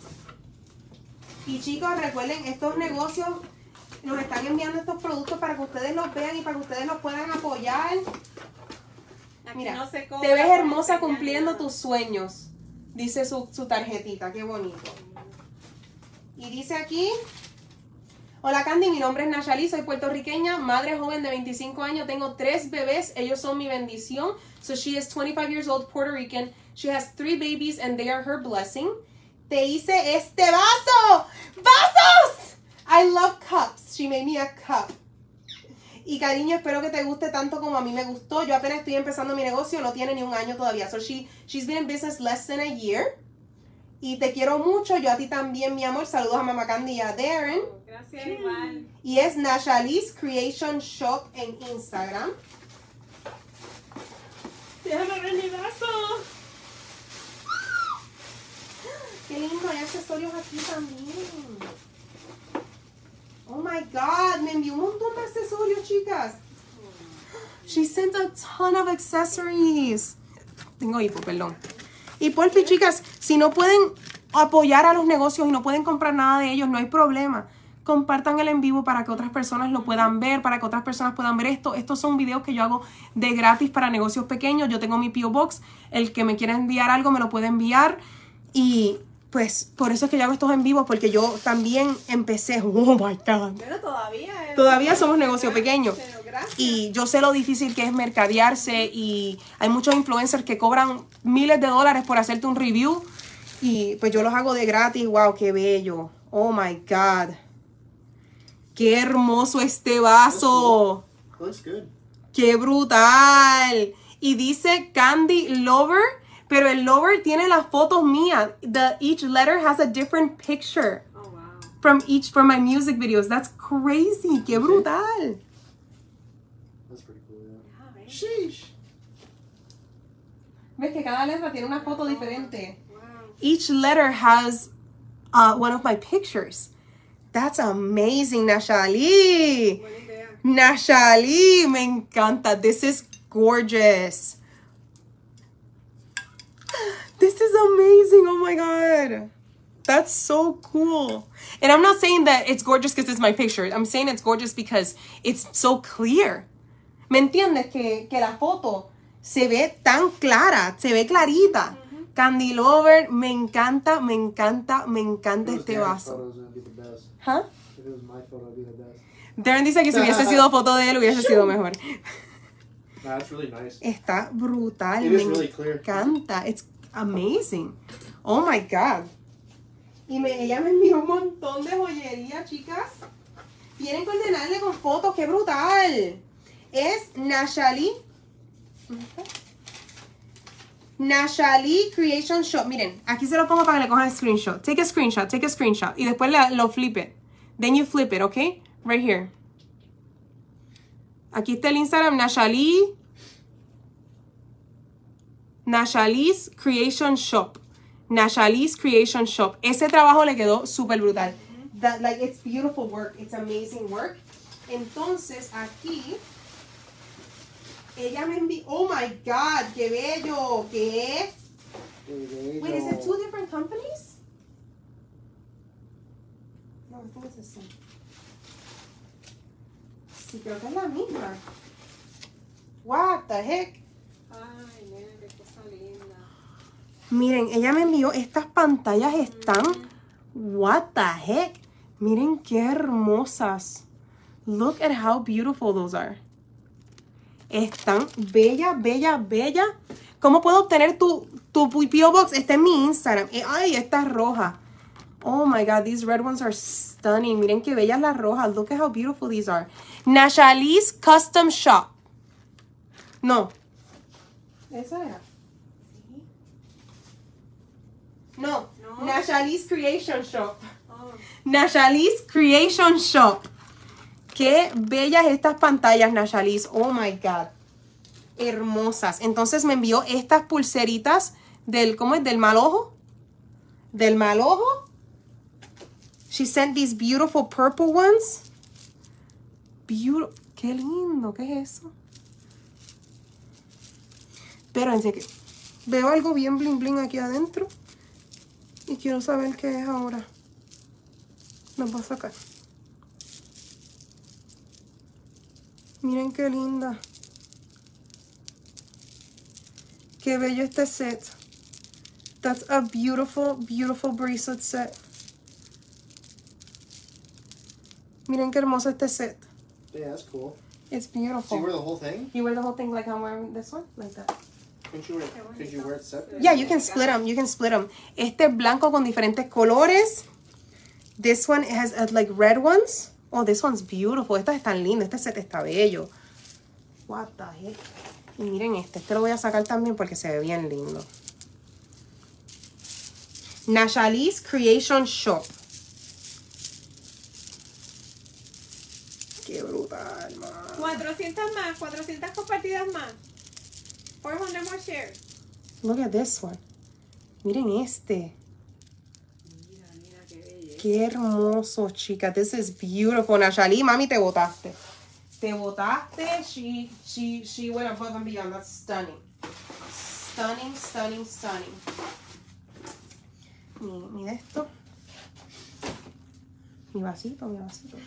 Y chicos, recuerden, estos negocios nos están enviando estos productos para que ustedes los vean y para que ustedes los puedan apoyar. Aquí Mira, no se cobra te ves por hermosa enseñar cumpliendo nada. tus sueños. Dice su tarjetita, qué bonito. Y dice aquí, hola Candy, mi nombre es Nashali, soy puertorriqueña, madre joven de 25 años, tengo 3 bebés, ellos son mi bendición. So she is 25 years old, Puerto Rican. She has 3 babies and they are her blessing. Te hice este vaso. ¡Vasos! I love cups. She made me a cup. Y cariño, espero que te guste tanto como a mí me gustó. Yo apenas estoy empezando mi negocio, no tiene ni un año todavía. So she's been in business less than a year. Y te quiero mucho, yo a ti también, mi amor. Saludos a Mama Candy y a Darren. Gracias, igual. Y es Nashali's Creation Shop en Instagram. Déjame ver mi vaso. Qué lindo, hay accesorios aquí también. Oh my God, me envió un montón de accesorios, chicas. She sent a ton of accessories. Tengo hipo, perdón. Y por fin, chicas, si no pueden apoyar a los negocios y no pueden comprar nada de ellos, no hay problema. Compartan el en vivo para que otras personas lo puedan ver, para que otras personas puedan ver esto. Estos son videos que yo hago de gratis para negocios pequeños. Yo tengo mi P.O. Box. El que me quiera enviar algo me lo puede enviar. Y pues por eso es que yo hago estos en vivo, porque yo también empecé. Oh my God. Pero todavía. Todavía somos negocio pequeño. Pero gracias. Y yo sé lo difícil que es mercadearse y hay muchos influencers que cobran miles de dólares por hacerte un review y pues yo los hago de gratis. Wow, qué bello. Oh my God. Qué hermoso este vaso. Looks good. Qué brutal. Y dice Candy Lover, pero el Lover tiene las fotos mías. Each letter has a different picture Oh, wow. from my music videos. That's crazy. Qué brutal. That's pretty cool, yeah. Ah, ¿ves? Sheesh. ¿Ves que cada letra tiene una foto diferente? Wow. Each letter has one of my pictures. That's amazing, Nashali. Buena idea. Nashali, me encanta. This is gorgeous. This is amazing. Oh my God. That's so cool. And I'm not saying that it's gorgeous because it's my picture. I'm saying it's gorgeous because it's so clear. ¿Me entiendes? Que la foto se ve tan clara, se ve clarita. Candy Lover, me encanta, me encanta, me encanta If it was este Darren's vaso. photos, it'd be the best. ¿Ah? If it was my photo, it'd be the best. Darren dice que si hubiese sido foto de él hubiese sido mejor. Nah, it's really nice. Está brutal, It me is really clear. encanta. It's amazing. Oh my God. Y ella me envió un montón de joyería, chicas. Vienen que ordenarle con fotos, qué brutal. Es Nashali. Nashali Creation Shop. Miren, aquí se lo pongo para que le cojan screenshot. Take a screenshot, take a screenshot. Y después lo flip it. Then you flip it, okay? Right here. Aquí está el Instagram, Nashali's Creation Shop. Nashali's Creation Shop. Ese trabajo le quedó súper brutal. Like, it's beautiful work. It's amazing work. Entonces, aquí, ella me envió. Oh my God, qué bello. ¿Qué? Wait, is it 2 different companies? No, I think it's the same. Sí, creo que es la misma. What the heck? Ay, nena, qué cosa linda. Miren, ella me envió estas pantallas están. What the heck? Miren qué hermosas. Look at how beautiful those are. Están bella, bella, bella. ¿Cómo puedo obtener tu P.O. Box? Está en mi Instagram. Ay, esta es roja. Oh my God, these red ones are stunning. Miren qué bellas las rojas. Look at how beautiful these are. Nashali's Custom Shop. No. ¿Esa era? No. No. Nashali's Creation Shop. Oh, Nachali's Creation Shop. Qué bellas estas pantallas, Nachali's. Oh my God. Hermosas. Entonces me envió estas pulseritas del, ¿cómo es? Del mal ojo. Del mal ojo. She sent these beautiful purple ones. Beautiful. Qué lindo. ¿Qué es eso? Espérense que veo algo bien bling bling aquí adentro. Y quiero saber qué es ahora. Nos voy a sacar. Miren qué linda. Qué bello este set. That's a beautiful, beautiful bracelet set. Miren qué hermoso este set. Yeah, that's cool. It's So you beautiful. wear the whole thing? You wear the whole thing like I'm wearing this one? Like that. Could you wear it separate? Yeah, you can split them. You can split them. Este es blanco con diferentes colores. This one has like red ones. Oh, this one's beautiful. Estas están lindas. Este set está bello. What the heck? Y miren este. Este lo voy a sacar también porque se ve bien lindo. Nachali's Creation Shop. Qué brutal, man. 400 más, 400 compartidas más. 400 more shares. Look at this one. Miren este. Mira, mira qué belleza. Qué hermoso, chica. This is beautiful. Nachali, mami, te botaste. Te botaste. She went above and beyond. That's stunning. Stunning, stunning, stunning. Mira esto. Mi vasito, mi vasito.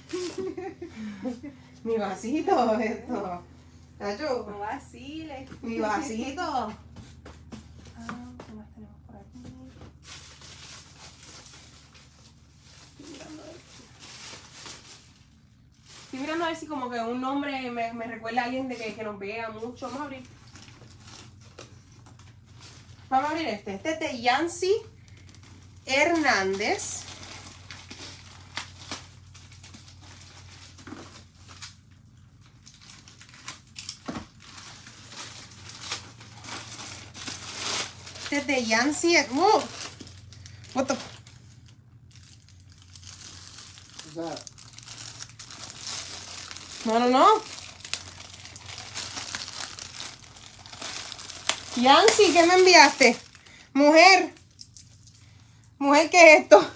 Mi vasito, esto. Nacho, No vaciles. mi vasito. ¿Qué más tenemos por aquí? Estoy mirando a ver si como que un nombre me recuerda a alguien de que nos vea mucho. Vamos a abrir. Vamos a abrir este. Este es de Yancy Hernández. Este es de Yancy. ¡Oh! What the... What's that? No. Yancy, ¿qué me enviaste? Mujer. Mujer, ¿qué es esto?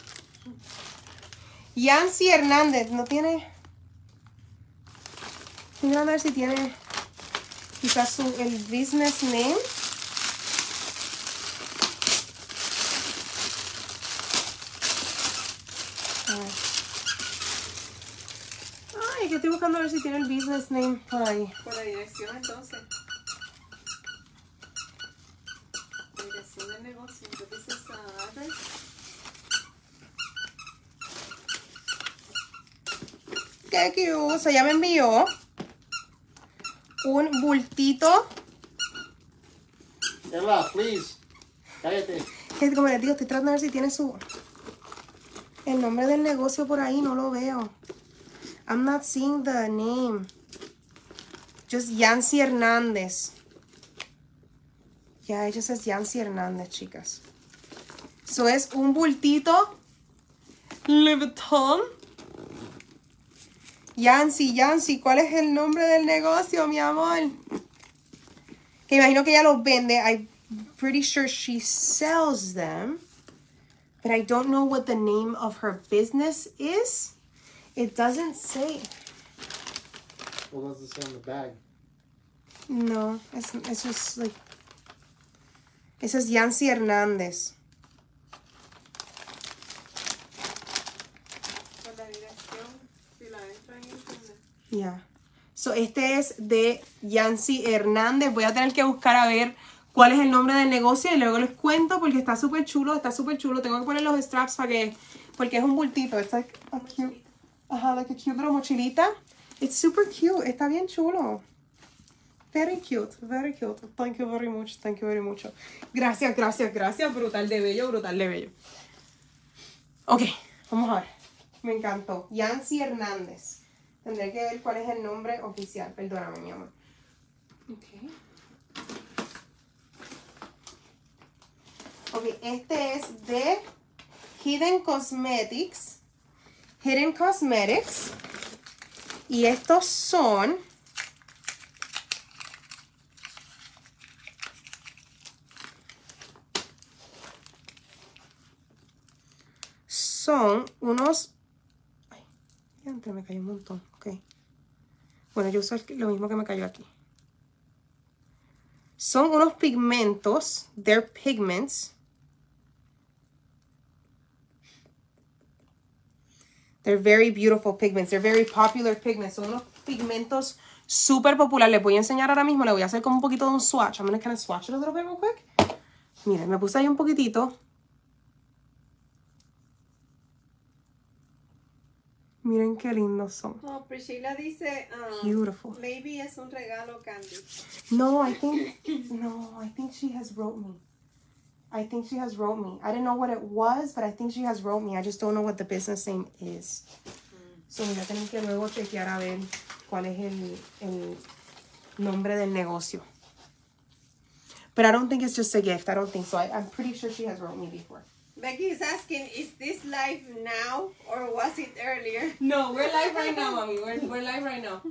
Yancy Hernández. No tiene... Estoy mirando a ver si tiene quizás el business name. Ay, que estoy buscando a ver si tiene el business name por ahí. Por la dirección entonces. La dirección del negocio. Entonces dices address. Qué cute. So, ya me envió un bultito. Ella, please. Cállate. Que como les digo, estoy tratando de ver si tiene el nombre del negocio por ahí. No lo veo. I'm not seeing the name. Just Yancy Hernández. Yeah, it just says Yancy Hernández, chicas. So es un bultito Louis Vuitton. Yancy, ¿cuál es el nombre del negocio, mi amor? Que imagino que ella los vende. I'm pretty sure she sells them. But I don't know what the name of her business is. It doesn't say. What does it say on the bag? No, it's just like... It says Yancy Hernández. Por la dirección. Si la entro en internet. Yeah. So, este es de Yancy Hernández. Voy a tener que buscar a ver cuál es el nombre del negocio y luego les cuento porque está súper chulo, Tengo que poner los straps porque es un bultito. It's like a cute, like a cute little mochilita. It's super cute. Está bien chulo. Very cute, very cute. Thank you very much, Gracias. Brutal de bello. Ok, vamos a ver. Me encantó. Yancy Hernández. Tendré que ver cuál es el nombre oficial. Perdóname, mi amor. Ok. Ok, este es de Hidden Cosmetics. Hidden Cosmetics. Y estos son... Son unos... Ay, antes me cayó un montón. Ok. Bueno, yo uso lo mismo que me cayó aquí. Son unos pigmentos. They're pigments. They're very beautiful pigments. They're very popular pigments. Son unos pigmentos súper populares. Les voy a enseñar ahora mismo. Les voy a hacer como un poquito de un swatch. I'm going to kind of swatch it a little bit real quick. Miren, me puse ahí un poquitito. Miren qué lindos son. Oh, Priscilla dice, Beautiful. maybe es un regalo, Candy. No, I think she has wrote me. I think she has wrote me. I didn't know what it was, but I think she has wrote me. I just don't know what the business name is. So voy a tener que luego chequear a ver cuál es el nombre del negocio. But I don't think it's just a gift. I don't think so. I'm pretty sure she has wrote me before. Becky is asking, is this live now or was it earlier? No, we're live right now, mami. We're live right now.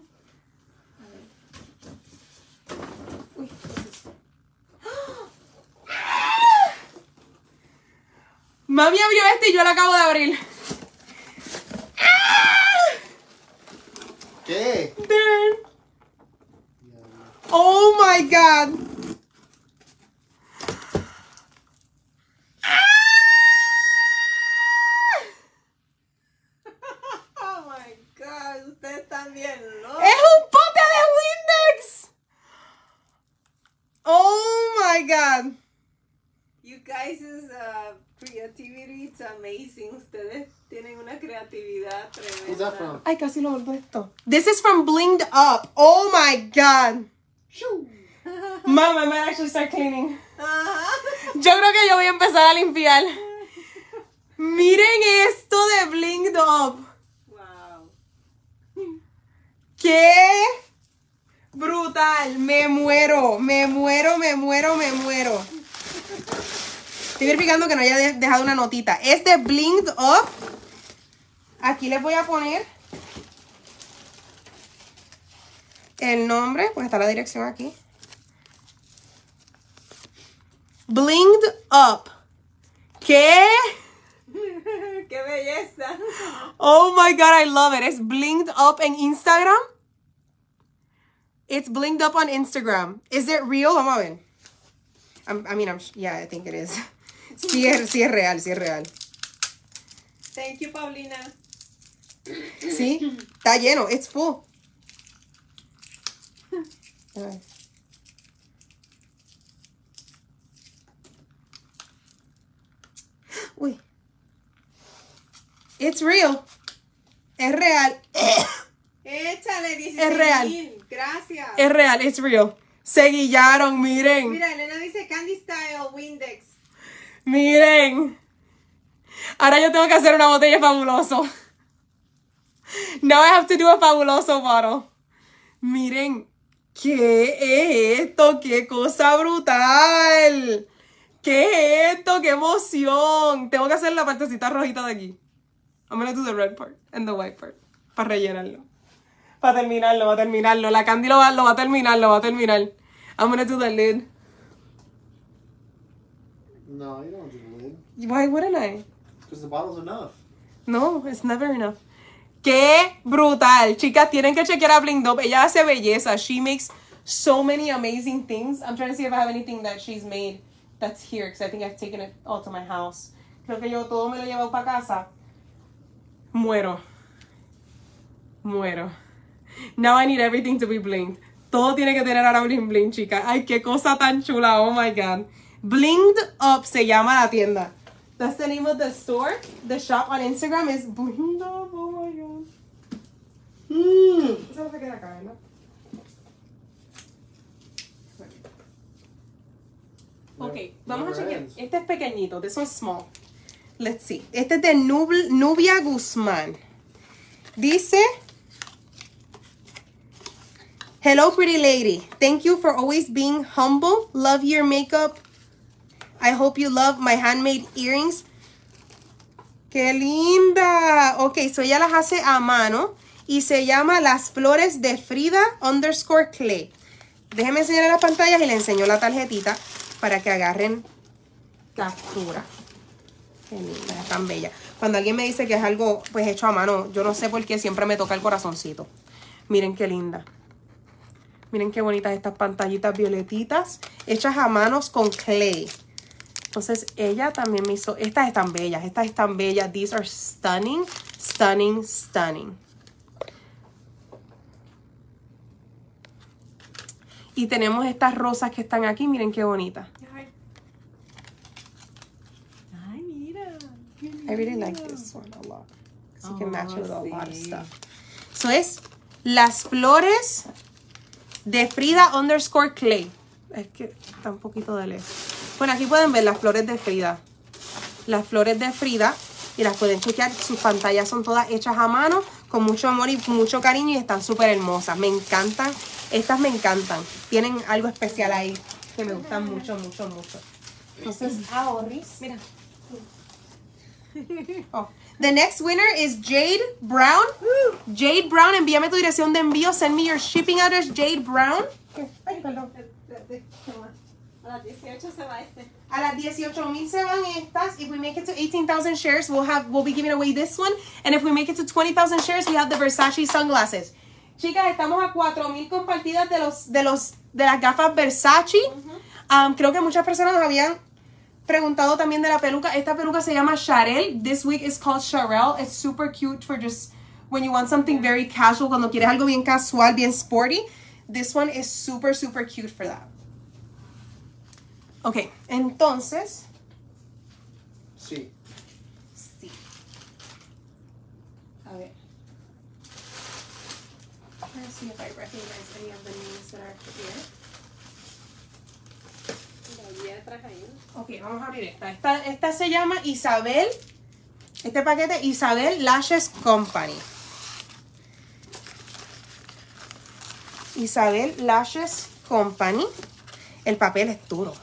Uy, mami abrió este y yo lo acabo de abrir. ¿Qué? Darn. Oh my God. Oh my God, ustedes están bien, ¿no? ¡Es un pote de Windex! Oh my God. You guys' creativity is amazing. Ustedes tienen una creatividad Who's that tremenda. from? Ay, casi lo volví esto. This is from Blinged Up. Oh my God. Mom, I might actually start cleaning. Ajá. Yo creo que yo voy a empezar a limpiar. Miren esto de Blinged Up. Wow. ¡Qué brutal! Me muero, me muero, me muero, me muero. Estoy verificando que no haya dejado una notita. Es de Blinged Up. Aquí les voy a poner el nombre, pues está la dirección aquí. Blinged Up. ¿Qué? ¡Qué belleza! Oh my God, I love it. It's Blinged Up en Instagram. It's Blinged Up on Instagram. Is it real? Vamos a ver. Yeah, I think it is. Sí es real, sí es real. Thank you, Paulina. Sí, está lleno. It's full. A ver. Uy. It's real. Es real. Échale 16,000. Es real. Gracias. Es real, it's real. Se guillaron, miren. Mira, Elena dice Candy Style Windex. Miren. Ahora yo tengo que hacer una botella fabuloso. Now I have to do a fabuloso bottle. Miren. ¿Qué es esto? ¡Qué cosa brutal! ¿Qué es esto? ¡Qué emoción! Tengo que hacer la partecita rojita de aquí. I'm gonna do the red part and the white part. Para rellenarlo. Para terminarlo. La Candy lo va a terminar. I'm gonna do the lid. No, you don't do the lid. Why wouldn't I? Because the bottle's enough. No, it's never enough. ¡Qué brutal! Chicas, tienen que chequear a Blinged Up. Ella hace belleza. She makes so many amazing things. I'm trying to see if I have anything that she's made that's here. Because I think I've taken it all to my house. Creo que yo todo me lo he llevado para casa. Muero. Now I need everything to be blinged. Todo tiene que tener ahora bling, chicas. Ay, qué cosa tan chula. Oh my God. Blinged Up se llama la tienda. That's the name of the store. The shop on Instagram is Blinged Up. Oh my God. Eso no se queda acá, ¿verdad? Ok, vamos a chequear. Este es pequeñito. This one's small. Let's see. Este es de Nubia Guzmán. Dice... Hello, pretty lady. Thank you for always being humble. Love your makeup. I hope you love my handmade earrings. ¡Qué linda! Ok, so ella las hace a mano y se llama Las Flores de Frida _Clay. Déjenme enseñar las pantallas y le enseño la tarjetita para que agarren captura. Qué linda, es tan bella. Cuando alguien me dice que es algo pues hecho a mano, yo no sé por qué siempre me toca el corazoncito. Miren qué linda. Miren qué bonitas estas pantallitas violetitas hechas a manos con clay. Entonces ella también me hizo, estas están bellas, These are stunning, stunning, stunning. Y tenemos estas rosas que están aquí, miren qué bonitas. Ay, mira. I really like this one a lot. So you can match it with a lot of stuff. So es Las Flores de Frida _Clay. Es que está un poquito de lejos. Bueno, aquí pueden ver las flores de Frida. Las flores de Frida. Y las pueden chequear. Sus pantallas son todas hechas a mano. Con mucho amor y mucho cariño. Y están súper hermosas. Me encantan. Estas me encantan. Tienen algo especial ahí. Que me gustan mucho, mucho, mucho. Entonces, ahorris. Mira. Oh. The next winner is Jade Brown. Jade Brown, envíame tu dirección de envío. Send me your shipping address, Jade Brown. Ay, perdón. A las 18 se va este. A las 18,000 se van estas. If we make it to 18,000 shares, we'll be giving away this one. And if we make it to 20,000 shares, we have the Versace sunglasses. Chicas, estamos a 4,000 compartidas de las gafas Versace. Creo que muchas personas nos habían preguntado también de la peluca. Esta peluca se llama Charelle. This wig is called Charelle. It's super cute for just when you want something very casual. Cuando quieres algo bien casual, bien sporty. This one is super, super cute for that. Ok, entonces. Sí. Sí. A ver. Let's see if I recognize any of the names that are here. Ok, vamos a abrir esta. Esta se llama Isabel. Este paquete, Isabel Lashes Company. Isabel Lashes Company. El papel es duro.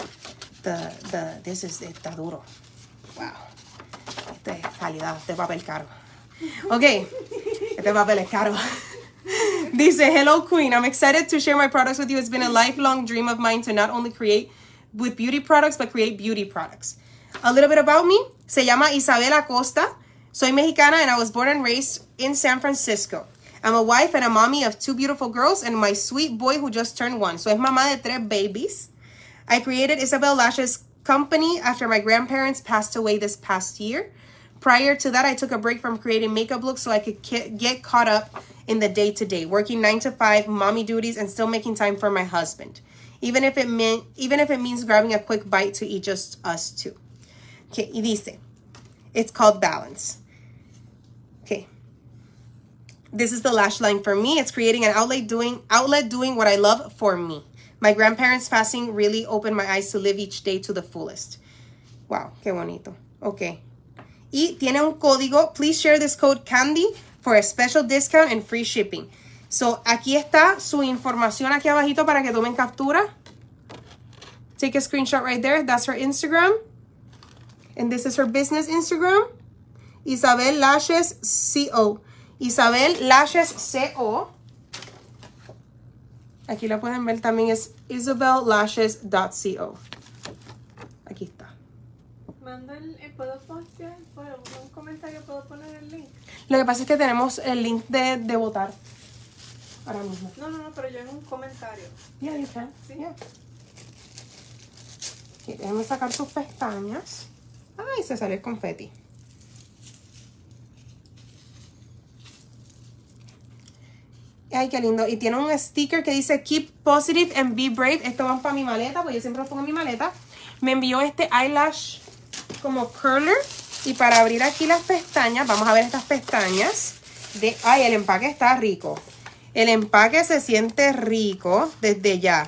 Está duro. Wow. Este es calidad, este papel caro. Ok, este papel es caro. Dice, hello Queen, I'm excited to share my products with you. It's been a lifelong dream of mine to not only create with beauty products, but create beauty products. A little bit about me. Se llama Isabel Acosta. Soy mexicana and I was born and raised in San Francisco. I'm a wife and a mommy of 2 beautiful girls and my sweet boy who just turned 1. So es mamá de 3 babies. I created Isabel Lashes Company after my grandparents passed away this past year. Prior to that, I took a break from creating makeup looks so I could get caught up in the day-to-day, working 9 to 5, mommy duties, and still making time for my husband. Even if it means grabbing a quick bite to eat just us two. Okay, y dice, it's called balance. Okay. This is the lash line for me. It's creating an outlet doing what I love for me. My grandparents passing really opened my eyes to live each day to the fullest. Wow, qué bonito. Okay. Y tiene un código. Please share this code Candy for a special discount and free shipping. So, aquí está su información aquí abajito para que tomen captura. Take a screenshot right there. That's her Instagram. And this is her business Instagram. Isabel Lashes CO. Isabel Lashes CO. Aquí la pueden ver también, es isabellashes.co. Aquí está. Mando ¿puedo postear? Bueno, un comentario, ¿puedo poner el link? Lo que pasa es que tenemos el link de votar ahora mismo. No, pero yo en un comentario. Yeah, you can. Sí. Yeah. Okay, déjenme sacar sus pestañas. Ay, se salió el confeti. Ay, qué lindo. Y tiene un sticker que dice Keep positive and be brave. Esto va para mi maleta, porque yo siempre lo pongo en mi maleta. Me envió este eyelash como curler. Y para abrir aquí las pestañas, vamos a ver estas pestañas. Ay, el empaque está rico. El empaque se siente rico desde ya.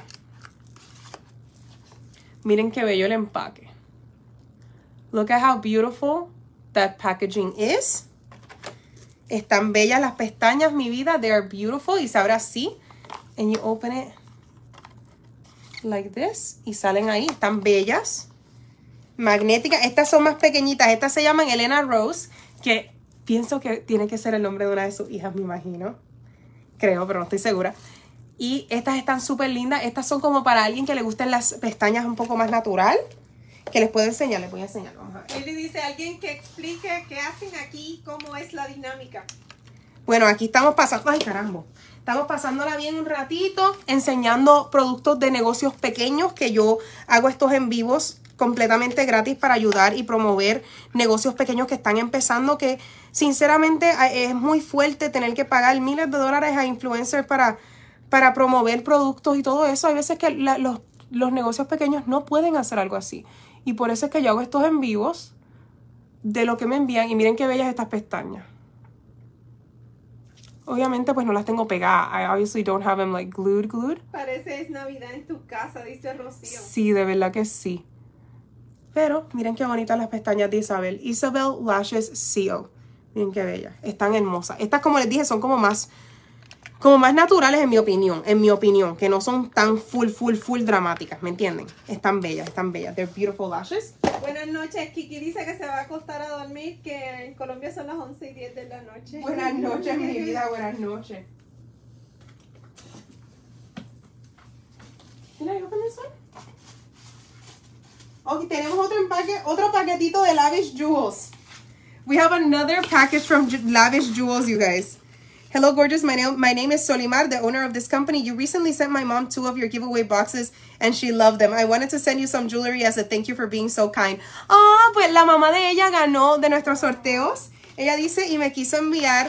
Miren qué bello el empaque. Look at how beautiful that packaging is. Están bellas las pestañas, mi vida. They are beautiful. Y se abre así. And you open it like this. Y salen ahí. Están bellas. magnética. Estas son más pequeñitas. Estas se llaman Elena Rose, que pienso que tiene que ser el nombre de una de sus hijas, me imagino. Creo, pero no estoy segura. Y estas están súper lindas. Estas son como para alguien que le gusten las pestañas un poco más natural. Que les puedo enseñar, les voy a enseñar. Vamos a ver. Él le dice a alguien que explique qué hacen aquí, cómo es la dinámica. Bueno, aquí estamos pasando... ¡Ay, caramba! Estamos pasándola bien un ratito, enseñando productos de negocios pequeños, que yo hago estos en vivos completamente gratis para ayudar y promover negocios pequeños que están empezando, que sinceramente es muy fuerte tener que pagar miles de dólares a influencers para promover productos y todo eso. Hay veces que los negocios pequeños no pueden hacer algo así. Y por eso es que yo hago estos en vivos de lo que me envían. Y miren qué bellas estas pestañas. Obviamente pues no las tengo pegadas. I obviously don't have them like glued. Parece es Navidad en tu casa, dice Rocío. Sí, de verdad que sí. Pero miren qué bonitas las pestañas de Isabel. Isabel Lashes Seal. Miren qué bellas. Están hermosas. Estas, como les dije, son como más naturales en mi opinión. Que no son tan full dramáticas, ¿me entienden? Están bellas. They're beautiful lashes. Buenas noches, Kiki dice que se va a acostar a dormir, que en Colombia son las 11:10 de la noche. Buenas noches, mi vida, buenas noches. Can I open this one? Ok, tenemos otro paquetito de Lavish Jewels. We have another package from Lavish Jewels, you guys. Hello, gorgeous. My name is Solimar, the owner of this company. You recently sent my mom 2 of your giveaway boxes, and she loved them. I wanted to send you some jewelry as a thank you for being so kind. Ah, pues la mamá de ella ganó de nuestros sorteos. Ella dice, y me quiso enviar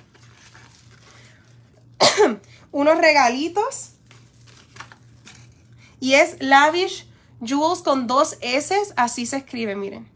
unos regalitos. Y es Lavish Jewels con 2 S. Así se escribe, miren.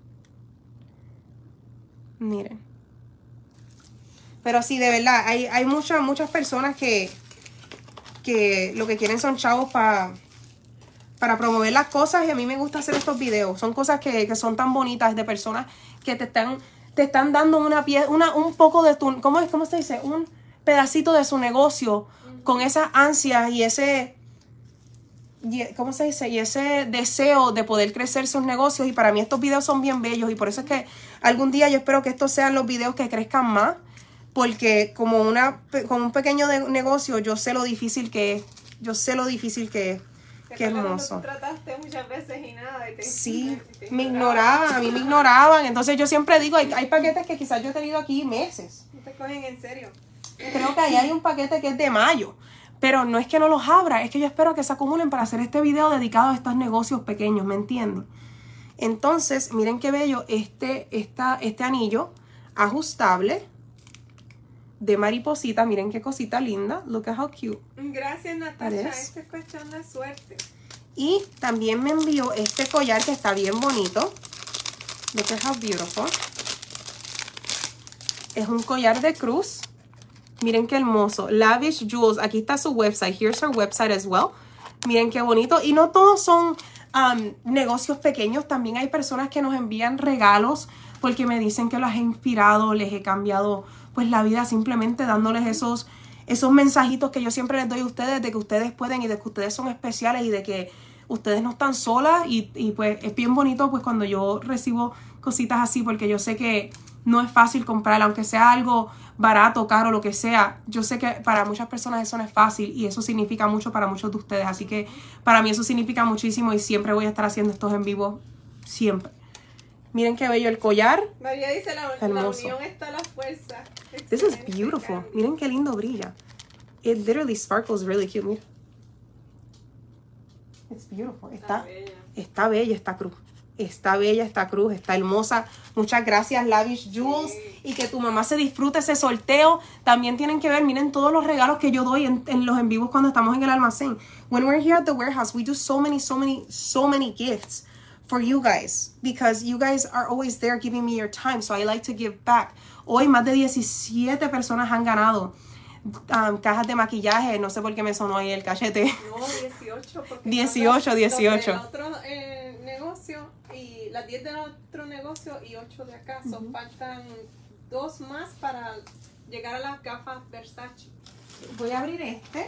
Miren. Pero sí, de verdad, hay muchas personas que lo que quieren son chavos para promover las cosas, y a mí me gusta hacer estos videos. Son cosas que son tan bonitas, de personas que te están dando un poco de tu... ¿Cómo se dice? Un pedacito de su negocio con esas ansias y ese... ¿Cómo se dice? Y ese deseo de poder crecer sus negocios. Y para mí estos videos son bien bellos, y por eso es que algún día yo espero que estos sean los videos que crezcan más. Porque como un pequeño negocio, yo sé lo difícil que es. Qué hermoso. Tú trataste muchas veces y nada. Sí, me ignoraban, a mí me ignoraban. Entonces yo siempre digo, hay paquetes que quizás yo he tenido aquí meses. No te cogen en serio. Creo que ahí hay un paquete que es de mayo. Pero no es que no los abra, es que yo espero que se acumulen para hacer este video dedicado a estos negocios pequeños, ¿me entienden? Entonces, miren qué bello este anillo ajustable de mariposita. Miren qué cosita linda. Look at how cute. Gracias, Natasha. Esto es cuestión de suerte. Y también me envió este collar que está bien bonito. Look at how beautiful. Es un collar de cruz. Miren qué hermoso. Lavish Jewels. Aquí está su website. Here's her website as well. Miren qué bonito. Y no todos son negocios pequeños. También hay personas que nos envían regalos porque me dicen que los he inspirado, les he cambiado pues la vida, simplemente dándoles esos mensajitos que yo siempre les doy a ustedes, de que ustedes pueden y de que ustedes son especiales y de que ustedes no están solas. Y pues es bien bonito pues cuando yo recibo cositas así, porque yo sé que no es fácil comprar, aunque sea algo barato, caro, lo que sea. Yo sé que para muchas personas eso no es fácil, y eso significa mucho para muchos de ustedes. Así que para mí eso significa muchísimo, y siempre voy a estar haciendo estos en vivo, siempre. Miren qué bello el collar. María dice, la unión está a la fuerza. This is beautiful. Miren qué lindo brilla. It literally sparkles really cute. Mira. It's beautiful. Está bella esta cruz. Está bella esta cruz, está hermosa. Muchas gracias, Lavish Jewels. Sí. Y que tu mamá se disfrute ese sorteo. También tienen que ver, miren todos los regalos que yo doy en los en vivos cuando estamos en el almacén. When we're here at the warehouse, we do so many gifts for you guys, because you guys are always there giving me your time, so I like to give back. Hoy más de 17 personas han ganado cajas de maquillaje. No sé por qué me sonó ahí el cachete. No, 18. 18. El otro negocio y las 10 del otro negocio y 8 de acá. Faltan 2 más para llegar a las gafas Versace. Voy a abrir este.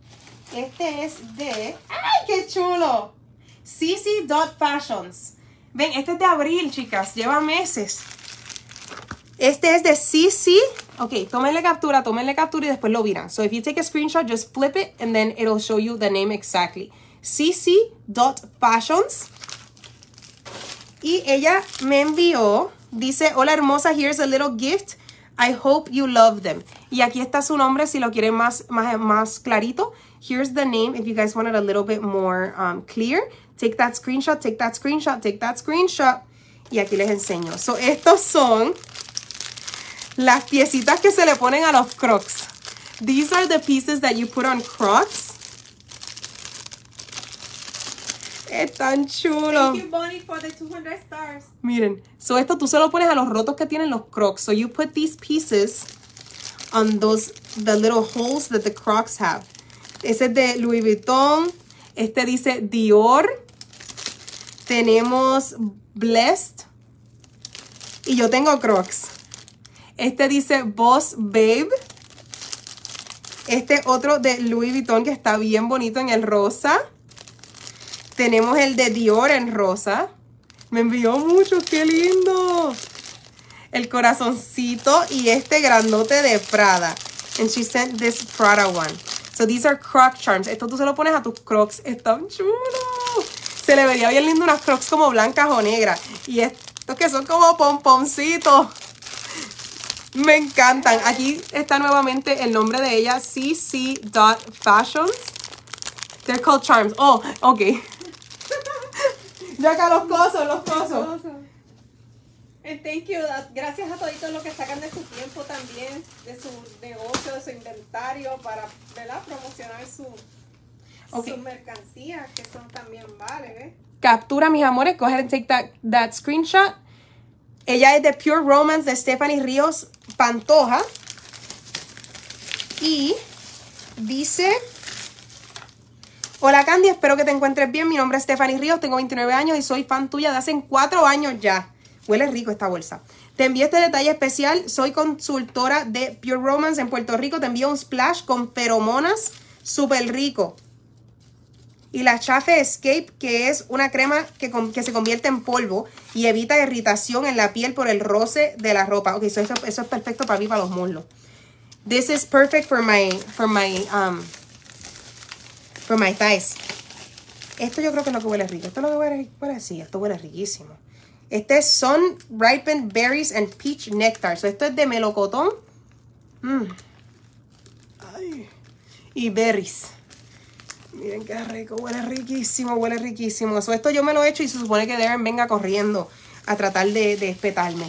Este es de... ¡Ay, qué chulo! CC Fashions. Ven, este es de abril, chicas. Lleva meses. Este es de CC. Ok, tómenle captura y después lo miran. So if you take a screenshot, just flip it and then it'll show you the name exactly. cc.fashions. Y ella me envió, dice, hola hermosa, here's a little gift. I hope you love them. Y aquí está su nombre si lo quieren más clarito. Here's the name if you guys want it a little bit more clear. Take that screenshot, take that screenshot, take that screenshot. Y aquí les enseño. So, estos son las piecitas que se le ponen a los Crocs. These are the pieces that you put on Crocs. Están chulos. Thank you, Bonnie, for the 200 stars. Miren, so esto tú se lo pones a los rotos que tienen los Crocs. So you put these pieces on the little holes that the Crocs have. Ese es de Louis Vuitton. Este dice Dior. Tenemos Blessed. Y yo tengo Crocs. Este dice Boss Babe. Este otro de Louis Vuitton que está bien bonito en el rosa. Tenemos el de Dior en rosa. Me envió muchos, qué lindo. El corazoncito y este grandote de Prada. And she sent this Prada one. So these are Croc charms. Esto tú se lo pones a tus Crocs. Están chulos. Se le vería bien lindo unas Crocs como blancas o negras. Y estos que son como pomponcitos. Me encantan. Aquí está nuevamente el nombre de ella. cc.fashions. They're called charms. Oh, ok. Ya acá los cosos. And thank you. Gracias a toditos los que sacan de su tiempo también, de su negocio, de su inventario, para, ¿verdad?, promocionar su mercancía, que son también ¿eh? Captura, mis amores. Go ahead and take that screenshot. Ella es de Pure Romance de Stephanie Ríos Pantoja. Y dice... Hola Candy, espero que te encuentres bien. Mi nombre es Stephanie Ríos, tengo 29 años y soy fan tuya de hace 4 años ya. Huele rico esta bolsa. Te envío este detalle especial. Soy consultora de Pure Romance en Puerto Rico. Te envío un splash con feromonas súper rico. Y la Chafe Escape, que es una crema que se convierte en polvo y evita irritación en la piel por el roce de la ropa. Ok, eso es perfecto para mí, para los muslos. This is perfect for my thighs. Esto yo creo que es lo que huele rico. Esto es lo que huele, sí, esto huele riquísimo. Este es Sun Ripened Berries and Peach Nectar. So, esto es de melocotón. Ay. Y berries. Miren qué rico, huele riquísimo, huele riquísimo. So, esto yo me lo he hecho y se supone que Darren venga corriendo a tratar de espetarme.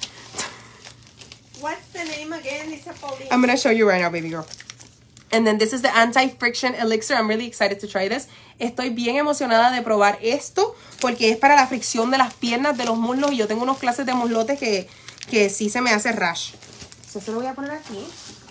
What's the name again, Lisa Pauline? I'm going to show you right now, baby girl. And then this is the Anti-Friction Elixir. I'm really excited to try this. Estoy bien emocionada de probar esto porque es para la fricción de las piernas, de los muslos. Y yo tengo unos clases de muslotes que sí se me hace rash. So, se lo voy a poner aquí.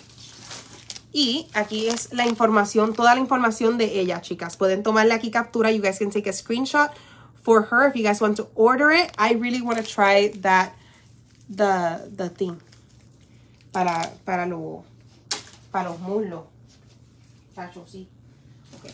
Y aquí es la información, toda la información de ella, chicas. Pueden tomarle aquí captura. You guys can take a screenshot for her if you guys want to order it. I really want to try that, the thing. Para los muslos. Chacho, sí. Okay.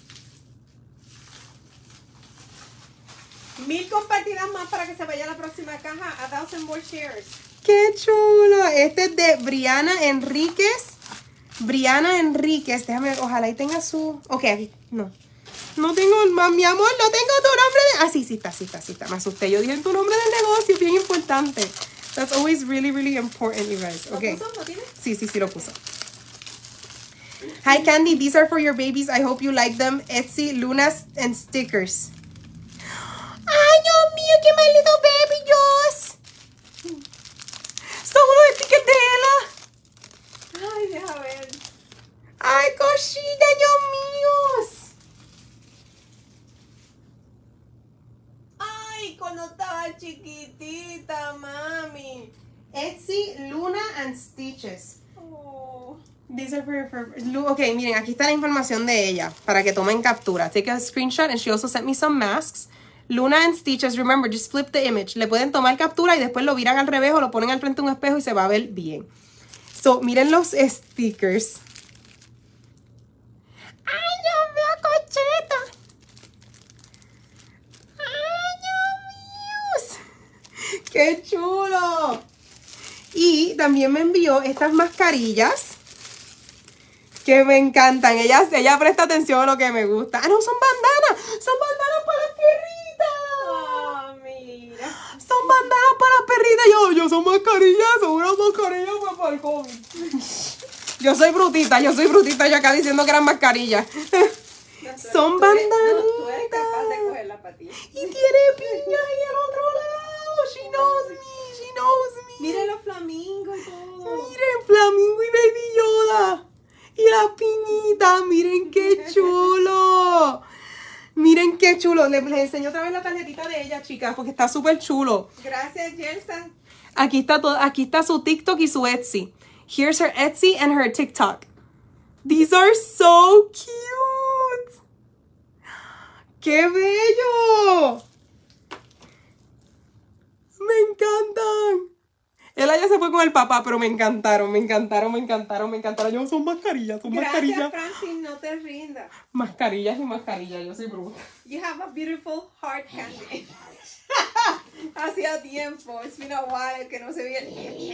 1000 compartidas más para que se vaya a la próxima caja. 1,000 more shares. ¡Qué chulo! Este es de Briana Enríquez. Briana Enríquez. Déjame, ojalá y tenga su... Ok, aquí. No. No tengo... Mi amor, no tengo tu nombre de... Ah, sí está. Me asusté. Yo dije tu nombre del negocio. Bien importante. That's always really, really important, you guys. Okay. ¿Lo puso? ¿Lo tienes? Sí, lo puso. Hi, Candy. These are for your babies. I hope you like them. Etsy, Lunas, and stickers. ¡Ay, Dios mío! ¡Qué maldito baby Dios! Son unos stickers de Ella. Ay, deja ver. ¡Ay, cosita, Dios mío! Ay, cuando estaba chiquitita, mami. Etsy, Luna, and Stitches. Oh. These are for ok, miren, aquí está la información de ella para que tomen captura. Take a screenshot and she also sent me some masks. Luna and Stitches, remember, just flip the image. Le pueden tomar captura y después lo viran al revés o lo ponen al frente de un espejo y se va a ver bien. So, miren los stickers. ¡Ay, Dios mío, cocheta! ¡Ay, Dios mío! ¡Qué chulo! Y también me envió estas mascarillas que me encantan. Ella presta atención a lo que me gusta. ¡Ah, no! Son bandanas. Son bandanas para las perritas. Oh, mira. Son bandanas para las perritas. Yo son mascarillas. Son unas mascarillas pues, para el COVID. Yo soy brutita. Yo acá diciendo que eran mascarillas. Son bandanitas. Tú eres capaz de cogerla para ti. Y tiene piña ahí al otro lado. She knows me. Miren los flamingos y todo. Miren, Flamingo y Baby Yoda. Y las piñitas. Miren qué chulo. Miren qué chulo. Les enseño otra vez la tarjetita de ella, chicas, porque está súper chulo. Gracias, Yelsa. Aquí está su TikTok y su Etsy. Here's her Etsy and her TikTok. These are so cute. ¡Qué bello! Me encantan. Ella ya se fue con el papá, pero me encantaron. Yo, son mascarillas, Gracias, Francis, no te rindas. Mascarillas y mascarillas, yo soy bruta. You have a beautiful heart candy. Hacía tiempo, it's been a while que no se veía.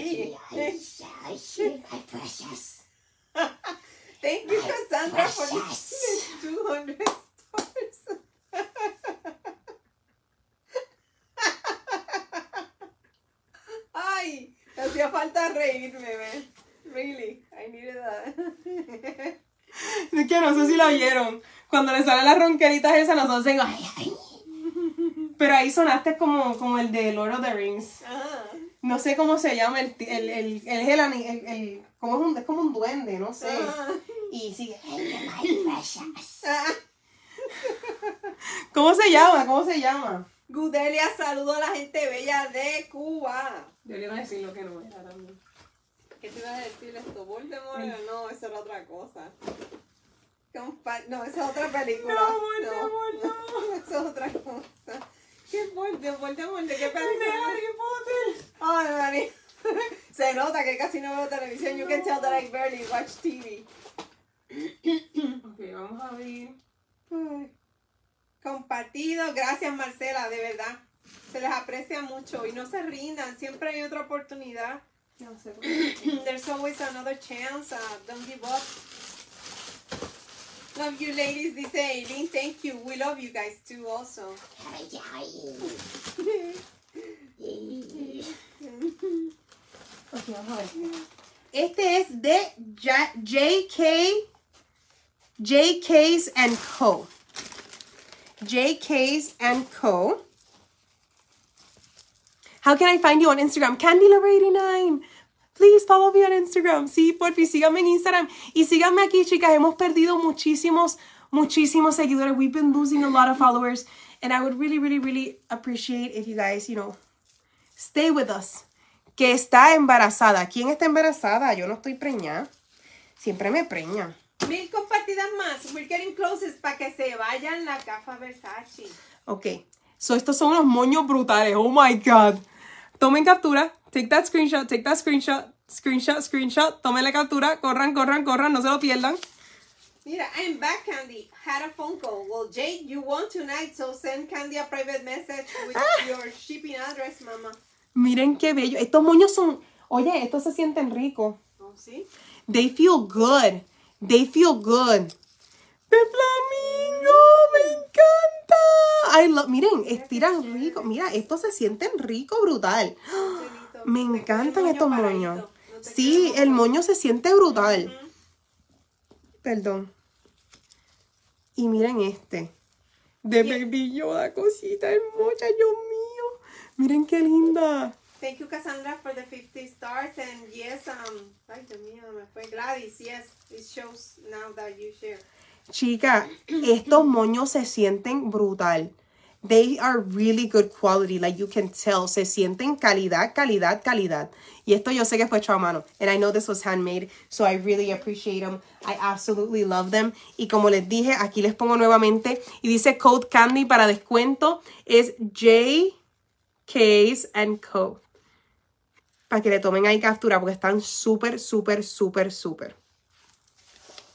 Thank you, Cassandra, for the 200 stars. Ay, hacía falta reírme, man. Really, I needed that. Es que no sé si la vieron. Cuando le salen las ronqueritas esas, nosotros decimos, ay. Pero ahí sonaste como el de Lord of the Rings. Ah. No sé cómo se llama, es como un duende, no sé. Y sigue. ¿Cómo se llama? Gudelia, saludo a la gente bella de Cuba. Yo le iba a decir lo que no era también. ¿Qué te ibas a decir esto? ¿Voldemort? No, eso era otra cosa. No, esa es otra película. No, Voldemort, no. Esa es otra cosa. ¿Qué es Voldemort? ¿De qué película? De Harry Potter. Ay, Mari. Se nota que casi no veo televisión. You can tell that I barely watch TV. Ok, vamos a ver. Ay. Compartido. Gracias, Marcela, de verdad. Se les aprecia mucho y no se rindan. Siempre hay otra oportunidad. No sé. There's always another chance. Don't give up. Love you, ladies, dice Aileen. Thank you. We love you guys too, also. Ok, vamos a ver. Este es de JK's and Co. JK's and Co. How can I find you on Instagram? CandyLover89. Please follow me on Instagram. Sí, porfi, síganme en Instagram. Y síganme aquí, chicas. Hemos perdido muchísimos seguidores. We've been losing a lot of followers. And I would really appreciate if you guys, stay with us. Que está embarazada. ¿Quién está embarazada? Yo no estoy preñada. Siempre me preña. 1000 compartidas más. We're getting closest para que se vayan la gafa Versace. Ok. So, estos son unos moños brutales. Oh my God. Tomen captura. Take that screenshot. Screenshot. Tomen la captura. Corran. No se lo pierdan. Mira, I'm back, Candy. Had a phone call. Well, Jade, you won tonight, so send Candy a private message with your shipping address, mama. Miren qué bello. Estos moños son... Oye, estos se sienten ricos. Oh, ¿sí? They feel good. De flamingo. Me encanta. Miren, estiran rico. Mira, estos se sienten rico, brutal. Me encantan estos moños. Sí, el moño se siente brutal. Perdón. Y miren este. De Baby Yoda, cosita hermosa, Dios mío. Miren qué linda. Thank you, Cassandra, for the 50 stars. And yes, ay, Dios mío, me fue Gladys. Yes, it shows now that you share. Chica, estos moños se sienten brutal. They are really good quality, like you can tell. Se sienten calidad. Y esto yo sé que fue hecho a mano. And I know this was handmade, so I really appreciate them. I absolutely love them. Y como les dije, aquí les pongo nuevamente. Y dice Code Candy para descuento. Es JK's and Co. Para que le tomen ahí captura, porque están súper.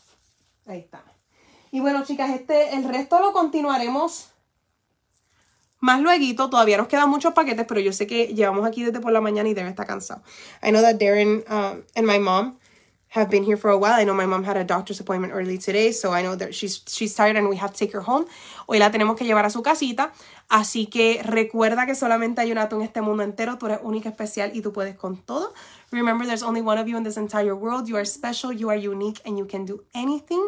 Ahí está. Y bueno, chicas, el resto lo continuaremos más lueguito. Todavía nos quedan muchos paquetes, pero yo sé que llevamos aquí desde por la mañana y Darren está cansado. I know that Darren and my mom have been here for a while. I know my mom had a doctor's appointment early today, so I know that she's tired and we have to take her home. Hoy la tenemos que llevar a su casita, así que recuerda que solamente hay una tú en este mundo entero. Tú eres única, especial y tú puedes con todo. Remember, there's only one of you in this entire world. You are special, you are unique, and you can do anything.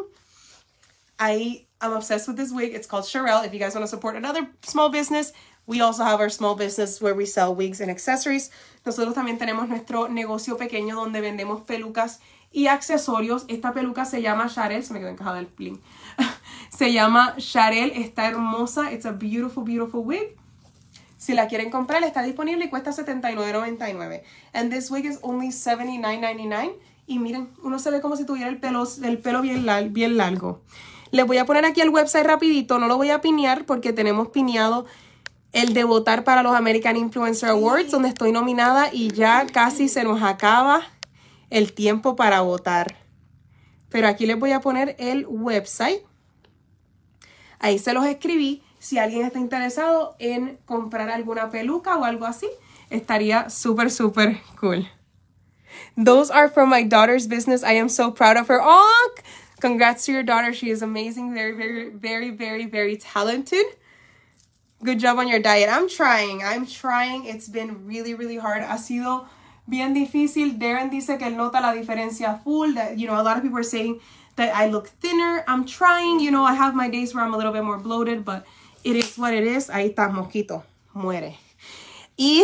I'm obsessed with this wig. It's called Sherelle. If you guys want to support another small business, we also have our small business where we sell wigs and accessories. Nosotros también tenemos nuestro negocio pequeño donde vendemos pelucas y accesorios. Esta peluca se llama Sharel. Se me quedó encajada el bling. Se llama Sharel. Está hermosa. It's a beautiful, beautiful wig. Si la quieren comprar, está disponible y cuesta $79.99. And this wig is only $79.99. Y miren, uno se ve como si tuviera el pelo bien largo. Les voy a poner aquí el website rapidito. No lo voy a pinear porque tenemos pineado el de votar para los American Influencer Awards, donde estoy nominada y ya casi se nos acaba el tiempo para votar. Pero aquí les voy a poner el website. Ahí se los escribí. Si alguien está interesado en comprar alguna peluca o algo así, estaría súper, súper cool. Those are from my daughter's business. I am so proud of her. Oh, congrats to your daughter. She is amazing. Very, very, very, very, very talented. Good job on your diet. I'm trying. It's been really, really hard. Ha sido bien difícil. Darren dice que él nota la diferencia full. That, you know, a lot of people are saying that I look thinner. I'm trying. You know, I have my days where I'm a little bit more bloated, but it is what it is. Ahí está, mosquito. Muere. Y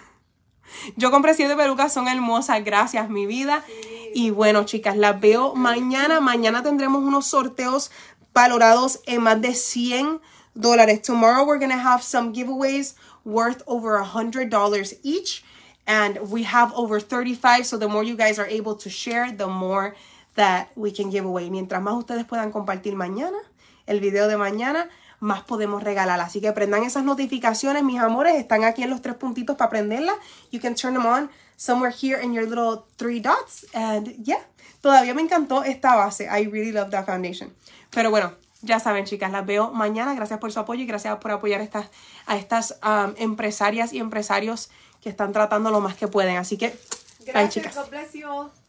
yo compré 7 pelucas. Son hermosas. Gracias, mi vida. Y bueno, chicas, las veo mañana. Mañana tendremos unos sorteos valorados en más de $100. Tomorrow we're going to have some giveaways worth over $100 each. And we have over 35. So the more you guys are able to share, the more that we can give away. Mientras más ustedes puedan compartir mañana, el video de mañana, más podemos regalar. Así que prendan esas notificaciones, mis amores. Están aquí en los 3 puntitos para prenderlas. You can turn them on somewhere here in your little 3 dots. And yeah, todavía me encantó esta base. I really love that foundation. Pero bueno, ya saben, chicas, las veo mañana. Gracias por su apoyo y gracias por apoyar a estas empresarias y empresarios que están tratando lo más que pueden. Así que, gracias, bye, chicas. God bless you all.